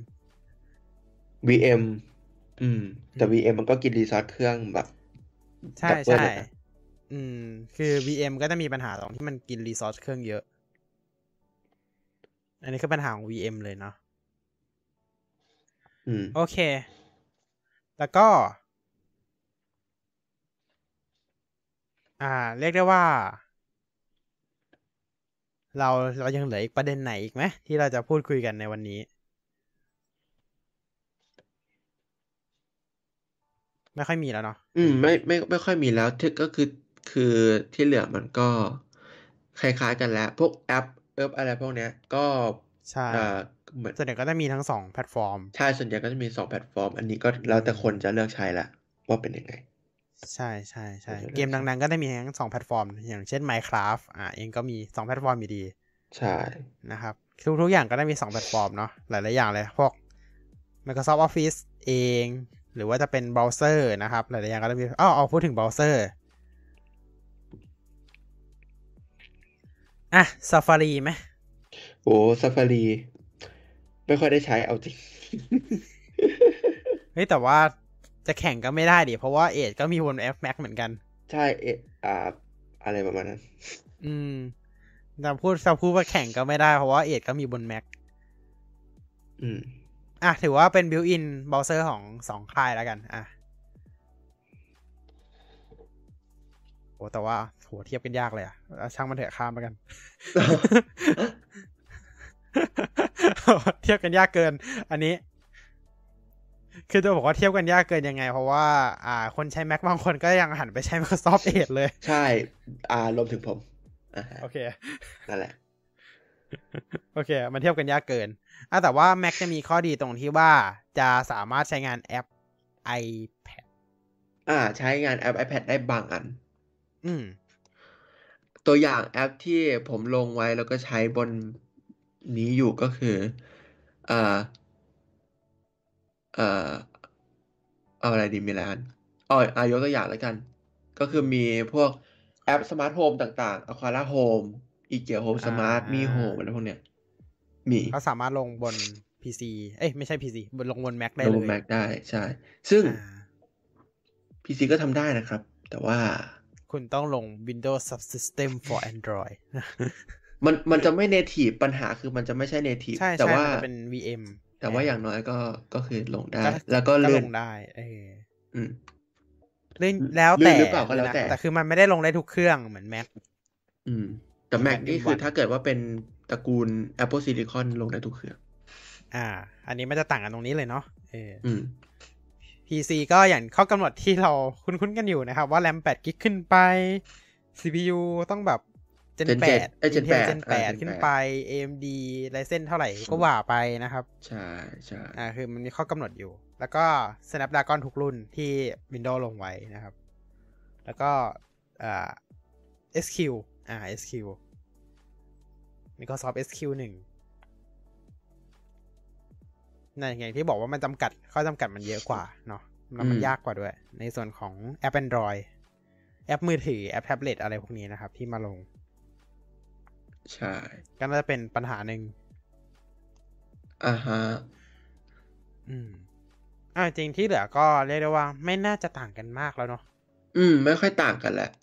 Speaker 1: แต่ VM มันก็กินรีซอสเครื่องแบบ
Speaker 2: ใช่คือ VM ก็จะมีปัญหาตรงที่มันกินรีซอสเครื่องเยอะอันนี้คือปัญหาของ VM เลยเนาะโอเคแล้วก็เรียกได้ว่าเรายังเหลืออีกประเด็นไหนอีกไหมที่เราจะพูดคุยกันในวันนี้ไม่ค่อยมีแล้วเนาะ
Speaker 1: ไม่ค่อยมีแล้วก็คือที่เหลือมันก็คล้ายๆกันแล้วพวกแอปอะไรพวกเนี้ยก็
Speaker 2: ใช่เหมือนส่วนใหญ่ก็จะมีทั้ง2แพลตฟอร์ม
Speaker 1: ใช่ส่วนใหญ่ก็จะมี2แพลตฟอร์มอันนี้ก็แล้วแต่คนจะเลือกใช้ละว่าเป็นยังไง
Speaker 2: ใช่เกมดังๆก็ได้มีทั้ง2แพลตฟอร์มอย่างเช่น Minecraft เองก็มี2แพลตฟอร์มอยู่ดี
Speaker 1: ใช่
Speaker 2: นะครับทุกอย่างก็ได้มี2แพลตฟอร์มเนาะหลายๆอย่างเลยพวก Microsoft Office เองหรือว่าจะเป็นเบราว์เซอร์นะครับหลายๆอย่างก็ได้มีเอาพูดถึงเบราว์เซอร์Safari ไหม
Speaker 1: โอ้ Safari ไม่ค่อยได้ใช้เอาจริง
Speaker 2: เฮ้ยแต่ว่าจะแข่งก็ไม่ได้ดิเพราะว่า Edge ก็มีบน F Mac เหมือนกัน
Speaker 1: ใช่อะไรประมาณนั้น
Speaker 2: แต่พูดว่าแข่งก็ไม่ได้เพราะว่า Edge ก็มีบน Mac ถือว่าเป็น built-in browser ของ2ค่ายแล้วกันโอ้แต่ว่าโหเทียบกันยากเลยช่างมันเถอะข้ามไปกัน เทียบกันยากเกินอันนี้คือจะบอกว่าเทียบกันยากเกินยังไงเพราะว่าคนใช้ Mac บางคนก็ยังหันไปใช้ Microsoft Edge เลย
Speaker 1: ใช่รวมถึงผม
Speaker 2: โอเค
Speaker 1: นั่นแหละ
Speaker 2: โอเคมันเทียบกันยากเกินแต่ว่า Mac จะมีข้อดีตรงที่ว่าจะสามารถใช้งานแอป iPad
Speaker 1: ใช้งานแอป iPad ได้บางอันตัวอย่างแอปที่ผมลงไว้แล้วก็ใช้บนนี้อยู่ก็คือเอาอะไรดีมีอะไรกันยกตัวอย่างแล้วกันก็คือมีพวกแอปสมาร์ทโฮมต่างๆ Aquara Home IKEA Home Smart Mi Home อะไรพวกเนี้ยมี
Speaker 2: เขาสามารถลงบน PC ไม่ใช่ PC ลงบน Mac ได้เลย
Speaker 1: ลงบน Mac ได้ใช่ซึ่ง PC ก็ทำได้นะครับแต่ว่า
Speaker 2: คุณต้องลง Windows Subsystem for Android
Speaker 1: มันจะไม่ native ปัญหาคือมันจะไม่ใช่ native แต่ว่า
Speaker 2: มันจะเป็น VM
Speaker 1: แต่ว่าอย่างน้อยก็คือลงได้แล้วก็
Speaker 2: ลงได้แล้วแต่คือมันไม่ได้ลงได้ทุกเครื่องเหมือน Mac
Speaker 1: แต่ Mac นี่คือถ้าเกิดว่าเป็นตระกูล Apple Silicon ลงได้ทุกเครื่อง
Speaker 2: อันนี้มันจะต่างกันตรงนี้เลยเนาะPC ก็อย่างข้อกำหนดที่เราคุ้นๆกันอยู่นะครับว่า RAM 8 GB ขึ้นไป CPU ต้องแบบ Gen 8 Intel Gen 8 ขึ้นไป AMD Ryzen เท่าไหร่ก็ว่าไปนะครับ
Speaker 1: ใช่
Speaker 2: คือมันมีข้อกำหนดอยู่แล้วก็ Snapdragon ทุกรุ่นที่ Windows ลงไว้นะครับแล้วก็SQ SQ Microsoft SQ1ในอย่างที่บอกว่ามันจำกัดข้อจำกัดมันเยอะกว่าเนาะแล้วมันยากกว่าด้วยในส่วนของแอป Android แอปมือถือแอปแท็บเล็ตอะไรพวกนี้นะครับที่มาลง
Speaker 1: ใช่
Speaker 2: ก็น่าจะเป็นปัญหาหนึ่ง
Speaker 1: ฮะ
Speaker 2: จริงที่เหลือก็เรียกได้ว่าไม่น่าจะต่างกันมากแล้วเนาะ
Speaker 1: ไม่ค่อยต่างกันแหละ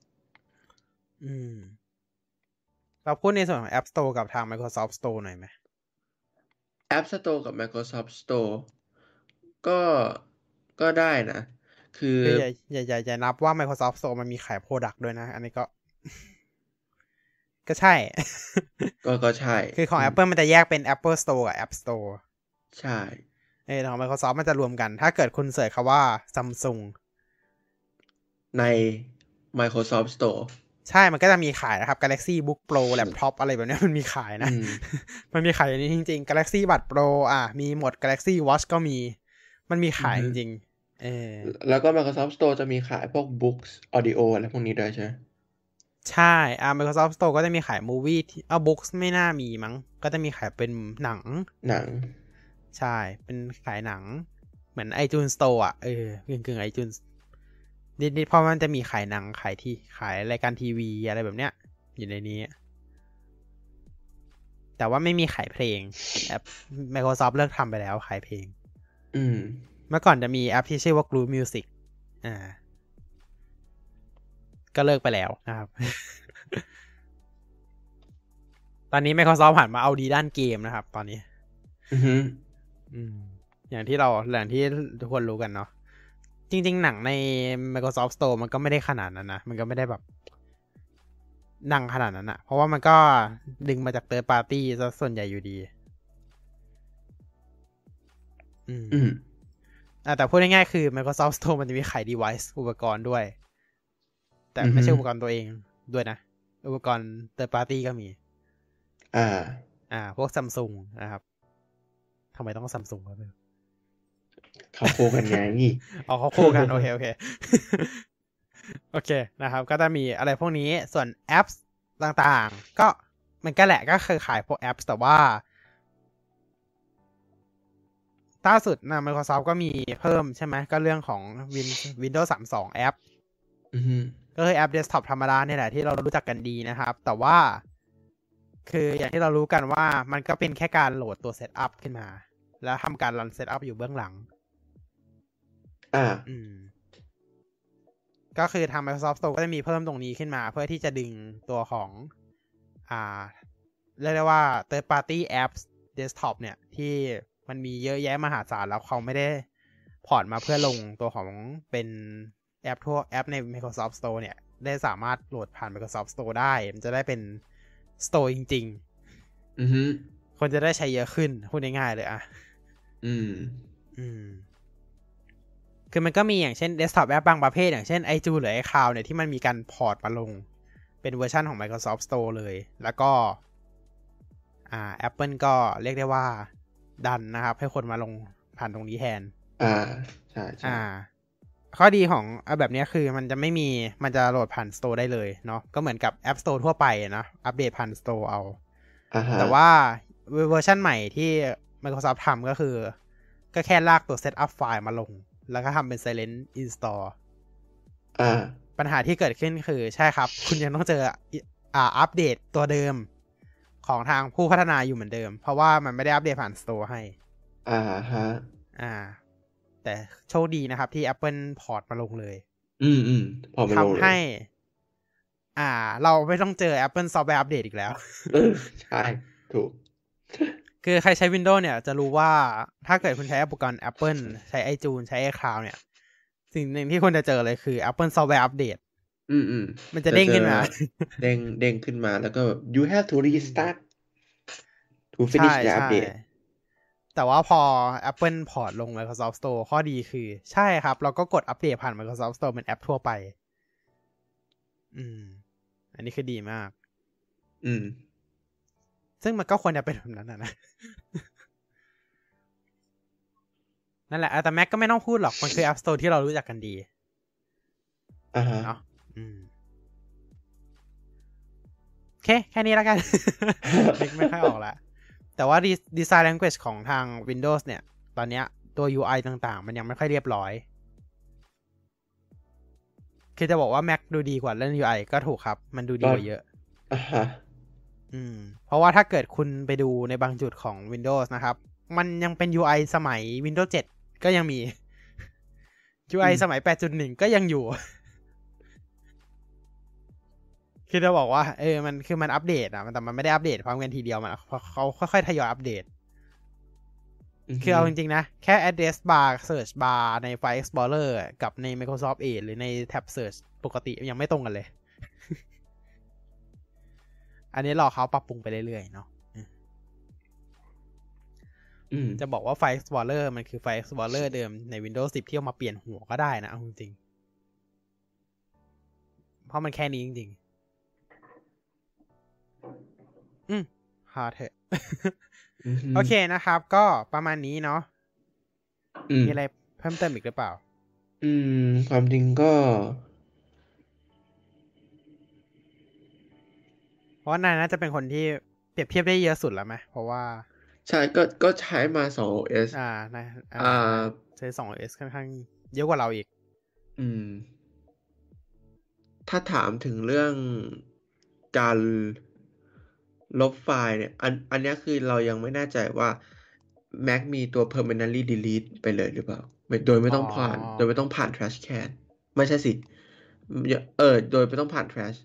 Speaker 2: เราพูดในส่วนของ App Store กับทาง Microsoft Store หน่อยไหม
Speaker 1: App Store กับ Microsoft Store ก็ได้นะคือ
Speaker 2: อย่านับว่า Microsoft Store มันมีขาย Product ด้วยนะอันนี้ก็ใช่
Speaker 1: ก็ใช่
Speaker 2: คือของ Apple มันจะแยกเป็น Apple Store กับ App Store
Speaker 1: ใช่
Speaker 2: ของ Microsoft มันจะรวมกันถ้าเกิดคุณเสิร์ชคำว่า Samsung
Speaker 1: ใน Microsoft Store
Speaker 2: ใช่มันก็จะมีขายนะครับ Galaxy Book Pro Laptop อะไรแบบนี้มันมีขายนะ มันมีขายอย่างนี้จริงๆ Galaxy Buds Pro มีหมด Galaxy Watch ก็มีมันมีขายจริงๆ
Speaker 1: แล้วก็ Microsoft Store จะมีขายพวก Books Audio อะไรพวกนี้ด้วยใช่ไหม
Speaker 2: ใช่Microsoft Store ก็จะมีขาย Movie Books ไม่น่ามีมั้งก็จะมีขายเป็นหนังใช่เป็นขายหนังเหมือน iTunes Store กึ่ง iTunes นิดๆเพราะมันจะมีขายหนังขายรายการทีวีอะไรแบบเนี้ยอยู่ในนี้แต่ว่าไม่มีขายเพลงแอป Microsoft เลิกทำไปแล้วขายเพลงเมื่อก่อนจะมีแอปที่ชื่อว่า Groove Music ก็เลิกไปแล้วนะครับ ตอนนี้ Microsoft ผ่านมาเอาดีด้านเกมนะครับตอนนี้อย่างที่ทุกคนรู้กันเนาะจริงๆหนังใน Microsoft Store มันก็ไม่ได้ขนาดนั้นนะมันก็ไม่ได้แบบดังขนาดนั้นนะเพราะว่ามันก็ดึงมาจาก Third Party ซะส่วนใหญ่อยู่ดีแต่พูดง่ายๆคือ Microsoft Store มันจะมีขาย device อุปกรณ์ด้วยแต่ไม่ใช่อุปกรณ์ตัวเองด้วยนะอุปกรณ์ Third Party ก็มีพวก Samsung นะครับทำไมต้อง Samsung วะ
Speaker 1: เขาคู่กันไง
Speaker 2: เขาคู่กันโอเคโอเคนะครับก็จะมีอะไรพวกนี้ส่วนแอปต่างๆก็มันก็แหละก็คือขายพวกแอปแต่ว่าล่าสุดนะ Microsoft ก็มีเพิ่มใช่ไหมก็เรื่องของ Windows 32แอปก็คือแอป Desktop ธรรมดาเนี่ยแหละที่เรารู้จักกันดีนะครับแต่ว่าคืออย่างที่เรารู้กันว่ามันก็เป็นแค่การโหลดตัวเซตอัพขึ้นมาแล้วทำการรันเซตอัพอยู่เบื้องหลังก็คือทาง Microsoft Store ก็จะมีเพิ่มตรงนี้ขึ้นมาเพื่อที่จะดึงตัวของเรียกได้ว่า Third Party Apps Desktop เนี่ยที่มันมีเยอะแยะมหาศาลแล้วเขาไม่ได้พอร์ตมาเพื่อลงตัวของเป็นแอปใน Microsoft Store เนี่ยได้สามารถโหลดผ่าน Microsoft Store ได้มันจะได้เป็น Store จริงๆคนจะได้ใช้เยอะขึ้นพูดง่ายๆเลยคือมันก็มีอย่างเช่น Desktop App บางประเภทอย่างเช่น iTunes หรือ iCloud เนี่ยที่มันมีการพอร์ตมาลงเป็นเวอร์ชันของ Microsoft Store เลยแล้วก็Apple ก็เรียกได้ว่าดันนะครับให้คนมาลงผ่านตรงนี้แทน
Speaker 1: ใช่
Speaker 2: ข้อดีของแบบนี้คือมันจะโหลดผ่าน Store ได้เลยเนาะก็เหมือนกับ App Store ทั่วไปนะอัปเดตผ่าน Store เอาแต่ว่าเวอร์ชันใหม่ที่ Microsoft ทำก็คือก็แค่ลากตัว Setup ไฟล์มาลงแล้วก็ทำเป็น Silent Install ปัญหาที่เกิดขึ้นคือใช่ครับคุณยังต้องเจออัปเดตตัวเดิมของทางผู้พัฒนาอยู่เหมือนเดิมเพราะว่ามันไม่ได้อัปเดตผ่าน Store ให้แต่โชคดีนะครับที่ Apple พอร์ตมาลงเลยทำให้เราไม่ต้องเจอ Apple Software Update อีกแล้ว
Speaker 1: ใช่ถูก
Speaker 2: คือใครใช้ Windows เนี่ยจะรู้ว่าถ้าเกิดคุณใช้อุปกรณ์ Apple ใช้ iTunes ใช้ iCloud เนี่ยสิ่งหนึ่งที่คุณจะเจอเลยคือ Apple Software Update มันจะเด้งขึ้นมา
Speaker 1: เด้งขึ้นมาแล้วก็ you have to restart to finish the update
Speaker 2: แต่ว่าพอ Apple พอร์ตลง Microsoft Store ข้อดีคือใช่ครับเราก็กดอัปเดตผ่าน Microsoft Store เป็นแอปทั่วไปอันนี้คือดีมากซึ่งมันก็ควรจะเป็นแบบนั้นนะนั่นแหละแต่ Mac ก็ไม่ต้องพูดหรอกมันคือ App Store ที่เรารู้จักกันดีเนาะโอเคแค่นี้แล้วกัน ไม่ค่อยออกละแต่ว่า Design Language ของทาง Windows เนี่ยตอนเนี้ยตัว UI ต่างๆมันยังไม่ค่อยเรียบร้อยคือจะบอกว่า Mac ดูดีกว่าเรื่อง UI ก็ถูกครับมันดูดีกว่าเยอะเพราะว่าถ้าเกิดคุณไปดูในบางจุดของ Windows นะครับมันยังเป็น UI สมัย Windows 7 ก็ยังมี UI สมัย 8.1 ก็ยังอยู่ คือจะบอกว่ามันอัปเดตแต่มันไม่ได้อัปเดตพร้อมกันทีเดียวมันเขาค่อยๆทยอยอัปเดตคือเอาจริงๆนะแค่ address bar search bar ใน File Explorer กับใน Microsoft Edge หรือใน tab search ปกติยังไม่ตรงกันเลย อันนี้รอเขาปรับปรุงไปเรื่อยๆเนาะจะบอกว่า File Explorer มันคือ File Explorer เดิมใน Windows 10 ที่เอามาเปลี่ยนหัวก็ได้นะเอาจริงเพราะมันแค่นี้จริงๆพอเถอะ โอเคนะครับ ก็ประมาณนี้เนาะมีอะไรเพิ่มเติมอีกหรือเปล่า
Speaker 1: ความจริงก็
Speaker 2: เพราะว่านายน่าจะเป็นคนที่เปรียบเทียบได้เยอะสุดแล้วไหมเพราะว่า
Speaker 1: ใช่ก็ใช้มา2 OS
Speaker 2: นาย
Speaker 1: อ่า
Speaker 2: ใช้2 OS ค่อนข้างเยอะกว่าเราอีก
Speaker 1: ถ้าถามถึงเรื่องการลบไฟล์เนี่ยอันเนี้ยคือเรายังไม่แน่ใจว่า Mac มีตัว permanently delete ไปเลยหรือเปล่าโดยไม่ต้องผ่าน trash can ไม่ใช่สิโดยไม่ต้องผ่าน trash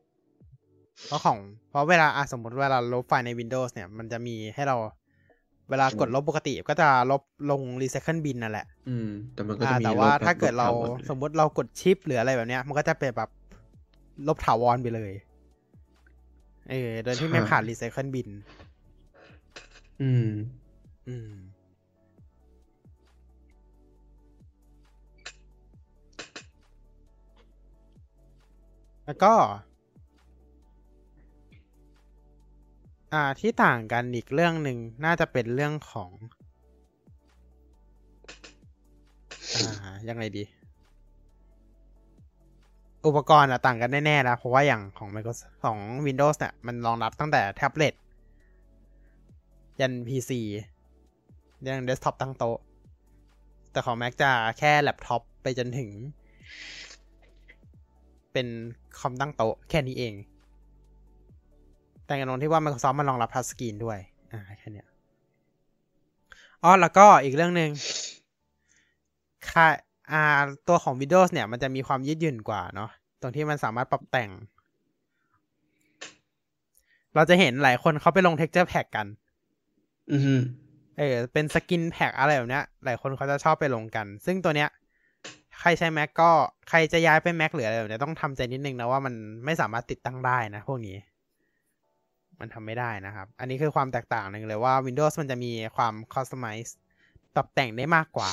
Speaker 2: เพราะเวลาสมมติเวลาลบไฟล์ใน Windows เนี่ยมันจะมีให้เราเวลากดลบปกติก็จะลบลง recycle bin นั่นแหละ
Speaker 1: แต่มันก็จะมี
Speaker 2: แต่ว่าถ้าเกิดเราสมมติเรากดชิปหรืออะไรแบบเนี้ยมันก็จะเป็นแบบลบถาวรไปเลยโดยที่ไม่ผ่าน recycle bin แล้วก็ที่ต่างกันอีกเรื่องหนึ่งน่าจะเป็นเรื่องของยังไงดีอุปกรณ์ต่างกันแน่ๆแล้วเพราะว่าอย่างของ Microsoft ของ Windows เนี่ยมันรองรับตั้งแต่แท็บเล็ตยัน PC ยันเดสก์ท็อปตั้งโต๊ะแต่ของ Mac จะแค่แล็ปท็อปไปจนถึงเป็นคอมตั้งโต๊ะแค่นี้เองแต่กันตรงที่ว่า Microsoft มันรองรับทัชสกรีนด้วยแค่นี้แล้วก็อีกเรื่องนึงตัวของ Windows เนี่ยมันจะมีความยืดหยุ่นกว่าเนาะตรงที่มันสามารถปรับแต่งเราจะเห็นหลายคนเขาไปลง texture pack กันเป็นสกินแพ็กอะไรแบบเนี้ยหลายคนเขาจะชอบไปลงกันซึ่งตัวเนี้ยใครใช้ Mac ก็ใครจะย้ายไป Mac หรืออะไรแบบเนี้ยต้องทำใจนิดนึงนะว่ามันไม่สามารถติดตั้งได้นะพวกนี้มันทำไม่ได้นะครับอันนี้คือความแตกต่างหนึ่งเลยว่า Windows มันจะมีความ customize ปรับแต่งได้มากกว่า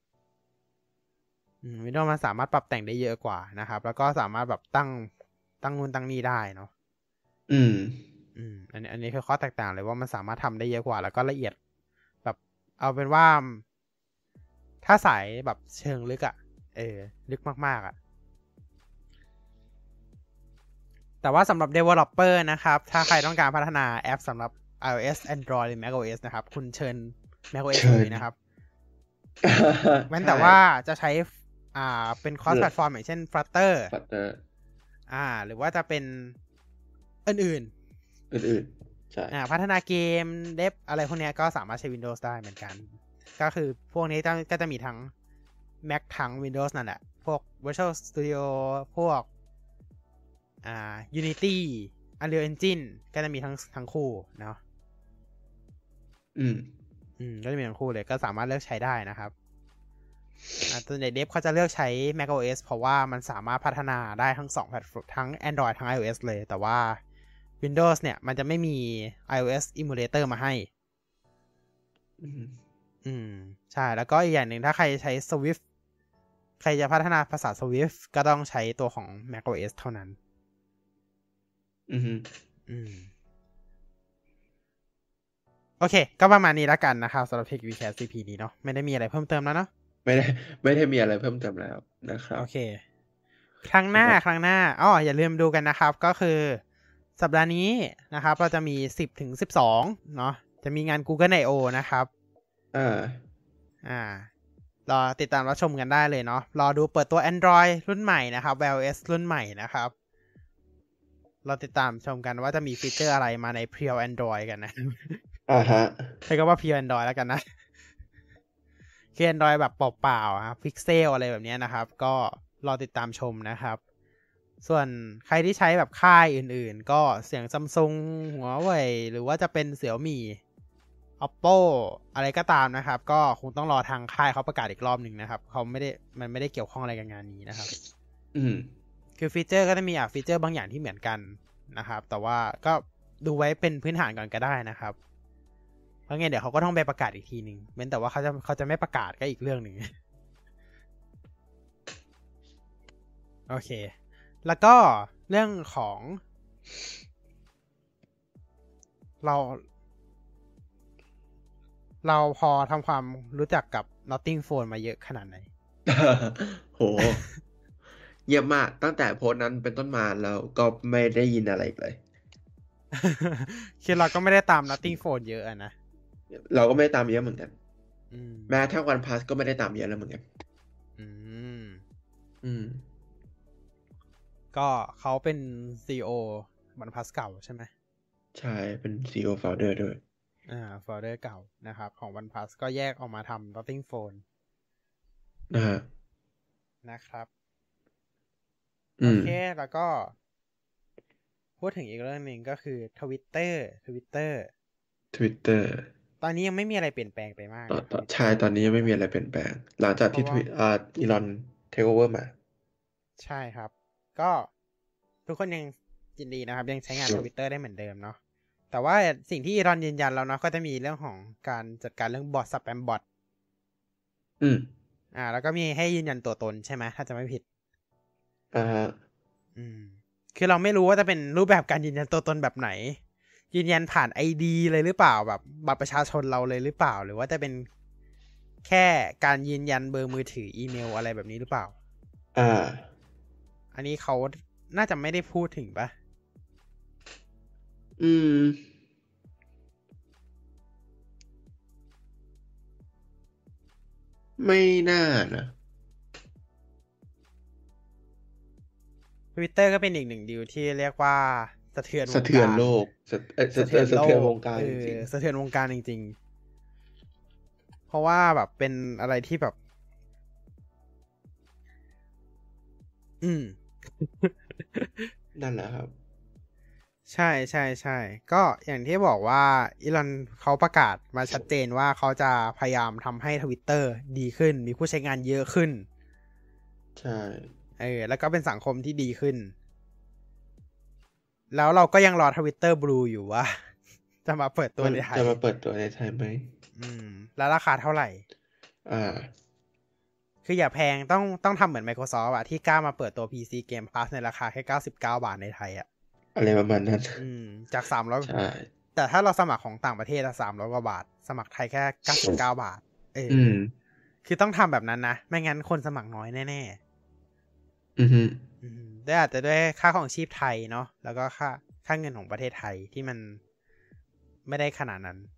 Speaker 2: Windows มันสามารถปรับแต่งได้เยอะกว่านะครับแล้วก็สามารถแบบตั้งนู่นตั้งนี่ได้เนาะอันนี้คือข้อแตกต่างเลยว่ามันสามารถทำได้เยอะกว่าแล้วก็ละเอียดแบบเอาเป็นว่าถ้าสายแบบเชิงลึกลึกมากแต่ว่าสำหรับ developer นะครับถ้าใครต้องการพัฒนาแอปสำหรับ iOS Android หรือ macOS นะครับคุณเชิญ macOS เลยนะครับแม้แต่ว่าจะใช้เป็น cross platform อย่างเช่น Flutter หรือว่าจะเป็นอื่นใช่พัฒนาเกมเดฟอะไรพวกนี้ก็สามารถใช้ Windows ได้เหมือนกันก็คือพวกนี้ก็จะมีทั้ง Mac ทั้ง Windows นั่นแหละพวก Visual Studio พวกUnity Unreal Engine ก็จะมีทั้งคู่เนาะก็จะมีทั้งคู่เลยก็สามารถเลือกใช้ได้นะครับตัวในเดฟเขาจะเลือกใช้ macOS เพราะว่ามันสามารถพัฒนาได้ทั้ง2แพลตฟอร์มทั้ง Android ทั้ง iOS เลยแต่ว่า Windows เนี่ยมันจะไม่มี iOS emulator มาให้ใช่แล้วก็อีกอย่างหนึ่งถ้าใครใช้ Swift ใครจะพัฒนาภาษา Swift ก็ต้องใช้ตัวของ macOS เท่านั้นโอเคก็ประมาณนี้แล้วกันนะครับสำหรับ Tech Recap CP นี้เนาะไม่ได้มีอะไรเพิ่มเติมแล้วเนาะ
Speaker 1: ไม่ได้มีอะไรเพิ่มเติมแล้วนะครับ
Speaker 2: โอเคครั้งหน้าอย่าลืมดูกันนะครับก็คือสัปดาห์นี้นะครับเราจะมี10 ถึง 12เนาะจะมีงาน Google I/O นะครับรอติดตามรับชมกันได้เลยเนาะรอดูเปิดตัว Android รุ่นใหม่นะครับ Wear OS รุ่นใหม่นะครับเราติดตามชมกันว่าจะมีฟีเจอร์อะไรมาใน Pure Android กันนะใช้คำว่า Pure Android แล้วกันนะคือ Android แบบเปล่าๆครับ Pixel อะไรแบบนี้นะครับก็รอติดตามชมนะครับส่วนใครที่ใช้แบบค่ายอื่นๆก็เสียง Samsung Huawei หรือว่าจะเป็น Xiaomi Oppo อะไรก็ตามนะครับก็คงต้องรอทางค่ายเขาประกาศอีกรอบหนึ่งนะครับมันไม่ได้เกี่ยวข้องอะไรกับงานนี้นะครับคือฟีเจอร์ก็จะมีฟีเจอร์บางอย่างที่เหมือนกันนะครับแต่ว่าก็ดูไว้เป็นพื้นฐานก่อนก็ได้นะครับเพราะงั้นเดี๋ยวเขาก็ต้องไปประกาศอีกทีนึงเว้นแต่ว่าเขาจะไม่ประกาศก็อีกเรื่องหนึ่งโอเคแล้วก็เรื่องของเราพอทำความรู้จักกับ Notting Phone มาเยอะขนาดไหน
Speaker 1: โห เยี่ยมมากตั้งแต่โพสต์นั้นเป็นต้นมาแล้วก็ไม่ได้ยินอะไรอีกเลย
Speaker 2: คือเราก็ไม่ได้ตาม Notting Phone เยอะอะนะ
Speaker 1: เราก็ไม่ได้ตามเยอะเหมือนกัน
Speaker 2: อืม
Speaker 1: แม้ทั้งวันพัสก็ไม่ได้ตามเยอะแล้วเหมือนกัน
Speaker 2: อืม
Speaker 1: อืม
Speaker 2: ก็เขาเป็น CEO วันพัสเก่าใช่ไหม
Speaker 1: ใช่เป็น CEO founder ด้วย
Speaker 2: founder เก่านะครับของ OnePlus ก็แยกออกมาทำ Notting Phone
Speaker 1: นะฮะ
Speaker 2: นะครับ
Speaker 1: อื
Speaker 2: โอ
Speaker 1: ม
Speaker 2: เค แล้วก็พูดถึงอีกเรื่องหนึ่งก็คือ Twitter
Speaker 1: Twitter
Speaker 2: ตอนนี้ยังไม่มีอะไรเปลี่ยนแปลงไปมากนะ
Speaker 1: ใช่
Speaker 2: Twitter
Speaker 1: ตอนนี้ยังไม่มีอะไรเปลี่ยนแปลง หลังจากที่อีลอนเทคโอเวอร์มา
Speaker 2: ใช่ครับ ก็ทุกคนยังยินดีนะครับ ยังใช้งาน Twitter ได้เหมือนเดิมเนาะแต่ว่าสิ่งที่อีลอนยืนยันแล้วเนาะก็จะมีเรื่องของการจัดการเรื่องบอทสแปมบอท
Speaker 1: อืม
Speaker 2: แล้วก็มีให้ยืนยันตัวตนใช่ไหมถ้าจะไม่ผิด
Speaker 1: ฮะ
Speaker 2: คือเราไม่รู้ว่าจะเป็นรูปแบบการยืนยันตัวตนแบบไหน ยืนยันผ่าน ID เลยหรือเปล่าแบบบัตรประชาชนเราเลยหรือเปล่าหรือว่าจะเป็นแค่การยืนยันเบอร์มือถืออีเมลอะไรแบบนี้หรือเปล่าอันนี้เขาน่าจะไม่ได้พูดถึงปะ
Speaker 1: ไม่น่านะ
Speaker 2: Twitter ก็เป็นอีกหนึ่งดีลที่เรียกว่าสะเทือนวงการ
Speaker 1: สะเทือนโลกสะเทือนวงการจริง
Speaker 2: สะเทือนวงการจริงๆเพราะว่าแบบเป็นอะไรที่แบบ
Speaker 1: นั่นแหละครับ
Speaker 2: ใช่ใช่ใช่ก็อย่างที่บอกว่าอีลอนเขาประกาศมาชัดเจนว่าเขาจะพยายามทำให้ Twitter ดีขึ้นมีผู้ใช้งานเยอะขึ้น
Speaker 1: ใช่
Speaker 2: แล้วก็เป็นสังคมที่ดีขึ้นแล้วเราก็ยังรอ Twitter Blue อยู่ว่า จะมาเปิดตัวในไทย
Speaker 1: จะมาเปิดตัวในไทยไหม
Speaker 2: แล้วราคาเท่าไหร่คืออย่าแพงต้องทำเหมือน Microsoft อะที่กล้ามาเปิดตัว PC Game Pass ในราคาแค่99 บาทในไทยอะ
Speaker 1: อะไรประมาณนั้น
Speaker 2: จาก300
Speaker 1: ใช่
Speaker 2: แต่ถ้าเราสมัครของต่างประเทศอะ300 กว่าบาทสมัครไทยแค่99 บาทคือต้องทำแบบนั้นนะไม่งั้นคนสมัครน้อยแน่ๆได้อาจจะด้วยค่าของชีพไทยเนาะแล้วก็ค่าเงินของประเทศไทยที่มันไม่ได้ขนาดนั้น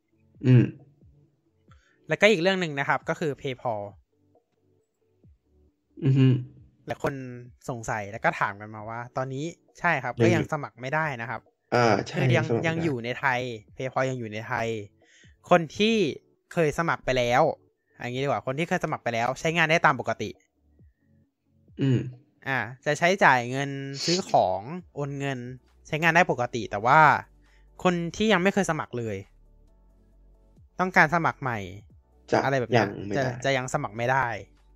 Speaker 2: แล้วก็อีกเรื่องหนึ่งนะครับก็คือ PayPal และคนสงสัยแล้วก็ถามกันมาว่าตอนนี้ใช่ครับก็ยังสมัครไม่ได้นะครับ
Speaker 1: ใช่
Speaker 2: ยังอยู่ในไทย PayPal ยังอยู่ในไทยคนที่เคยสมัครไปแล้วอย่างนี้ดีกว่าคนที่เคยสมัครไปแล้วใช้งานได้ตามปกติจะใช้จ่ายเงินซื้อของโอนเงินใช้งานได้ปกติแต่ว่าคนที่ยังไม่เคยสมัครเลยต้องการสมัครใหม่อะไรแบบนี้จะยังสมัครไม่ได้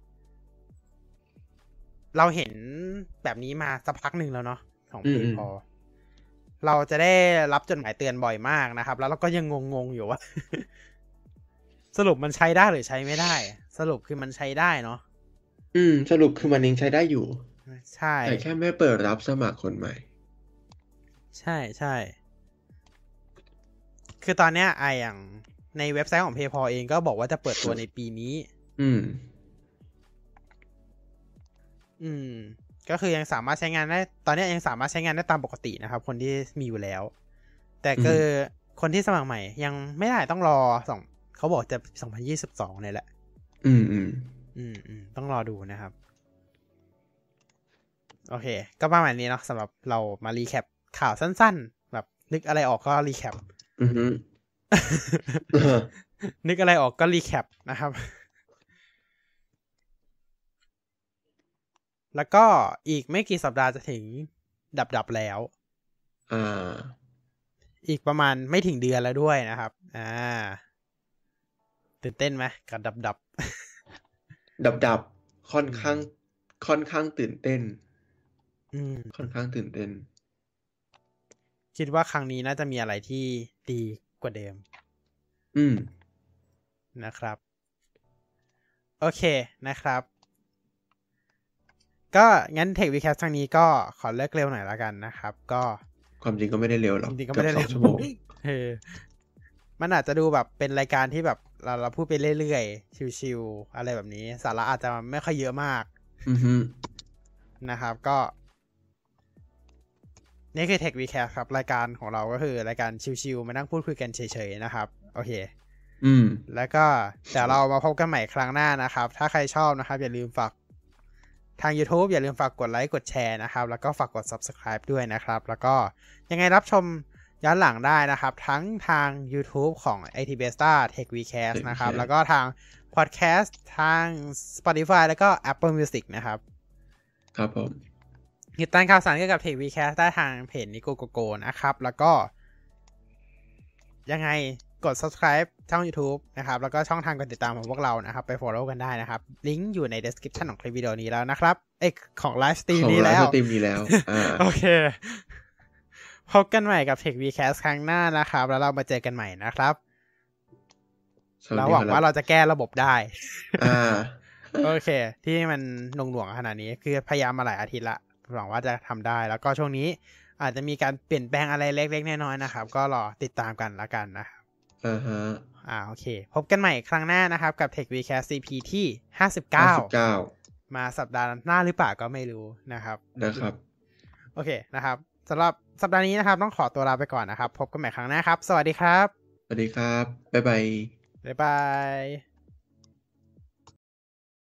Speaker 2: เราเห็นแบบนี้มาสักพักหนึ่งแล้วเนาะของ PayPal เราจะได้รับจดหมายเตือนบ่อยมากนะครับแล้วเราก็ยังงงอยู่ว่า สรุปมันใช้ได้หรือใช้ไม่ได้สรุปคือมันใช้ได้เนาะ
Speaker 1: สรุปคือมันยังใช้ได้อยู่
Speaker 2: ใช่
Speaker 1: แต่แค่ไม่เปิดรับสมัครคนใหม่
Speaker 2: ใช่ใช่คือตอนเนี้ยอย่างในเว็บไซต์ของ PayPal เองก็บอกว่าจะเปิดตัวในปีนี้ก็คือยังสามารถใช้งานได้ตอนนี้ยังสามารถใช้งานได้ตามปกตินะครับคนที่มีอยู่แล้วแต่คือคนที่สมัครใหม่ยังไม่ได้ต้องรอเขาบอกจะ2022เนี่ยแหละต้องรอดูนะครับโอเคก็ประมาณนี้เนาะสำหรับเรามารีแคปข่าวสั้นๆแบบนึกอะไรออกก็รีแคปนึกอะไรออกก็รีแคปนะครับแล้วก็อีกไม่กี่สัปดาห์จะถึงดับแล้วอีกประมาณไม่ถึงเดือนแล้วด้วยนะครับตื่นเต้นไหมกับดับ
Speaker 1: ค่อนข้างตื่นเต้นค่อนข้างตื่นเต้น
Speaker 2: คิดว่าครั้งนี้น่าจะมีอะไรที่ดีกว่าเดิมนะครับโอเคนะครับก็งั้น Tech Vcast ครั้งนี้ก็ขอเลิกเร็วหน่อยแล้วกันนะครับ ก็
Speaker 1: ความจริงก็ไม่ได้เร็วหรอก
Speaker 2: จริงๆก็ไม่ได้
Speaker 1: เกื
Speaker 2: เร็
Speaker 1: อบ
Speaker 2: ว
Speaker 1: 2 ชั่วโมง
Speaker 2: มันอาจจะดูแบบเป็นรายการที่แบบเราพูดไปเรื่อยๆชิวๆอะไรแบบนี้สาระอาจจะไม่ค่อยเยอะมาก
Speaker 1: อือฮึ
Speaker 2: นะครับก็นี่คือ Tech Vcast ครับรายการของเราก็คือรายการชิวๆมานั่งพูดคุยกันเฉยๆนะครับโอเคแล้วก็เดี๋ยวเรามาพบกันใหม่ครั้งหน้านะครับถ้าใครชอบนะครับอย่าลืมฝากทาง YouTube อย่าลืมฝากกดไลค์กดแชร์นะครับแล้วก็ฝากกด Subscribe ด้วยนะครับแล้วก็ยังไงรับชมย้อนหลังได้นะครับทั้งทาง YouTube ของ IT Besta Tech Vcast นะครับแล้วก็ทาง Podcast ทาง Spotify แล้วก็ Apple Music นะครับ
Speaker 1: ครับผม
Speaker 2: ติดตามข่าวสารเกี่ยวกับ Tech Vcast ได้ทางเพจ Nico Gogo นะครับแล้วก็ยังไงกด subscribe ช่อง YouTube นะครับแล้วก็ช่องทางการติดตามของพวกเรานะครับไป follow กันได้นะครับลิงก์อยู่ใน description ของคลิปวิดีโอนี้แล้วนะครับของไลฟ์สตรีมนี้แล้วโอเคพบกันใหม่กับ Tech Vcast ครั้งหน้านะครับแล้วเรามาเจอกันใหม่นะครับเราหวังว่าเราจะแก้ระบบได้โอเคที่มันหน่วงขนาดนี้คือพยายามมาหลายอาทิตย์ละหวังว่าจะทำได้แล้วก็ช่วงนี้อาจจะมีการเปลี่ยนแปลงอะไรเล็กๆน้อยๆนะครับก็รอติดตามกันละกันนะครับโอเคพบกันใหม่ครั้งหน้านะครับกับ Tech Vcast CP ที่59มาสัปดาห์หน้าหรือเปล่าก็ไม่รู้นะครับโอเคนะครับสำหรับสัปดาห์นี้นะครับต้องขอตัวลาไปก่อนนะครับพบกันใหม่ครั้งหน้าครับสวัสดีครับ
Speaker 1: สวัสดีครับบ๊ายบาย